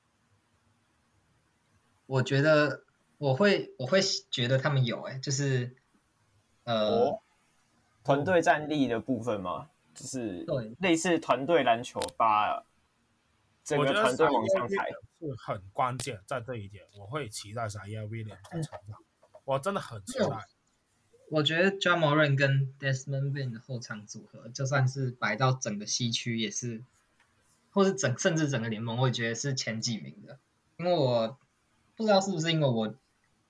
我覺得我會我會覺得他們有哎、欸，就是呃， 哦、團隊戰力的部分嗎？就是類似團隊籃球把。整個團隊往上抬是很關鍵，在這一點，我會期待 Zaire Williams 的成長。我真的很期待。 我覺得 Ja Morant 跟 Desmond Bane 的後場組合，就算是擺到整個西區，也是，或是整甚至整個聯盟，我也覺得是前幾名的。因為我不知道是不是因為我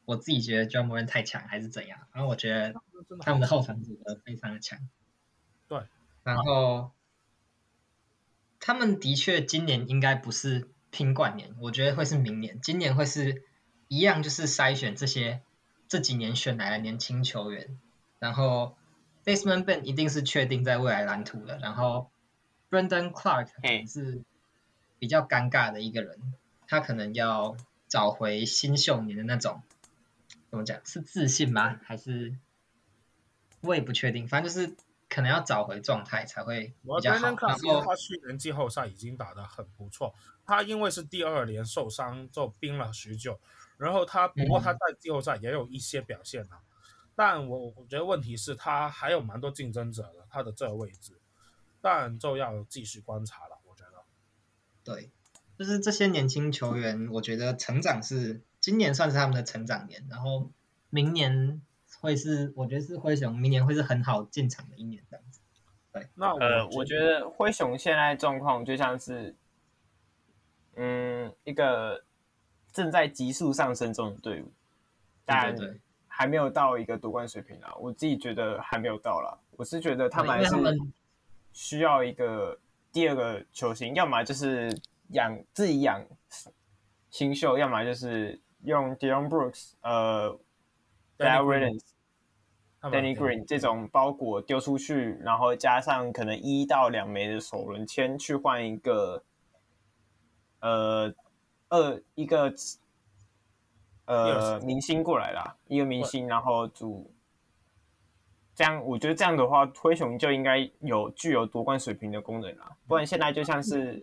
我自己覺得 Ja Morant 太強還是怎樣，然後我覺得他們的後場組合非常的強。 對， 然後他們的確今年應該不是拼冠年，我覺得會是明年，今年會是一樣，就是篩選這些這幾年選來的年輕球員，然後 Desmond Bane 一定是確定在未來藍圖的，然後 Brandon Clark 可能是比較尷尬的一個人，他可能要找回新秀年的那種，怎麼講，是自信嗎？還是我也不確定，反正就是可能要找回狀態才會比較好。然後他去年季後賽已經打得很不錯，他因為是第二年受傷就冰了許久，然後他不過他在季後賽也有一些表現啊，嗯、但我我覺得問題是他還有蠻多競爭者的，他的這個位置，但就要繼續觀察了，我覺得。 對，就是這些年輕球員，我覺得成長是今年算是他們的成長年，然後明年會是，我覺得是灰熊明年會是很好進場的一年這樣子。對， 那我呃，我覺得灰熊現在狀況就像是，嗯，一個正在急速上升中的隊伍，但還沒有到一個奪冠水平啊。我自己覺得還沒有到啦，我是覺得他們還是需要一個第二個球星，要麼就是養自己養新秀，要麼就是用 Dillon Brooks、呃 Darrell Williams、Danny Green 這種包裹丟出去，然後加上可能一到兩枚的首輪籤去換一個呃二一個呃明星過來啦，一個明星，然後組這樣，我覺得這樣的話，灰熊就應該有具有奪冠水平的功能啦，不然現在就像是。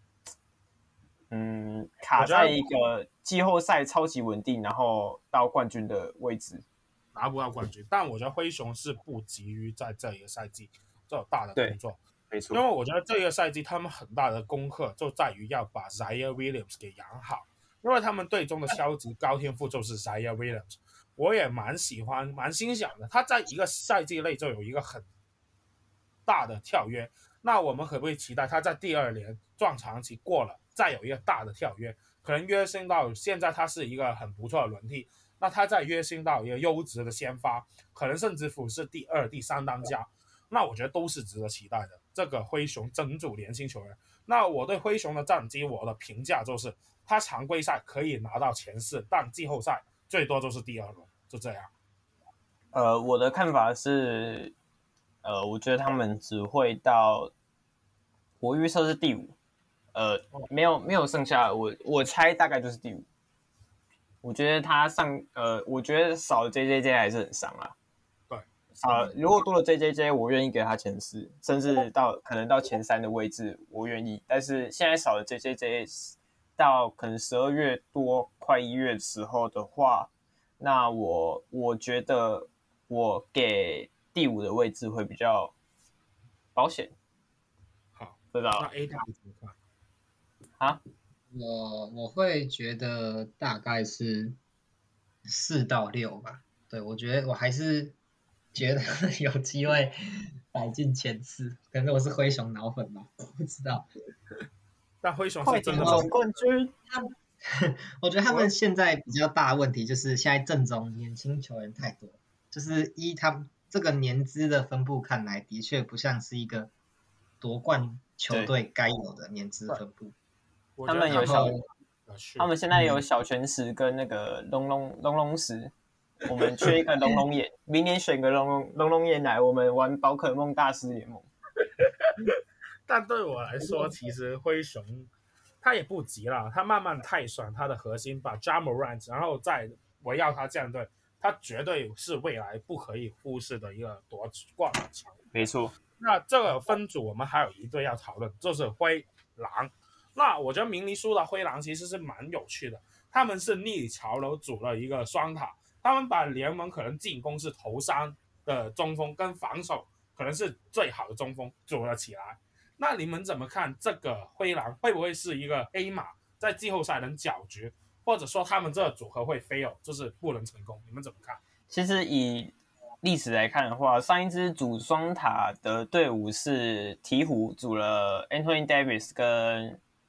嗯，卡在一個季後賽超級穩定，然後到冠軍的位置， 拿不到冠軍。但我覺得灰熊是不急於在這一個賽季做大的工作， 沒錯。 因為我覺得這個賽季他們很大的功課就在於要把 Zion Williams 給養好，因為他們隊中的超級高天賦就是 Zion Williams， 我也蠻喜歡、蠻欣賞的。他在一個賽季內就有一個很大的跳躍，那我們可不可以期待他在第二年撞牆期過了？再有一個大的跳躍，可能躍升到現在他是一個很不錯的輪替，那他再躍升到一個優質的先發，可能甚至乎是第二、第三當家，那我覺得都是值得期待的。這個灰熊整組年輕球員，那我對灰熊的戰績，我的評價就是他常規賽可以拿到前四，但季後賽最多就是第二輪，就這樣。 呃，我的看法是，呃，我覺得他們只會到，我預測是第五。呃，沒有沒有剩下，我我猜大概就是第五。我覺得他上，呃，我覺得少了 J J J 還是很傷啊。 對， 呃，如果多了 J J J， 我願意給他前四，甚至到可能到前三的位置，我願意。但是現在少了 J J J， 到可能十二月多快一月的時候的話，那我我覺得我給第五的位置會比較保險。 好， 知道。 那 A 大怎麼看？ 啊， 我我會覺得大概是四到六吧。對，我覺得我還是覺得有機會擺進前四，可能我是灰熊腦粉吧，我不知道。 但灰熊是真的總冠軍。 我覺得他們現在比較大的問題就是現在陣中年輕球員太多，就是依他們這個年資的分布看來，的確不像是一個奪冠球隊該有的年資分布。 他們有小，他們現在有小泉石跟那個龍龍龍龍石，我們缺一個龍龍眼，明年選個龍龍龍龍眼來，我們玩寶可夢大師聯盟。 但對我來說，其實灰熊他也不急了，他慢慢汰選他的核心，把 Ja Morant， 然後再圍繞他這樣隊，他絕對是未來不可以忽視的一個奪冠的強。 沒錯。 那這個分組我們還有一隊要討論，就是灰狼。那我覺得明尼蘇達灰狼其實是蠻有趣的，他們是逆潮流組了一個雙塔，他們把聯盟可能進攻是頭三的中鋒跟防守可能是最好的中鋒組了起來。那你們怎麼看這個灰狼會不會是一個 A 碼在季後賽能攪局，或者說他們這個組合會 fail， 就是不能成功？你們怎麼看？ 其實以歷史來看的話，上一支組雙塔的隊伍是鹈鶘組了 Anthony Davis 跟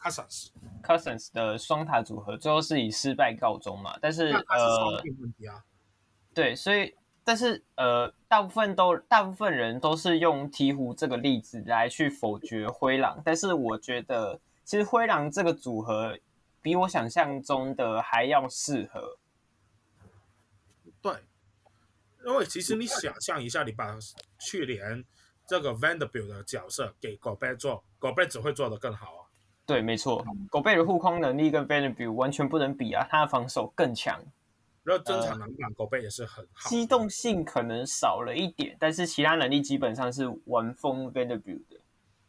Cousins Cousins 的雙塔組合，最後是以失敗告終嘛？但是那他是雙呃， 定問題啊。 對，所以但是呃，大部分都大部分人都是用鹈鶘這個例子來去否決灰狼，但是我覺得其實灰狼這個組合比我想象中的還要適合。 對，因為其實你想象一下，你把去年這個 Vanderbilt 的角色給 Gobert 做 ，Gobert 只會做得更好啊。 對，沒錯，狗貝的護框能力跟 Vanderbilt 完全不能比啊，他的防守更強。 然後增強籃板，狗貝也是很好。 機動性可能少了一點，但是其他能力基本上是完封 Vanderbilt 的。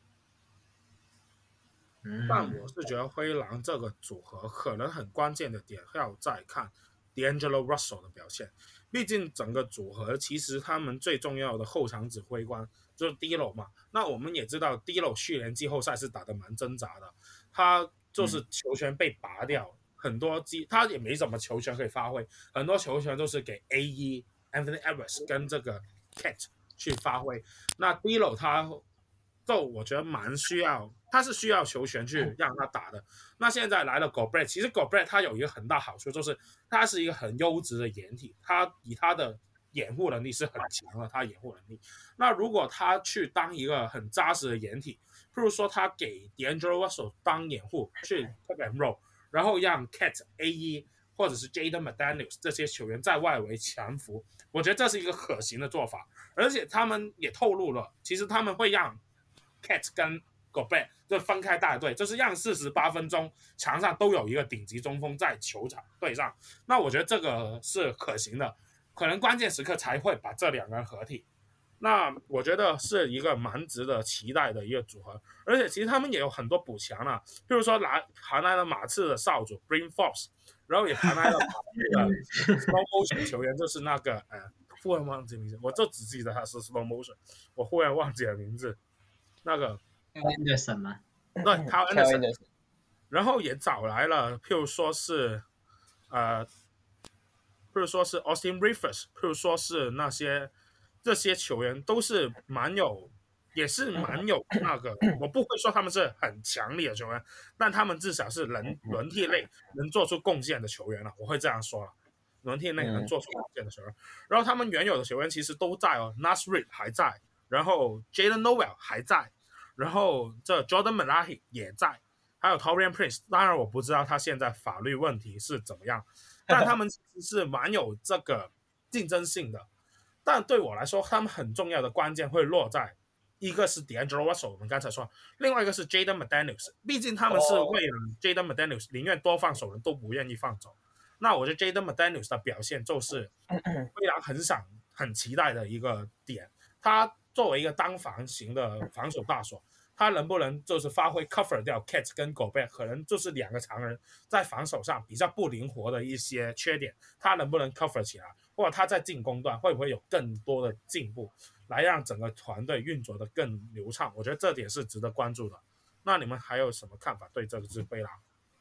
但我是覺得灰狼這個組合可能很關鍵的點要再看 D'Angelo Russell 的表現，畢竟整個組合其實他們最重要的後場指揮官就是 D'Lo 嘛。那我們也知道 D'Lo 去年季後賽是打得蠻掙扎的，他就是球權被拔掉，嗯、很多機他也沒什麼球權可以發揮，很多球權都是給 A E Anthony Edwards 跟這個 Cat 去發揮。那 D'Lo 他就我覺得蠻需要，他是需要球權去讓他打的。那現在來了 Gobert， 其實 Gobert 他有一個很大好處，就是他是一個很優質的掩體，他以他的掩護能力是很強的，他掩護能力。那如果他去當一個很扎實的掩體，譬如說他給 D'Angelo Russell 當掩護去 pick and roll， 然後讓 Cat、A E 或者是 Jaden McDaniels 這些球員在外圍強扶，我覺得這是一個可行的做法。而且他們也透露了，其實他們會讓Cat 跟 Gobert 就分開帶隊，就是讓四十八分鐘場上都有一個頂級中鋒在球場對上。那我覺得這個是可行的，可能關鍵時刻才會把這兩個人合體。那我覺得是一個蠻值得期待的一個組合，而且其實他們也有很多補強啊，譬如說來還來了馬刺的少主 Bryn Forbes， 然後也還來了那個 slow motion 球員，就是那個呃，忽然忘記名字，我就只記得他是 slow motion， 我忽然忘記了名字。那個 Anderson 嗎？ 對 Kyle Anderson， 然後也找來了，譬如說是呃，譬如說是 Austin Rivers， 譬如說是那些這些球員都是蠻有，也是蠻有那個，我不會說他們是很強力的球員，但他們至少是能輪替類能做出貢獻的球員了，我會這樣說了，輪替類能做出貢獻的球員。然後他們原有的球員其實都在哦 ，Naz Reid 還在。然後 Jalen Noel 還在，然後這 Jordan Malahi 也在，還有 Taurean Prince。當然我不知道他現在法律問題是怎麼樣，但他們其實是蠻有這個競爭性的。但對我來說，他們很重要的關鍵會落在一個是 D'Angelo Russell， 我們剛才說，另外一個是 Jaden McDaniels。畢竟他們是為了 Jaden McDaniels 寧願多放手人都不願意放走。那我覺得 Jaden McDaniels 的表現就是非常很想很期待的一個點，他作為一個單防型的防守大鎖，他能不能就是發揮 cover 掉 Cat 跟 Gobert， 可能就是兩個常人在防守上比較不靈活的一些缺點，他能不能 cover 起來，或者他在進攻端會不會有更多的進步，來讓整個團隊運作得更流暢？我覺得這點是值得關注的。那你們還有什麼看法對這個支灰狼？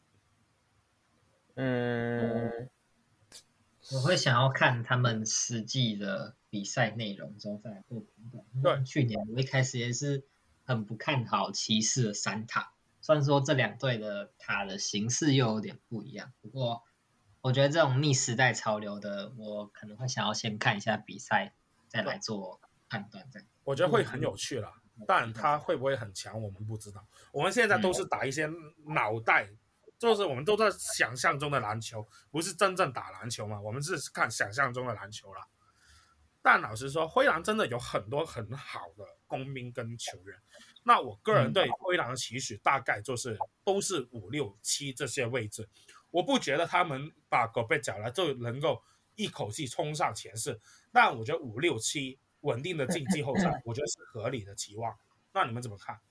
嗯， 我會想要看他們實際的比賽內容之後再來做評斷。對，去年我一開始也是很不看好騎士的三塔，雖然說這兩隊的塔的形式又有點不一樣，不過我覺得這種逆時代潮流的，我可能會想要先看一下比賽，再來做判斷。這樣我覺得會很有趣啦，但他會不會很強，我們不知道。我們現在都是打一些腦袋。嗯就是我們都在想象中的籃球，不是真正打籃球嘛？我們是看想象中的籃球啦。但老實說，灰狼真的有很多很好的工兵跟球員。那我個人對灰狼的期許大概就是都是五六七這些位置。我不覺得他們把狗貝找來就能夠一口氣衝上前四，但我覺得五六七穩定的進季後賽，我覺得是合理的期望。那你們怎麼看？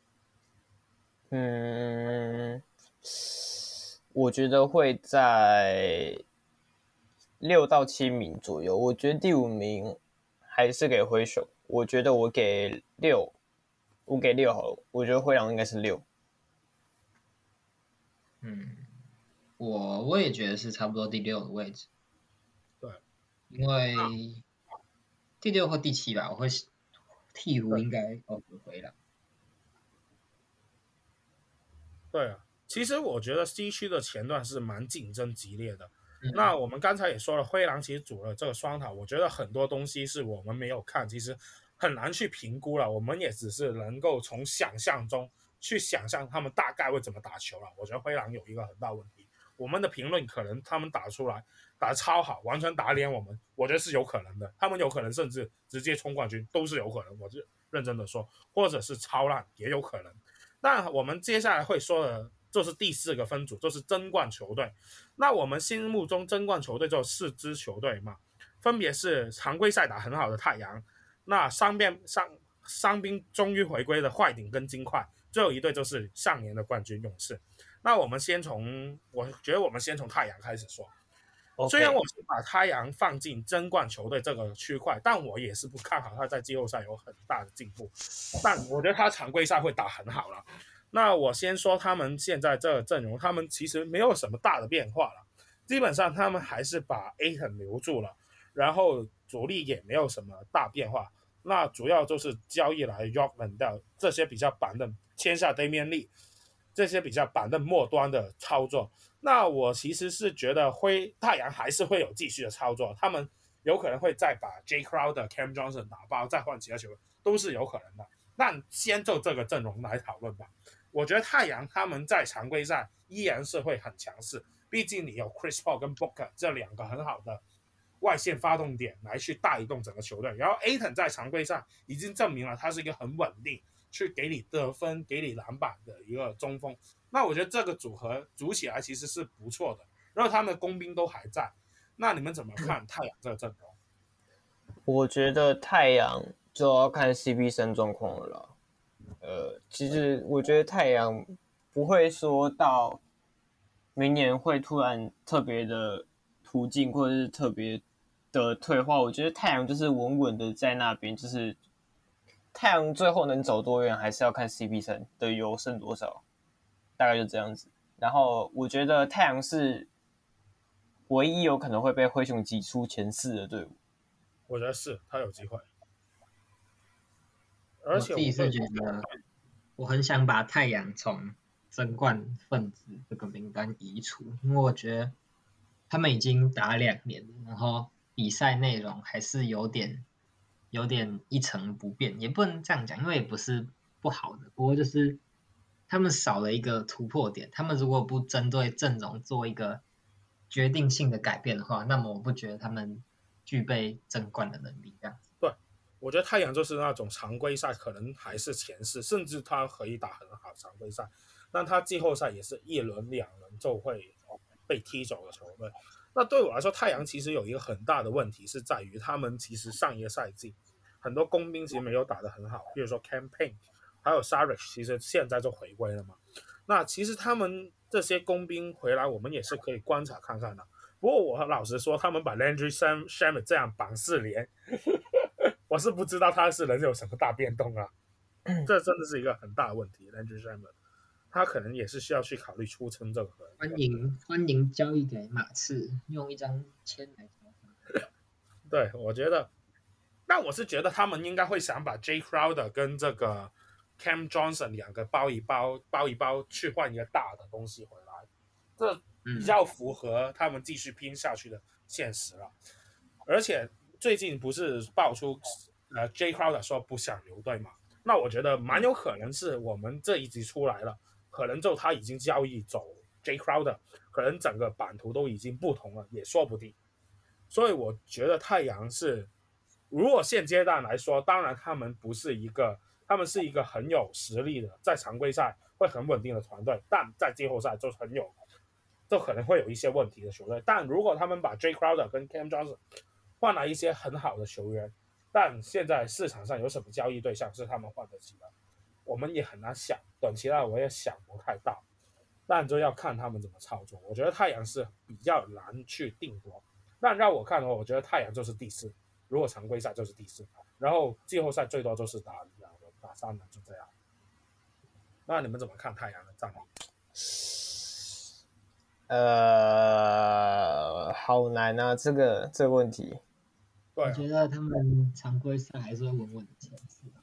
嗯。我覺得會在六到七名左右。我覺得第五名還是給灰熊。我覺得我給六，我給六好了。我覺得灰狼應該是六。 嗯，我我也覺得是差不多第六的位置。 對， 因為第六或第七吧，我會鹈鶘應該哦不灰狼。 對啊。 其實我覺得西區的前段是蠻競爭激烈的。 嗯、 那我們剛才也說了，灰狼其實組了這個雙塔，我覺得很多東西是我們沒有看，其實很難去評估了。我們也只是能夠從想象中去想象他們大概會怎麼打球了。我覺得灰狼有一個很大問題，我們的評論可能他們打出來打得超好，完全打臉我們，我覺得是有可能的。他們有可能甚至直接衝冠軍都是有可能，我就認真的說，或者是超爛也有可能。那我們接下來會說的就是第四個分組，就是爭冠球隊。那我們心目中爭冠球隊就有四支球隊嘛，分別是常規賽打很好的太陽，那傷病傷傷兵終於回歸的快艇跟金塊，最後一隊就是上年的冠軍勇士。那我們先從，我覺得我們先從太陽開始說。Okay. 雖然我是把太陽放進爭冠球隊這個區塊，但我也是不看好他在季後賽有很大的進步。但我覺得他常規賽會打很好了。那我先說他們現在這個陣容，他們其實沒有什麼大的變化了，基本上他們還是把 Ayton 留住了，然後主力也沒有什麼大變化。那主要就是交易來 Yorkman 掉這些比較板凳，簽下 Damian Lee 這些比較板凳末端的操作。那我其實是覺得灰太陽還是會有繼續的操作，他們有可能會再把 Jay Crowder、Cam Johnson 打包，再換其他球員，都是有可能的。那先就這個陣容來討論吧。我覺得太陽他們在常規賽依然是會很強勢，畢竟你有 Chris Paul 跟 Booker 這兩個很好的外線發動點來去帶動整個球隊，然後 Ayton 在常規賽已經證明了他是一個很穩定，去給你得分、給你籃板的一個中鋒。那我覺得這個組合組起來其實是不錯的，然後他們的工兵都還在。那你們怎麼看太陽這個陣容？ 我覺得太陽就要看 C P三 狀況了啦。呃，其實我覺得太陽不會說到明年會突然特別的途徑或者是特別的退化。我覺得太陽就是穩穩的在那邊，就是太陽最後能走多遠，還是要看 C P 三 的優勝多少，大概就這樣子。然後我覺得太陽是唯一有可能會被灰熊擠出前四的隊伍。 我覺得是他有機會。 而且我自己是覺得，我很想把太陽從爭冠分子這個名單移除，因為我覺得他們已經打兩年了，然後比賽內容還是有點有點一成不變，也不能這樣講，因為也不是不好的，不過就是他們少了一個突破點。他們如果不針對陣容做一個決定性的改變的話，那麼我不覺得他們具備爭冠的能力。這樣子。 對。我覺得太陽就是那種常規賽可能還是前四，甚至他可以打很好常規賽，但他季後賽也是一輪兩輪就會被踢走的球隊。那對我來說，太陽其實有一個很大的問題是在於他們其實上一個賽季很多工兵其實沒有打得很好，比如說 Cam Payne 還有 Saric 其實現在就回歸了嘛。那其實他們這些工兵回來，我們也是可以觀察看看的。不過我老實說，他們把 Landry Shamet 這樣綁四連我是不知道他是能有什麼大變動啊，這真的是一個很大的問題。Landry Shamet 他可能也是需要去考慮出征這個。 歡迎歡迎交易給馬刺，用一張簽來交。 對，我覺得，但我是覺得他們應該會想把 Jay Crowder 跟這個 Cam Johnson 兩個包一包，包一包去換一個大的東西回來，這比較符合他們繼續拼下去的現實了。嗯、而且最近不是爆出呃 Jay Crowder 說不想留隊嘛？那我覺得蠻有可能是我們這一集出來了，可能就他已經交易走 Jay Crowder， 可能整個版圖都已經不同了，也說不定。所以我覺得太陽是，如果現階段來說，當然他們不是一個，他們是一個很有實力的，在常規賽會很穩定的團隊，但在季後賽就很有，就可能會有一些問題的球隊。但如果他們把 Jay Crowder 跟 Cam Johnson 換來一些很好的球員，但現在市場上有什麼交易對象是他們換得起的，我們也很難想，短期內我也想不太到，但就要看他們怎麼操作。我覺得太陽是比較難去定奪，但讓我看的話，我覺得太陽就是第四，如果常規賽就是第四，然後季後賽最多就是打兩輪、打三輪，就這樣。那你們怎麼看太陽的戰力？ 呃，好難啊，這個這個問題。 我覺得他們常規賽還是會穩穩的前四。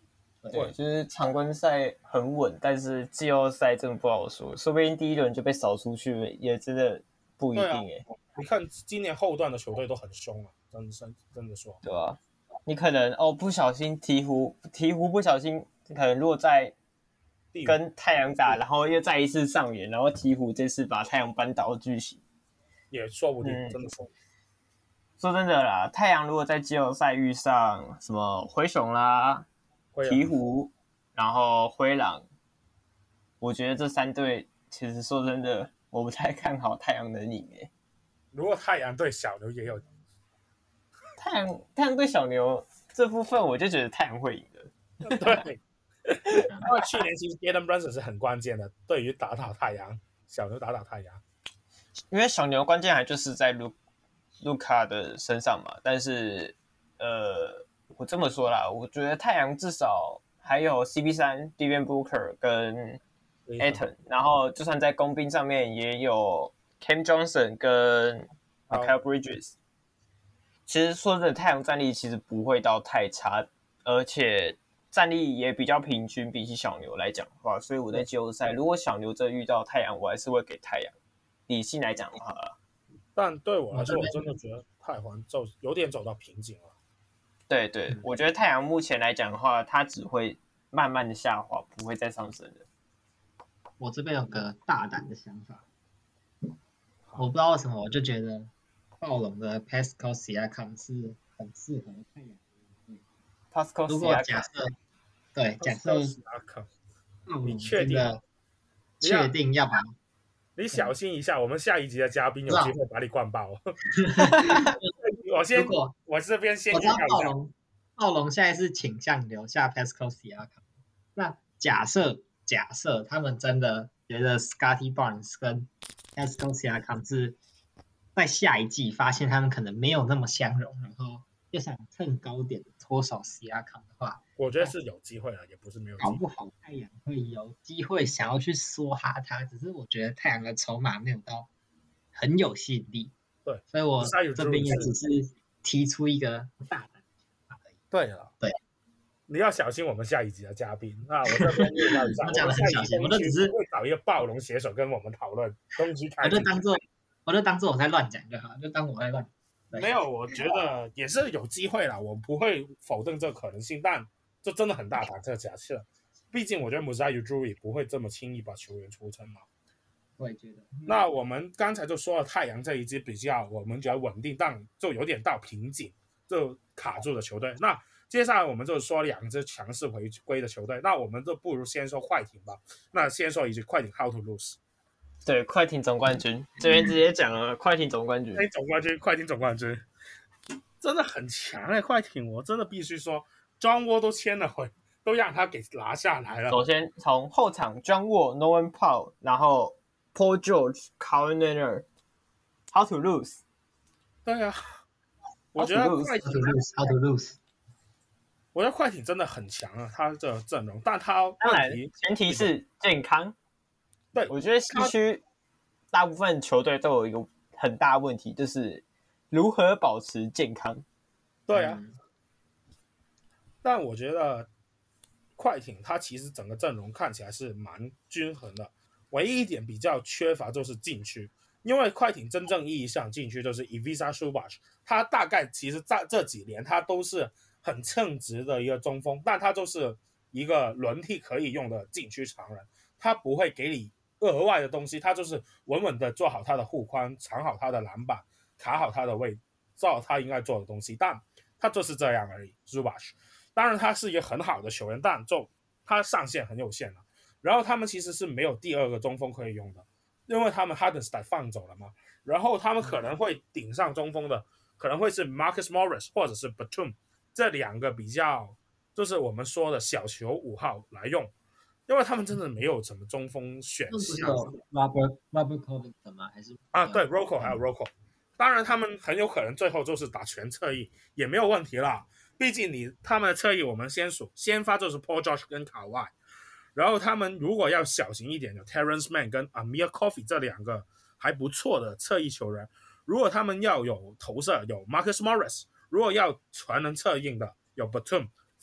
對，就是常規賽很穩，但是季後賽真的不好說，說不定第一輪就被掃出去，也真的不一定哎、 啊。你看今年後段的球隊都很兇啊，真真真的說。 對啊，你可能哦不小心鹈鶘，鹈鶘不小心可能落在跟太陽打，然後又再一次上演，然後鹈鶘這次把太陽扳倒的劇情， 也說不定， 嗯、 真的說。 說真的啦，太陽如果在季後賽遇上什麼灰熊啦、鹈鶘，然後灰狼，我覺得這三隊其實說真的，我不太看好太陽能贏誒。 如果太陽對小牛也有， 太陽太陽對小牛這部分，我就覺得太陽會贏的。 對，因為去年其實 Jalen Brunson 是很關鍵的，對於打倒太陽，小牛打倒太陽， 因為小牛關鍵還就是在盧盧卡的身上嘛，但是呃，我這麼說啦，我覺得太陽至少還有 C P 三 Devin Booker 跟 Ayton， 然後就算在工兵上面也有 Cam Johnson 跟 Mikal Bridges。其實說真的，太陽戰力其實不會到太差，而且戰力也比較平均，比起小牛來講的話，所以我在季後賽如果小牛這遇到太陽，我還是會給太陽。理性來講的話， 但對我來說，我真的覺得太陽就有點走到瓶頸了。 對對，嗯、我覺得太陽目前來講的話，它只會慢慢的下滑，不會再上升的。 我這邊有個大膽的想法，我不知道為什麼，我就覺得暴龍的 Pascal Siakam 是很適合太陽的。 Pascal Siakam， 如果假設，對，假設你確定？ 確定要把？ 你小心一下，我們下一集的嘉賓有機會把你灌爆。我先，我這邊先。 我知道暴龍，暴龍現在是傾向留下 Pascal Siakam。那假設，假設他們真的覺得 Scottie Barnes 跟 Pascal Siakam 是在下一季發現他們可能沒有那麼相容，然後又想趁高點脫手 Siakam 的話， 我覺得是有機會的，也不是沒有機會。 搞不好太陽會有機會想要去梭哈他，只是我覺得太陽的籌碼沒有到很有吸引力。 對， 所以我這邊也只是提出一個大膽的想法而已。 對了， 對， 你要小心我們下一集的嘉賓。那我這邊預告一下， 我講的很小心，我都只是會找一個暴龍寫手跟我們討論東西開。 我就當做，我就當做我在亂講就好，就當我在亂講。 沒有，我覺得也是有機會啦，我不會否定這個可能性，但這真的很大膽這個假設。畢竟我覺得 Masai Ujiri 不會這麼輕易把球員出城嘛。 我也覺得。 那我們剛才就說了太陽這一支比較，我們覺得穩定，但就有點到瓶頸，就卡住的球隊。那接下來我們就說兩支強勢回歸的球隊，那我們就不如先說快艇吧。那先說一句快艇 How to lose。 對，快艇總冠軍這邊直接講了，快艇總冠軍， 快艇總冠軍，快艇總冠軍，真的很強哎、欸！快艇，我真的必須說 ，John Wall 都簽了回，都讓他給拿下來了。 首先從後場 John Wall、Norman Powell， 然後 Paul George、Kawhi Leonard，How to lose？ 對啊，我覺得快艇 How to lose？ 我覺得快艇真的很強啊，他這陣容，但他當然前提是健康。 對， 我覺得西區大部分球隊都有一個很大的問題，就是如何保持健康。 對啊，嗯、但我覺得快艇他其實整個陣容看起來是蠻均衡的，唯一一點比較缺乏就是禁區，因為快艇真正意義上禁區就是 Ivica Zubac， 他大概其實在這幾年他都是很稱職的一個中鋒，但他就是一個輪替可以用的禁區常人，他不會給你額外的東西，他就是穩穩的做好他的護框，藏好他的籃板，卡好他的位，做好他應該做的東西，但他就是這樣而已。Zubac， 當然他是一個很好的球員，但就他上限很有限了。然後他們其實是沒有第二個中鋒可以用的，因為他們 Hartenstein 放走了嘛。然後他們可能會頂上中鋒的，可能會是 Marcus Morris 或者是 Batum 這兩個比較，就是我們說的小球五號來用。因為他們真的沒有什麼中鋒選項。 Robert Robert Covington 嗎？還是啊，對 ，Rocco 還有 Rocco。當然，他們很有可能最後就是打全側翼，也沒有問題啦。畢竟你他們的側翼，我們先數，先發就是 Paul George 跟 Kawhi， 然後他們如果要小型一點，有 Terrence Mann 跟 Amir Coffey 這兩個還不錯的側翼球員。如果他們要有投射，有 Marcus Morris；如果要全能策應的，有 Batum。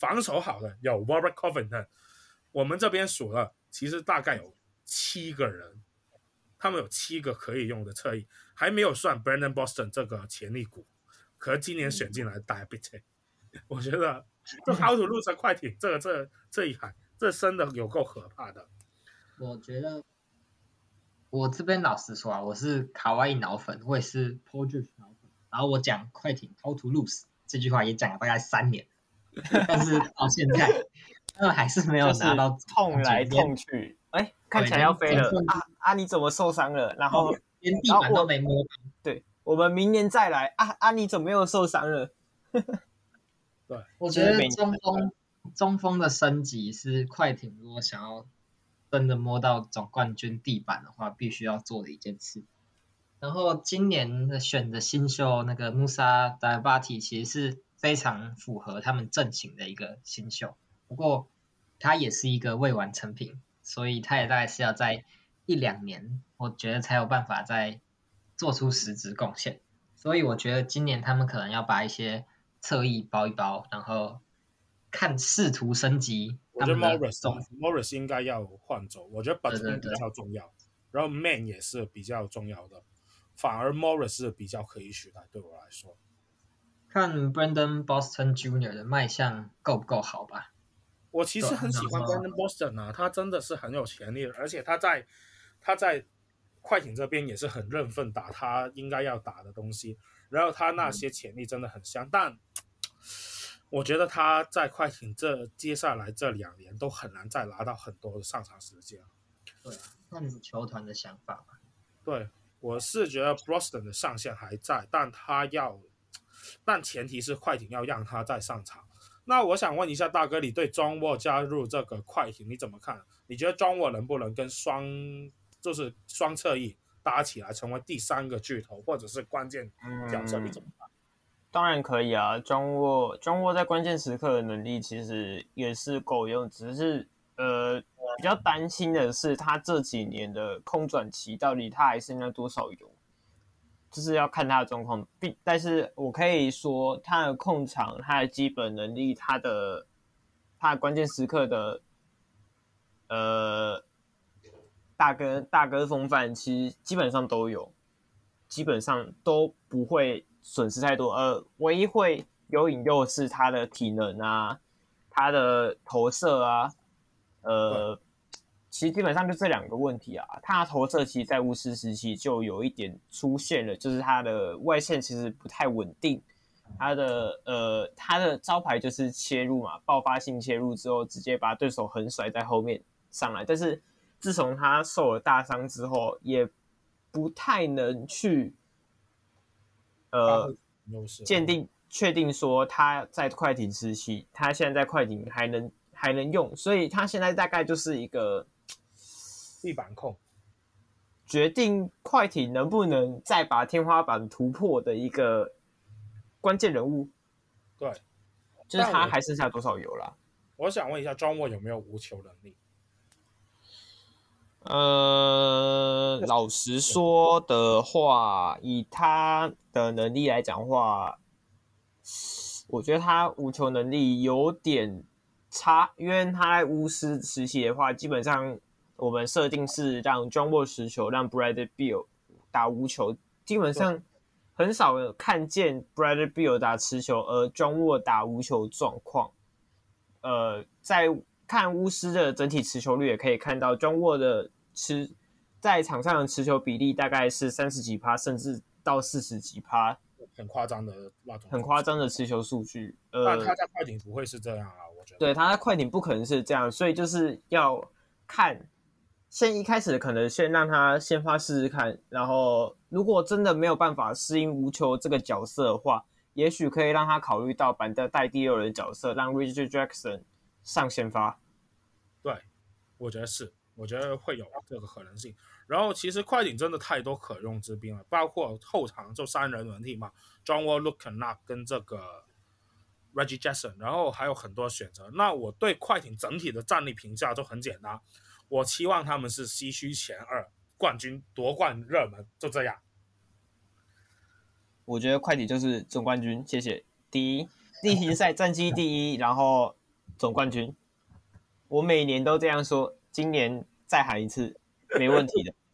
防守好的有 Robert Covington， 我們這邊數了，其實大概有七個人，他們有七個可以用的側翼，還沒有算 Brandon Boston 這個潛力股，可是今年選進來打 B T， 我覺得就 How to lose 快艇這個這這一海，這真的有夠可怕的。 我覺得我這邊老實說啊，我是卡哇伊腦粉，我也是 Paul George 腦粉，然後我講快艇 How to lose 這句話也講了大概三年，但是到現在他們還是沒有拿到， 就是痛來痛去，哎，看起來要飛了啊啊！你怎麼受傷了？然後連地板都沒摸。 對，我們明年再來啊啊！你怎麼又受傷了？ 對， 我覺得中鋒中鋒的升級是快艇如果想要真的摸到總冠軍地板的話，必須要做的一件事。然後今年的選的新秀那個穆薩達巴提其實是非常符合他們陣型的一個新秀，不過他也是一個未完成品，所以他也大概是要在一兩年，我覺得才有辦法再做出實質貢獻。所以我覺得今年他們可能要把一些側翼包一包，然後看試圖升級。 我覺得 Morris Morris 應該要換走，我覺得 Batum 比較重要，然後 Man 也是比較重要的，反而 Morris 是比較可以取代，對我來說。 看 Brandon Boston Junior 的賣相夠不夠好吧？ 我其實很喜歡 Brandon Boston 啊，他真的是很有潛力，而且他在他在快艇這邊也是很認份打他應該要打的東西，然後他那些潛力真的很香，嗯、但我覺得他在快艇這接下來這兩年都很難再拿到很多的上場時間。 對啊，看球團的想法吧。 對，我是覺得 Boston 的上限還在，但他要，但前提是快艇要讓他再上場。那我想問一下大哥，你對 John Wall 加入這個快艇你怎麼看？你覺得 John Wall 能不能跟雙就是雙側翼搭起來成為第三個巨頭，或者是關鍵角色？你怎麼看？ 嗯，當然可以啊。John Wall John Wall 在關鍵時刻的能力其實也是夠用，只是呃比較擔心的是他這幾年的空轉期到底他還剩下多少油，就是要看他的狀況。但是我可以說他的控場、他的基本能力、他的他的關鍵時刻的呃大哥大哥風範，其實基本上都有，基本上都不會損失太多。呃，唯一會有引誘是他的體能啊，他的投射啊，呃，其實基本上就這兩個問題啊。他的投射其實在巫師時期就有一點出現了，就是他的外線其實不太穩定，他的呃他的招牌就是切入嘛，爆發性切入之後直接把對手橫甩在後面上來，但是自從他受了大傷之後，也不太能去呃鑑定確定說他在快艇時期，他現在在快艇還能還能用，所以他現在大概就是一個地板控， 決定快艇能不能再把天花板突破的一個關鍵人物。 對， 就是他還剩下多少油啦？ 我想問一下 ，John Wall 有沒有無球能力？ 呃，老實說的話，以他的能力來講的話，我覺得他無球能力有點差，因為他在巫師時期的話，基本上我們設定是讓 John Wall 持球，讓 Bradley Beal 打無球，基本上很少看見 Bradley Beal 打持球，而 John Wall 打無球狀況。呃，在看巫師的整體持球率也可以看到 John Wall 的持在場上的持球比例大概是三十幾趴，甚至到四十幾趴， 很誇張的那種， 很誇張的持球數據。呃， 但他在快艇不會是這樣啊，我覺得。 對，他在快艇不可能是這樣，所以就是要看，先一開始可能先讓他先發試試看，然後如果真的沒有辦法適應無球這個角色的話，也許可以讓他考慮到板凳帶第六人的角色，讓 Reggie Jackson 上先發。 對，我覺得是，我覺得會有這個可能性。然後其實快艇真的太多可用之兵了，包括後場就三人輪替嘛 ，John Wall、Luke Kennard 跟這個 Reggie Jackson， 然後還有很多選擇。那我對快艇整體的戰力評價就很簡單，我期望他們是西區前二，冠軍奪冠熱門，就這樣。 我覺得快艇就是總冠軍，謝謝。第一，例行賽戰績第一，然後總冠軍。我每年都這樣說，今年再喊一次，沒問題的。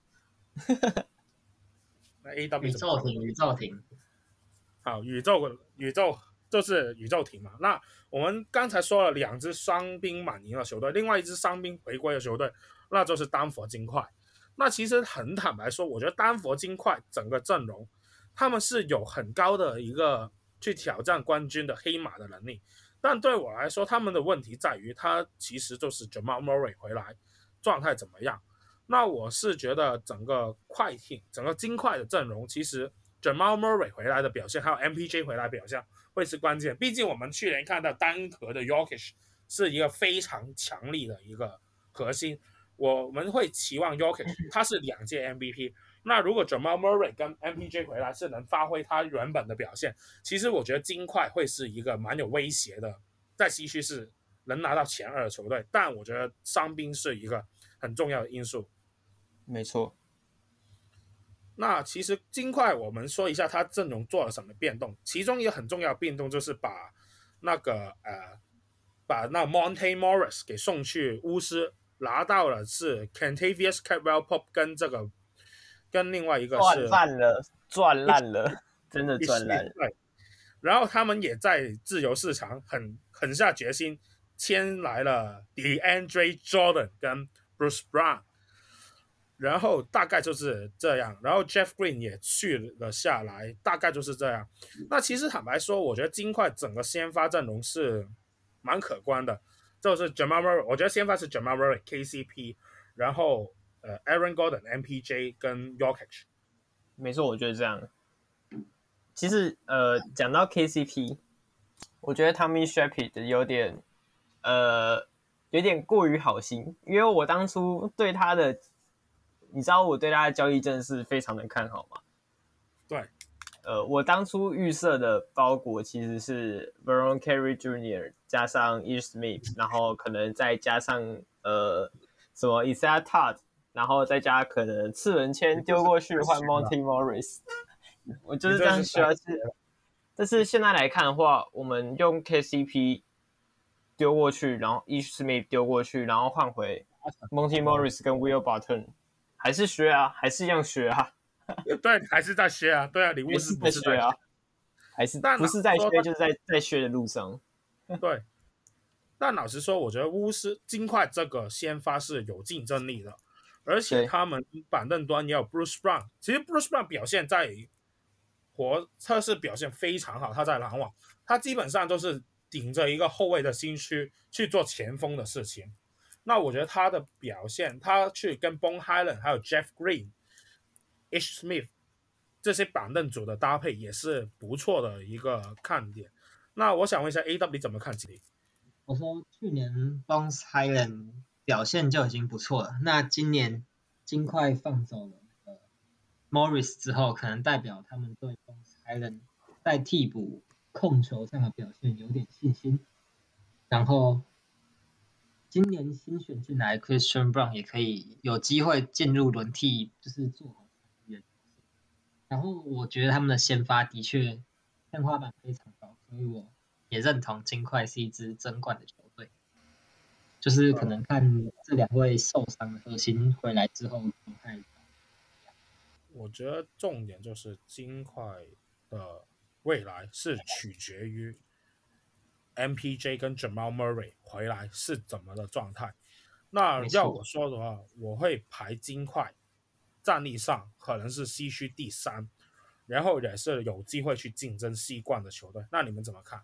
那 A W 宇宙艇，宇宙艇， 好，宇宙宇宙就是宇宙艇嘛。那我們剛才說了兩支傷兵滿營的球隊，另外一支傷兵回歸的球隊，那就是丹佛金塊。那其實很坦白說，我覺得丹佛金塊整個陣容，他們是有很高的一個去挑戰冠軍的黑馬的能力。但對我來說，他們的問題在於，他其實就是 Jamal Murray 回來狀態怎麼樣。那我是覺得整個快艇、整個金塊的陣容，其實 Jamal Murray 回來的表現，還有 M P J 回來的表現會是關鍵。畢竟我們去年看到單核的 Jokic 是一個非常強力的一個核心。我們會期望 Jokic 他是兩屆 M V P， 那如果 Jamal Murray 跟 M P J 回來是能發揮他原本的表現，其實我覺得金塊會是一個蠻有威脅的，在西區是能拿到前二的球隊。但我覺得傷兵是一個很重要的因素。 沒錯。 那其實金塊我們說一下他陣容做了什麼變動，其中一個很重要的變動就是把那個呃把那 Monte Morris 給送去巫師。拿到了是 Kentavious Caldwell-Pope 跟這個跟另外一個是賺爛了，賺爛了，真的賺爛了。 對，然後他們也在自由市場很狠下決心簽來了 DeAndre Jordan 跟 Bruce Brown， 然後大概就是這樣。然後 Jeff Green 也去了下來，大概就是這樣。那其實坦白說，我覺得金塊整個先發陣容是蠻可觀的。就是 Jamal Murray， 我覺得先發是 Jamal Murray、K C P， 然後呃 Aaron Gordon、M P J 跟 Jokic。 沒錯，我覺得這樣。其實呃，講到 K C P， 我覺得 Tommy Shepard 有點呃有點過於好心，因為我當初對他的，你知道我對他的交易真的是非常的看好嘛。 對。 呃，我當初預設的包裹其實是 Vernon Carey Junior 加上 Ish Smith， 然後可能再加上呃什麼 Isaiah Todd， 然後再加可能次輪籤丟過去換 Monte Morris， 我就是這樣需要去。但是現在來看的話，我們用 K C P 丟過去，然後 Ish Smith 丟過去，然後換回 Monte Morris 跟 Will Barton， 還是學啊，還是一樣學啊。 對，還是在學啊，對啊，你巫師不是在學啊， 還是不是在學，就是在在學的路上。 對，但老實說，我覺得巫師金塊這個先發是有競爭力的，而且他們板凳端也有 Bruce Brown。其實 Bruce Brown 表現在活測試表現非常好，他在籃網，他基本上都是頂着一個後衛的心區去做前鋒的事情。那我覺得他的表現，他去跟 Bones Hyland 還有 Jeff Green、Ish Smith 這些板凳組的搭配也是不錯的一個看點。那我想問一下 A W 怎麼看這裡？ 我說去年 Bones Hyland 表現就已經不錯了，那今年金塊放走了、呃、Morris 之後，可能代表他們對 Bones Hyland 在替補控球上的表現有點信心。然後今年新選進來 Christian Brown 也可以有機會進入輪替，就是做好員。然後我覺得他們的先發的確天花板非常高，所以我也認同金塊是一支爭冠的球隊。就是可能看這兩位受傷的核心回來之後狀態。 我覺得重點就是金塊的未來是取決於 M P J 跟 Jamal Murray 回來是怎麼的狀態。那要我說的話，我會排金塊戰力上可能是西區第三，然後也是有機會去競爭西冠的球隊。那你們怎麼看？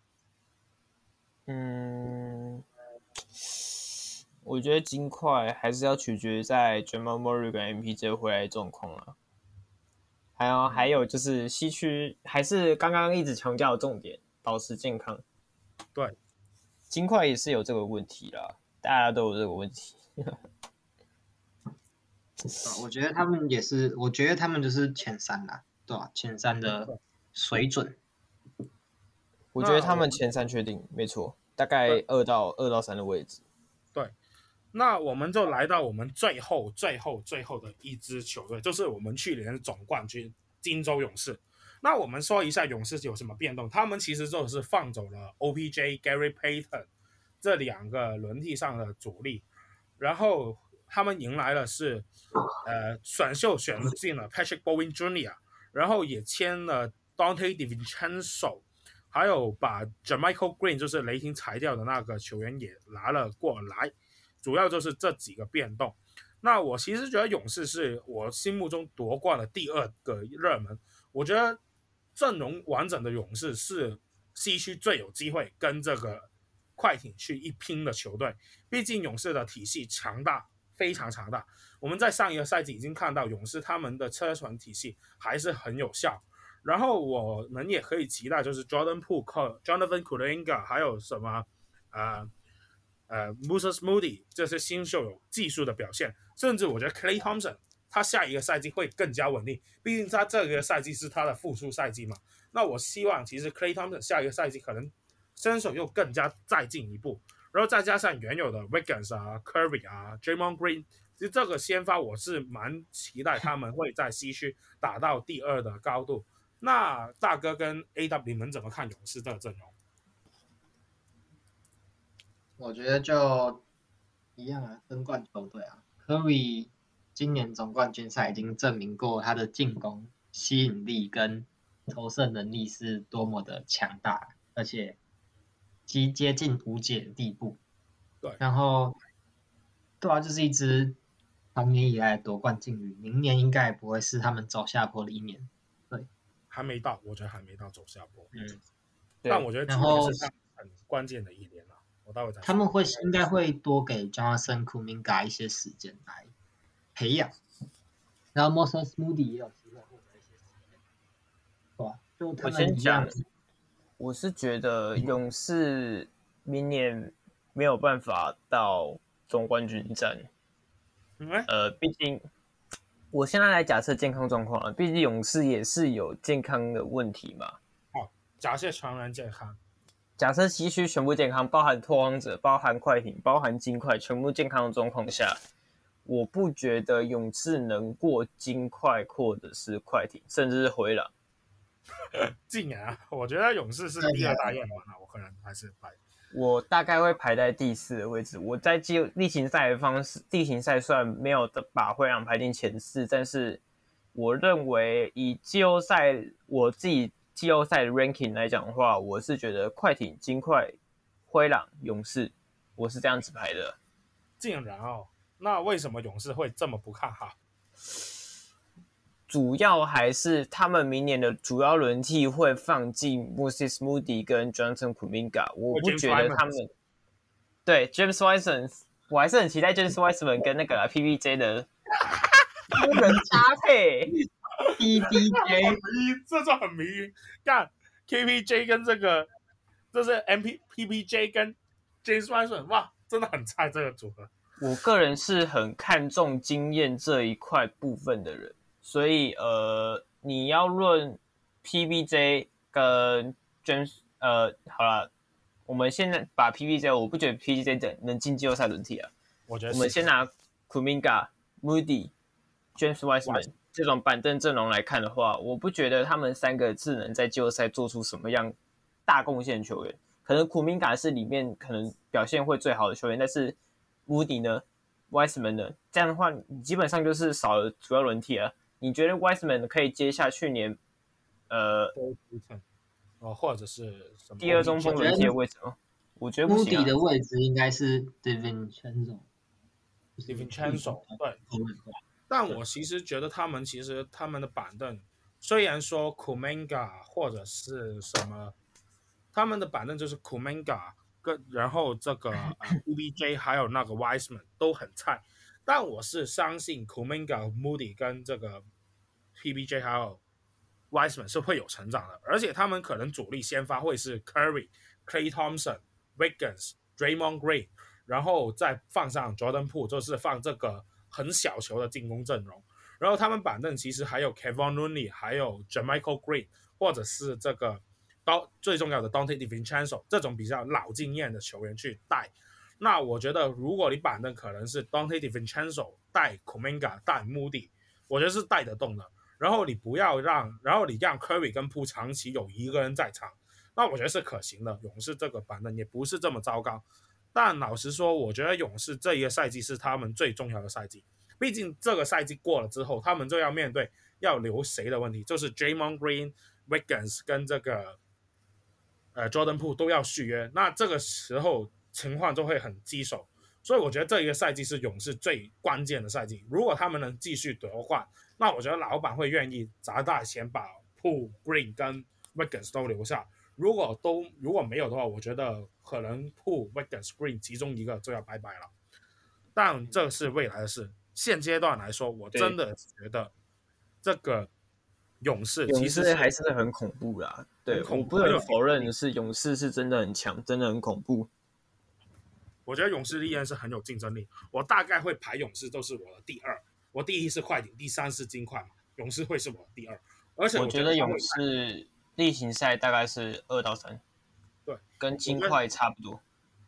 嗯，我覺得金塊還是要取決於在 Jamal Murray 跟 M P J 回來的狀況啊。還有還有就是西區還是剛剛一直強調的重點，保持健康。 對， 金塊也是有這個問題啦，大家都有這個問題。 我覺得他們也是，我覺得他們就是前三啦，對吧、啊？前三的水準。 我覺得他們前三確定沒錯，大概二到二到三的位置。 對，那我們就來到我們最後、最後、最後的一支球隊，就是我們去年的總冠軍金州勇士。那我們說一下勇士有什麼變動？他們其實就是放走了 O P J、Gary Payton 這兩個輪替上的主力，然後他們迎來的是呃選秀選進了 Patrick Bowen Junior， 然後也簽了 Dante DiVincenzo， 還有把 Jermichael Green 就是雷霆裁掉的那個球員也拿了過來，主要就是這幾個變動。那我其實覺得勇士是我心目中奪冠的第二個熱門，我覺得陣容完整的勇士是西區最有機會跟這個快艇去一拼的球隊，畢竟勇士的體系強大，非常強大。我們在上一個賽季已經看到勇士他們的車船體系還是很有效，然後我們也可以期待就是 Jordan Poole、Jonathan Kuminga 還有什麼呃呃 Moses Moody 這些新秀有技術的表現，甚至我覺得 Klay Thompson 他下一個賽季會更加穩定，畢竟他這個賽季是他的復出賽季嘛。那我希望其實 Klay Thompson 下一個賽季可能身手又更加再進一步，然後再加上原有的 Wiggins 啊、Curry 啊、Draymond Green， 其實這個先發我是蠻期待他們會在西區打到第二的高度。那大哥跟 A W 你們怎麼看勇士這個陣容？ 我覺得就一樣啊，爭冠球隊啊 ，Curry 今年總冠軍賽已經證明過他的進攻吸引力跟投射能力是多麼的強大，而且其接近無解的地步。 對， 然後對啊，就是一支长年以來的奪冠劲旅，明年應該也不会是他們走下坡的一年。对， 還沒到，我覺得還沒到走下坡。 嗯， 但我覺得今年是他們很關鍵的一年了。我待會再說。他們會應該會多給 Jonathan Kuminga 一些時間來培養，然後 Moses Moody 也有機會獲得一些時間。對啊，就他們一樣。 我是覺得勇士明年沒有辦法到總冠軍戰。 嗯、 呃，畢竟我現在來假設健康狀況了，畢竟勇士也是有健康的問題嘛。 好，假設全員健康， 假設西區全部健康，包含拓荒者、包含快艇、包含金塊，全部健康的狀況下，我不覺得勇士能過金塊或者是快艇，甚至是灰狼。 竟然啊，我覺得勇士是第二大熱門啊，我可能還是排。 我大概會排在第四的位置。我在季例行賽的方式，例行賽雖然沒有把灰狼排進前四，但是我認為以季後賽我自己季後賽的 ranking 來講的話，我是覺得快艇、金塊、灰狼、勇士，我是這樣子排的。 竟然哦，那為什麼勇士會這麼不看好？ 主要還是他們明年的主要輪替會放進 Moses Moody 跟 Jonathan Kuminga， 我不覺得他們對 James Wiseman， 我還是很期待 James Wiseman 跟那個 P B J 的多人搭配。 P B J 這就很迷，幹 K P J 跟這個，這是 M P P B J 跟 James Wiseman， 哇，真的很菜這個組合。 我個人是很看重經驗這一塊部分的人。所以呃，你要論 P B J 跟 James 呃，好了，我們現在把 P B J， 我不覺得 P B J 能進季後賽輪替啊。 我覺得我們先拿 Kuminga、Moody、James Wiseman 這種板凳陣容來看的話，我不覺得他們三個是能在季後賽做出什麼樣大貢獻的球員。可能 Kuminga 是裡面可能表現會最好的球員，但是 Moody 呢 ，Wiseman 呢，這樣的話，你基本上就是少了主要輪替啊。你覺得 Wiseman 可以接下去年，呃， 哦，或者是什麼第二中鋒輪替的位置嗎？我覺得不行、啊。 Moody 的位置應該是 DiVincenzo。DiVincenzo 對。但我其實覺得他們其實他們的板凳，雖然說 Kuminga 或者是什麼，他們的板凳就是 Kuminga 跟然後這個、呃、P B J 還有那個 Wiseman 都很菜，但我是相信 Kuminga、Moody 跟這個。P B J 還有 Wiseman 是會有成長的，而且他們可能主力先發會是 Curry、Klay Thompson、Wiggins、Draymond Green， 然後再放上 Jordan Poole， 就是放這個很小球的進攻陣容。然後他們板凳其實還有 Kevon Looney， 還有 Jermichael Green， 或者是這個最重要的 Dante DiVincenzo 這種比較老經驗的球員去帶。那我覺得如果你板凳可能是 Dante DiVincenzo 帶 Kuminga 帶 Moody， 我覺得是帶得動的。然後你不要讓，然後你讓 Curry 跟 Poole 長期有一個人在場，那我覺得是可行的。勇士這個板凳也不是這麼糟糕。 但老實說，我覺得勇士這一個賽季是他們最重要的賽季，畢竟這個賽季過了之後，他們就要面對要留誰的問題，就是 Draymond Green、Wiggins 跟這個呃 Jordan Poole 都要續約，那這個時候情況就會很棘手，所以我覺得這一個賽季是勇士最關鍵的賽季。如果他們能繼續奪冠，那我覺得老闆會願意砸大錢把 Poole、Green 跟 Wiggins 都留下。如果都如果沒有的話，我覺得可能 Poole、Wiggins、Green 其中一個就要拜拜了。但這是未來的事，現階段來說，我真的覺得這個勇士其實勇士還是很恐怖啦。對，我不能否認的是，勇士是真的很強，真的很恐怖。 我覺得勇士依然是很有競爭力。我大概會排勇士都是我的第二，我第一是快艇，第三是金塊嘛，勇士會是我的第二。而且我覺得勇士例行賽大概是二到三， 对， 跟金塊差不多。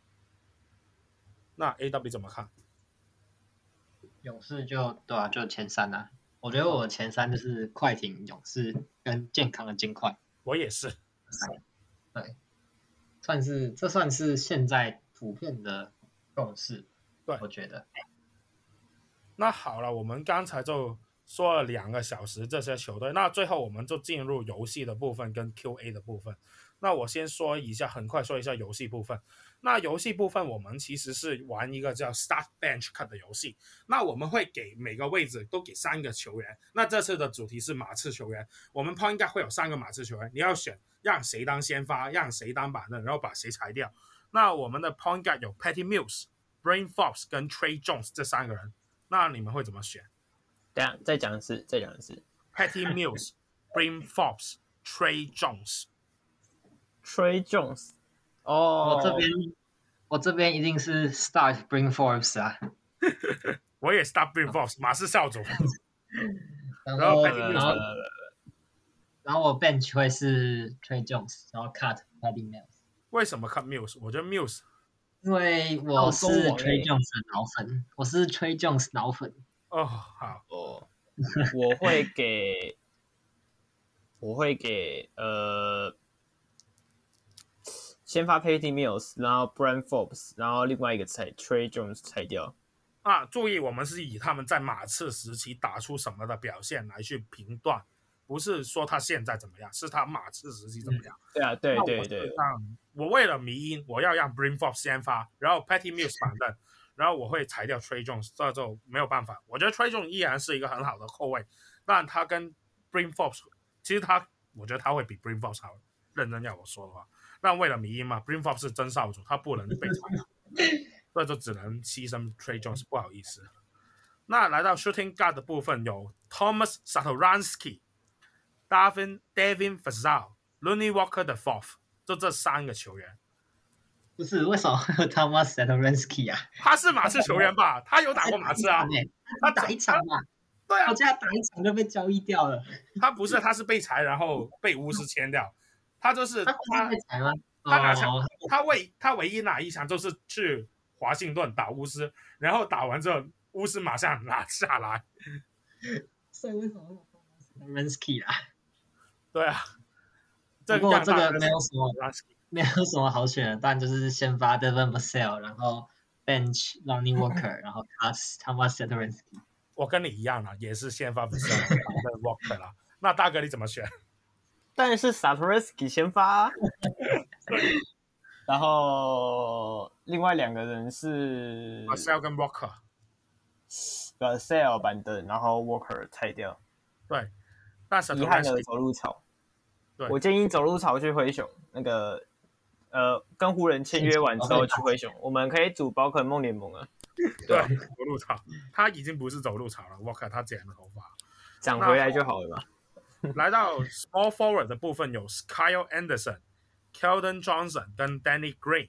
那 A W 怎麼看？ 勇士就對啊，就前三啊。我覺得我前三就是快艇、勇士跟健康的金塊。 我也是。 对，算是這算是現在普遍的共識。 對， 我覺得。 那好了，我們剛才就說了兩個小時這些球隊，那最後我們就進入遊戲的部分跟 Q A 的部分。那我先說一下，很快說一下遊戲部分。那遊戲部分我們其實是玩一個叫 Start Bench Cut 的遊戲。那我們會給每個位置都給三個球員。那這次的主題是馬刺球員，我們 point guard 會有三個馬刺球員，你要選讓誰當先發，讓誰當板凳，然後把誰裁掉。那我們的 point guard 有 Patty Mills、Bryn Forbes 跟 Trey Jones 這三個人。那你們會怎麼選？ 等一下再講一次，再講一次。 Patty Mills、Bryn Forbes、Trey Jones。Trey Jones。哦， 我這邊我這邊一定是 Start Bryn Forbes 啊。 我也 Start Bryn Forbes， 馬刺少主。 然後然後然後我 Bench 會是 Trey Jones， 然後 Cut Patty Mills。 為什麼 Cut Mills？ 我覺得 Mills。 因為我是 Trey Jones 的腦粉，我是 Trey Jones 腦粉。 哦，好哦，我會給，我會給呃，先發 Patty Mills， 然後 Bryn Forbes， 然後另外一個裁 Trey Jones 裁掉。 啊，注意，我們是以他們在馬刺時期打出什麼的表現來去評斷，不是說他現在怎麼樣，是他馬刺時期怎麼樣。嗯、 對啊，對對對。 我為了迷因，我要讓 Bryn Forbes 先發，然後 Patty Mills 板凳，然後我會裁掉 Trey Jones， 這就沒有辦法。我覺得 Trey Jones 依然是一個很好的後衛，但他跟 Bryn Forbes， 其實他，我覺得他會比 Bryn Forbes 好。認真要我說的話，但為了迷因嘛 ，Bryn Forbes 是真少主，他不能被裁，所以就只能犧牲 Trey Jones， 不好意思。那來到 Shooting Guard 的部分有 Thomas Satoransky、Devin Devin Vassell、Lonnie Walker the Fourth。就這三個球員， 不是為什麼 Thomas Satoransky 啊？ 他是馬刺球員吧？他有打過馬刺啊？ 他打一場嘛？ 對啊， 我記得他打一場就被交易掉了。 他不是，他是被裁，然後被巫師簽掉。他就是他他被裁嗎？ 他哪場？他唯他唯一哪一場就是去華盛頓打巫師，然後打完之後巫師馬上拿下來。 所以為什麼會有 Thomas Satoransky 啊？ 對啊。 不過這個沒有什麼沒有什麼好選的，但就是先發 Devin Vassell， 然後 Bench Lonnie Walker， 然後 Cut Thomas Satoransky。 我跟你一樣啦，也是先發 Vassell 跟 Walker 啦。那大哥你怎麼選？ 當然是 Satoransky 先發。然後另外兩個人是 Vassell 跟 Walker。Vassell 板凳，然後 Walker 裁掉。 對，但是遺憾的走路草。我建議走路草去灰熊，那個呃，跟湖人簽約完之後去灰熊，我們可以組寶可夢聯盟啊。 對，走路草，他已經不是走路草了，我看他剪了頭髮， 長回來就好了嘛。 來到 Small Forward 的部分有 Kyle Anderson、Keldon Johnson 跟 Danny Green。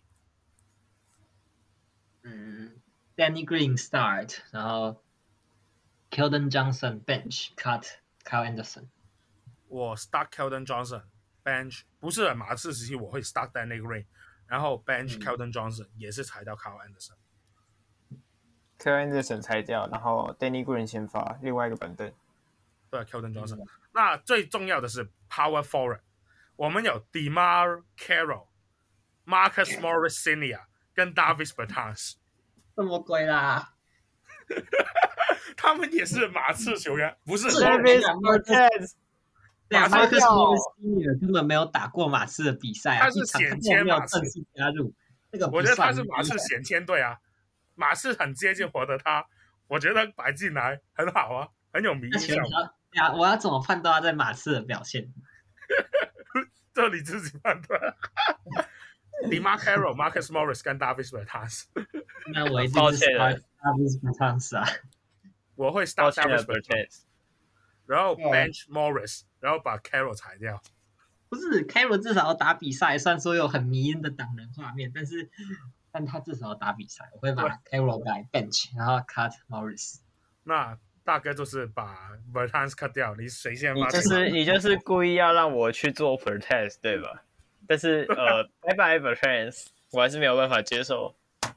嗯 ，Danny Green start， 然後 Keldon Johnson bench cut Kyle Anderson。 我 start Keldon Johnson bench 不是馬刺時期我會 start Danny Green， 然後 bench、嗯、Keldon Johnson 也是裁掉 Kyle Anderson。Kyle Anderson 裁掉，然後 Danny Green 先發，另外一個板凳。 對 Keldon Johnson、嗯。那最重要的是 Power Forward， 我們有 DeMar Carroll、Marcus Morris Senior 跟 Davis Bertans。 這麼貴啦？ 他們也是馬刺球員，不是 Davis Bertans。 对啊，馬克斯莫里斯根本沒有打過馬刺的比賽啊， 他是顯簽馬刺， 正式加入那個。 我覺得他是馬刺顯簽隊啊，馬刺很接近獲得他，我覺得擺進來很好啊，很有名氣。 對啊，我要怎麼判斷他在馬刺的表現？ 這你自己判斷。DeMarre Carroll、Marcus Morris 跟 Davis Bertans。 那我一定是 Davis Bertans 啊， 我會 start Davis Bertans， 然後 bench Morris， 然後把 Carroll 裁掉。 不是 Carroll 至少要打比賽，雖然說有很迷因的擋人畫面，但是但他至少要打比賽。我會把 Carroll 改 bench， 然後 cut Morris。 那大哥就是把 Bertans cut 掉，你誰先發？ 你就是你就是故意要讓我去做 Bertans 對吧？但是呃，拜拜 Bertans， 我還是沒有辦法接受。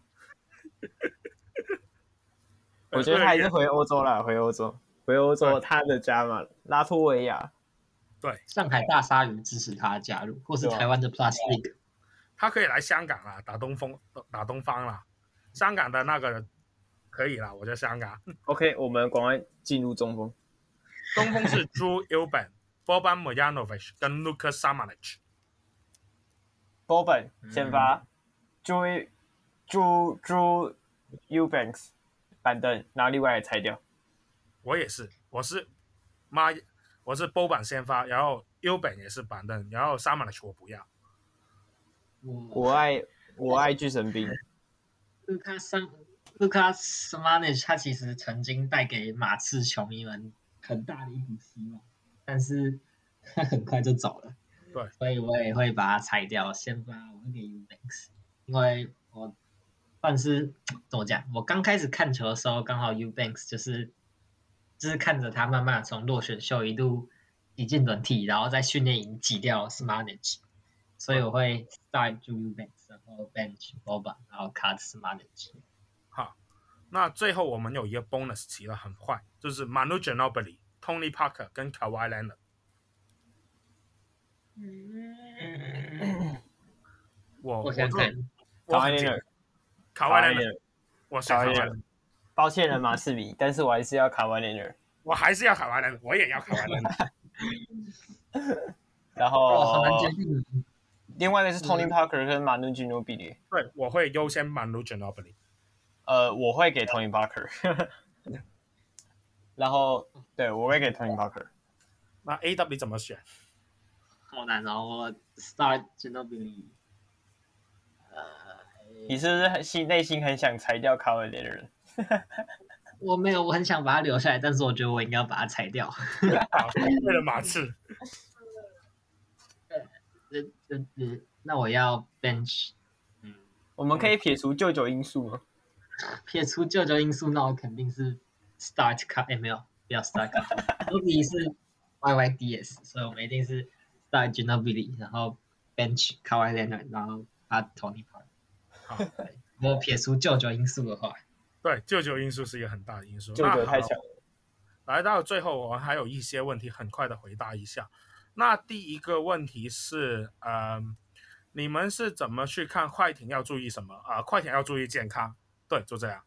我覺得他還是回歐洲啦，回歐洲，回歐洲他的家嘛，拉脫維亞。 對， 上海大鯊魚支持他的加入，或是台灣的 Plus League， 他可以來香港啦，打東風，打東方啦，香港的那個可以啦，我在香港。 OK， 我們趕快進入中鋒。 中鋒是 Drew Eubank、Boban Marjanovic 跟 Luka Samanic。Boban 先發 ，Drew Drew Drew Eubanks 板凳，然後另外也裁掉。 我也是，我是媽，我是 Boban 先發，然後 Eubank 也是板凳，然後 Samanic 我不要。 我愛我愛巨神兵。 Luka Sam Luka Samanic 他其實曾經帶給馬刺球迷們很大的一股希望，但是他很快就走了。 對， 所以我也會把它裁掉，先發我會給 Eubanks， 因為我算是怎麼講，我剛開始看球的時候，剛好 Eubanks 就是就是看着他慢慢從落選秀一路擠進輪替，然後在訓練營擠掉 Samanic， 所以我會 start Eubanks， 然後 bench Boban， 然後 cut Samanic。 好，那最後我們有一個 bonus 提了很快，就是 Manu Ginobili、Tony Parker 跟 Kawhi Leonard。 嗯， 我我想看卡瓦列尔， 卡瓦列尔，我卡瓦列爾。 抱歉了马刺迷，但是我還是要卡瓦列尔， 我還是要卡瓦列尔，我也要卡瓦列爾。 然後、 哦、很難決定。 另外一個是 Tony Parker 跟 Manu Ginobili。 對，我會優先 Manu Ginobili。 呃，我會給 Tony Parker。然後，對，我會給 Tony Parker。 那 A W 你怎麼選？ 好難哦，我 start Ginobili。呃， 你是不是很心內心很想裁掉卡瓦列爾？ 我沒有，我很想把他留下來，但是我覺得我應該要把他裁掉。 好，為了馬刺。 呃呃呃，那我要 bench。 嗯，我們可以撇除舅舅因素嗎？ 撇除舅舅因素，那我肯定是 start cut。哎，沒有，不要 start cut。Ginobili 是 Y Y D S， 所以我們一定是 start Ginobili， 然後 bench Kawhi Leonard， 然後 cut Tony Parker。好，如果撇除舅舅因素的話。 對，舅舅因素是一個很大的因素。 舅舅太強了。 來到最後，我們還有一些問題，很快的回答一下。那第一個問題是，呃，你們是怎麼去看快艇要注意什麼啊、呃？快艇要注意健康，對，就這樣。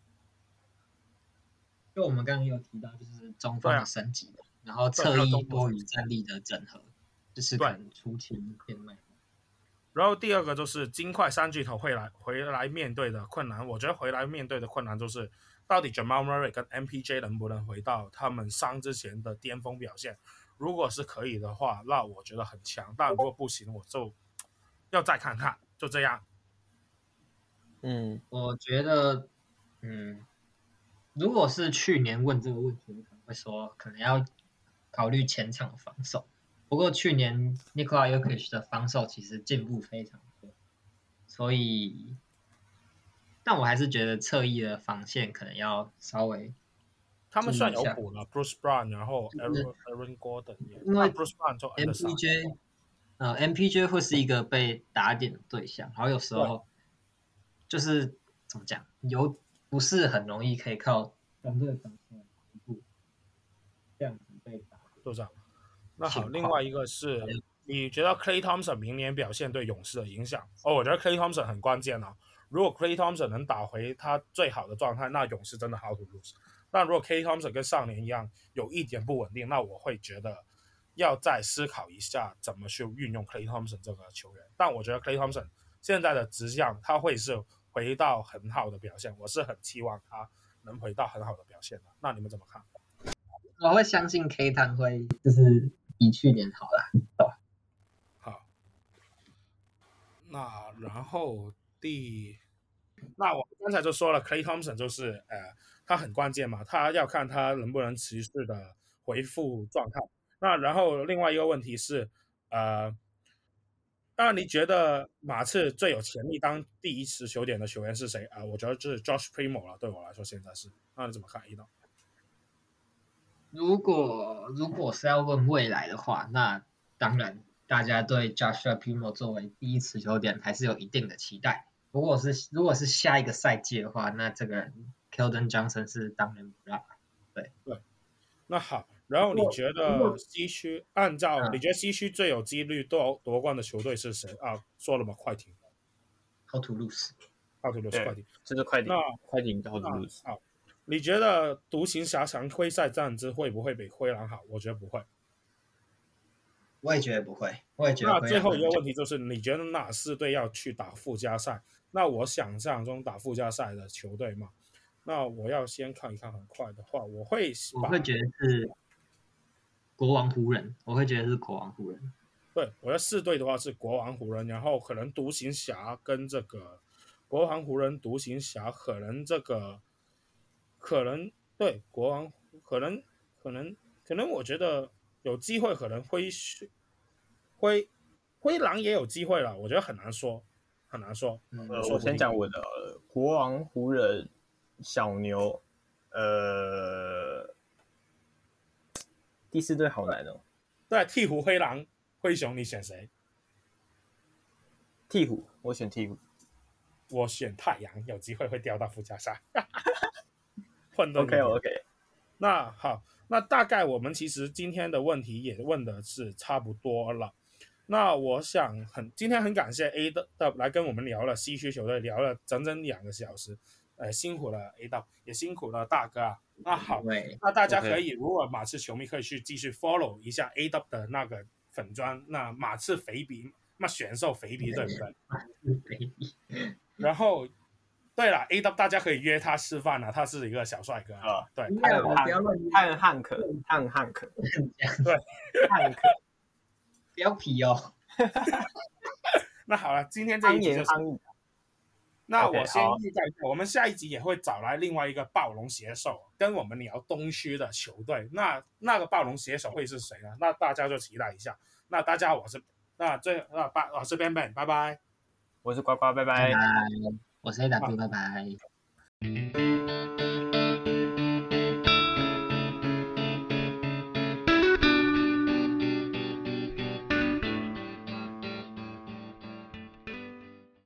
就我們剛剛有提到，就是中鋒的升級，啊、然後側翼多與戰力的整合，就是可能出勤變賣。 然後第二個就是金塊三巨頭會來回來面對的困難，我覺得回來面對的困難就是到底 Jamal Murray 跟 M P J 能不能回到他們傷之前的巔峰表現？如果是可以的話，那我覺得很強；但如果不行，我就要再看看，就這樣。 嗯，我覺得，嗯，如果是去年問這個問題，我可能會說可能要考慮前場防守。不過去年 Nikola Jokic 的防守其實進步非常多，所以，但我還是覺得側翼的防線可能要稍微。 他們算有補了 ，Bruce Brown， 然後 Aaron, Aaron Gordon， 因為 Bruce Brown 就 M P J， 呃 M P J 會是一個被打點的對象，然後有時候就是怎麼講，有不是很容易可以靠團隊防守一步這樣子被打， 就這樣。那好，另外一個是，你覺得 Klay Thompson 明年表現對勇士的影響？哦，我覺得 Klay Thompson 很關鍵啊。 如果 Klay Thompson 能打回他最好的狀態，那勇士真的 how to lose。但如果 Klay Thompson 跟上年一樣有一點不穩定，那我會覺得要再思考一下怎麼去運用 Klay Thompson 這個球員。但我覺得 Klay Thompson 現在的質量，他會是回到很好的表現，我是很期望他能回到很好的表現的。那你們怎麼看？ 我會相信 K 湯會就是比去年好了。 好，那然後第，那我剛才就說了 ，Klay Thompson 就是呃，他很關鍵嘛，他要看他能不能持續的恢復狀態。那然後另外一個問題是，呃，那你覺得馬刺最有潛力當第一持球點的球員是誰啊、呃？我覺得就是 Josh Primo 了，對我來說現在是。那你怎麼看？一刀？ 如果如果是要問未來的話，那當然大家對 Joshua Primo 作為第一持球點還是有一定的期待。如果是如果是下一個賽季的話，那這個人 Keldon Johnson 是當仁不讓。對對， 那好，然後你覺得西區按照、嗯、你覺得西區最有幾率奪奪冠的球隊是誰啊？說了嗎？快艇。 How to lose？ How to lose？ 快艇， 這是快艇。 那快艇 How to lose？ 好。你覺得獨行俠常規賽戰績會不會比灰狼好？我覺得不會。 我也覺得不會。我也覺得。 那最後一個問題就是，你覺得哪四隊要去打附加賽？那我想象中打附加賽的球隊嘛，那我要先看一看。很快的話，我會我會覺得是國王湖人。我會覺得是國王湖人。 對，我覺得四隊的話是國王湖人，然後可能獨行俠跟這個國王湖人、獨行俠，可能這個。可能對國王，可能可能可能，我覺得有機會，可能灰灰灰狼也有機會了。我覺得很難說，很難說。 呃，我先講我的國王、湖人、小牛，呃，第四隊好難哦。 對，鵜鶘、灰狼、灰熊，你選誰？ 鵜鶘，我選鵜鶘。 我選太陽，有機會會掉到附加賽。 OK OK， 那好，那大概我們其實今天的問題也問的是差不多了。那我想很今天很感謝 A 的來跟我們聊了西區球隊，聊了整整兩個小時，呃，辛苦了 A 的，也辛苦了大哥啊。那好，那大家可以、okay. 如果馬刺球迷可以去繼續 follow 一下 A 的的那個粉專，那馬刺肥鼻，那選秀肥鼻對不對？然後。對了 ，A W 大家可以約他吃飯啊，他是一個小帥哥啊。對， 漢漢漢克，漢漢克， 對， 漢克， 不要皮哦。 那好了，今天這一集就是。那我先預告一下，我們下一集也會找來另外一個暴龍寫手，跟我們聊東區的球隊。那那個暴龍寫手會是誰呢？那大家就期待一下。那大家，我是那最那拜，我是 Ben Ben， 拜拜。 我是呱呱，拜拜。 拜拜我是 A W， 拜拜。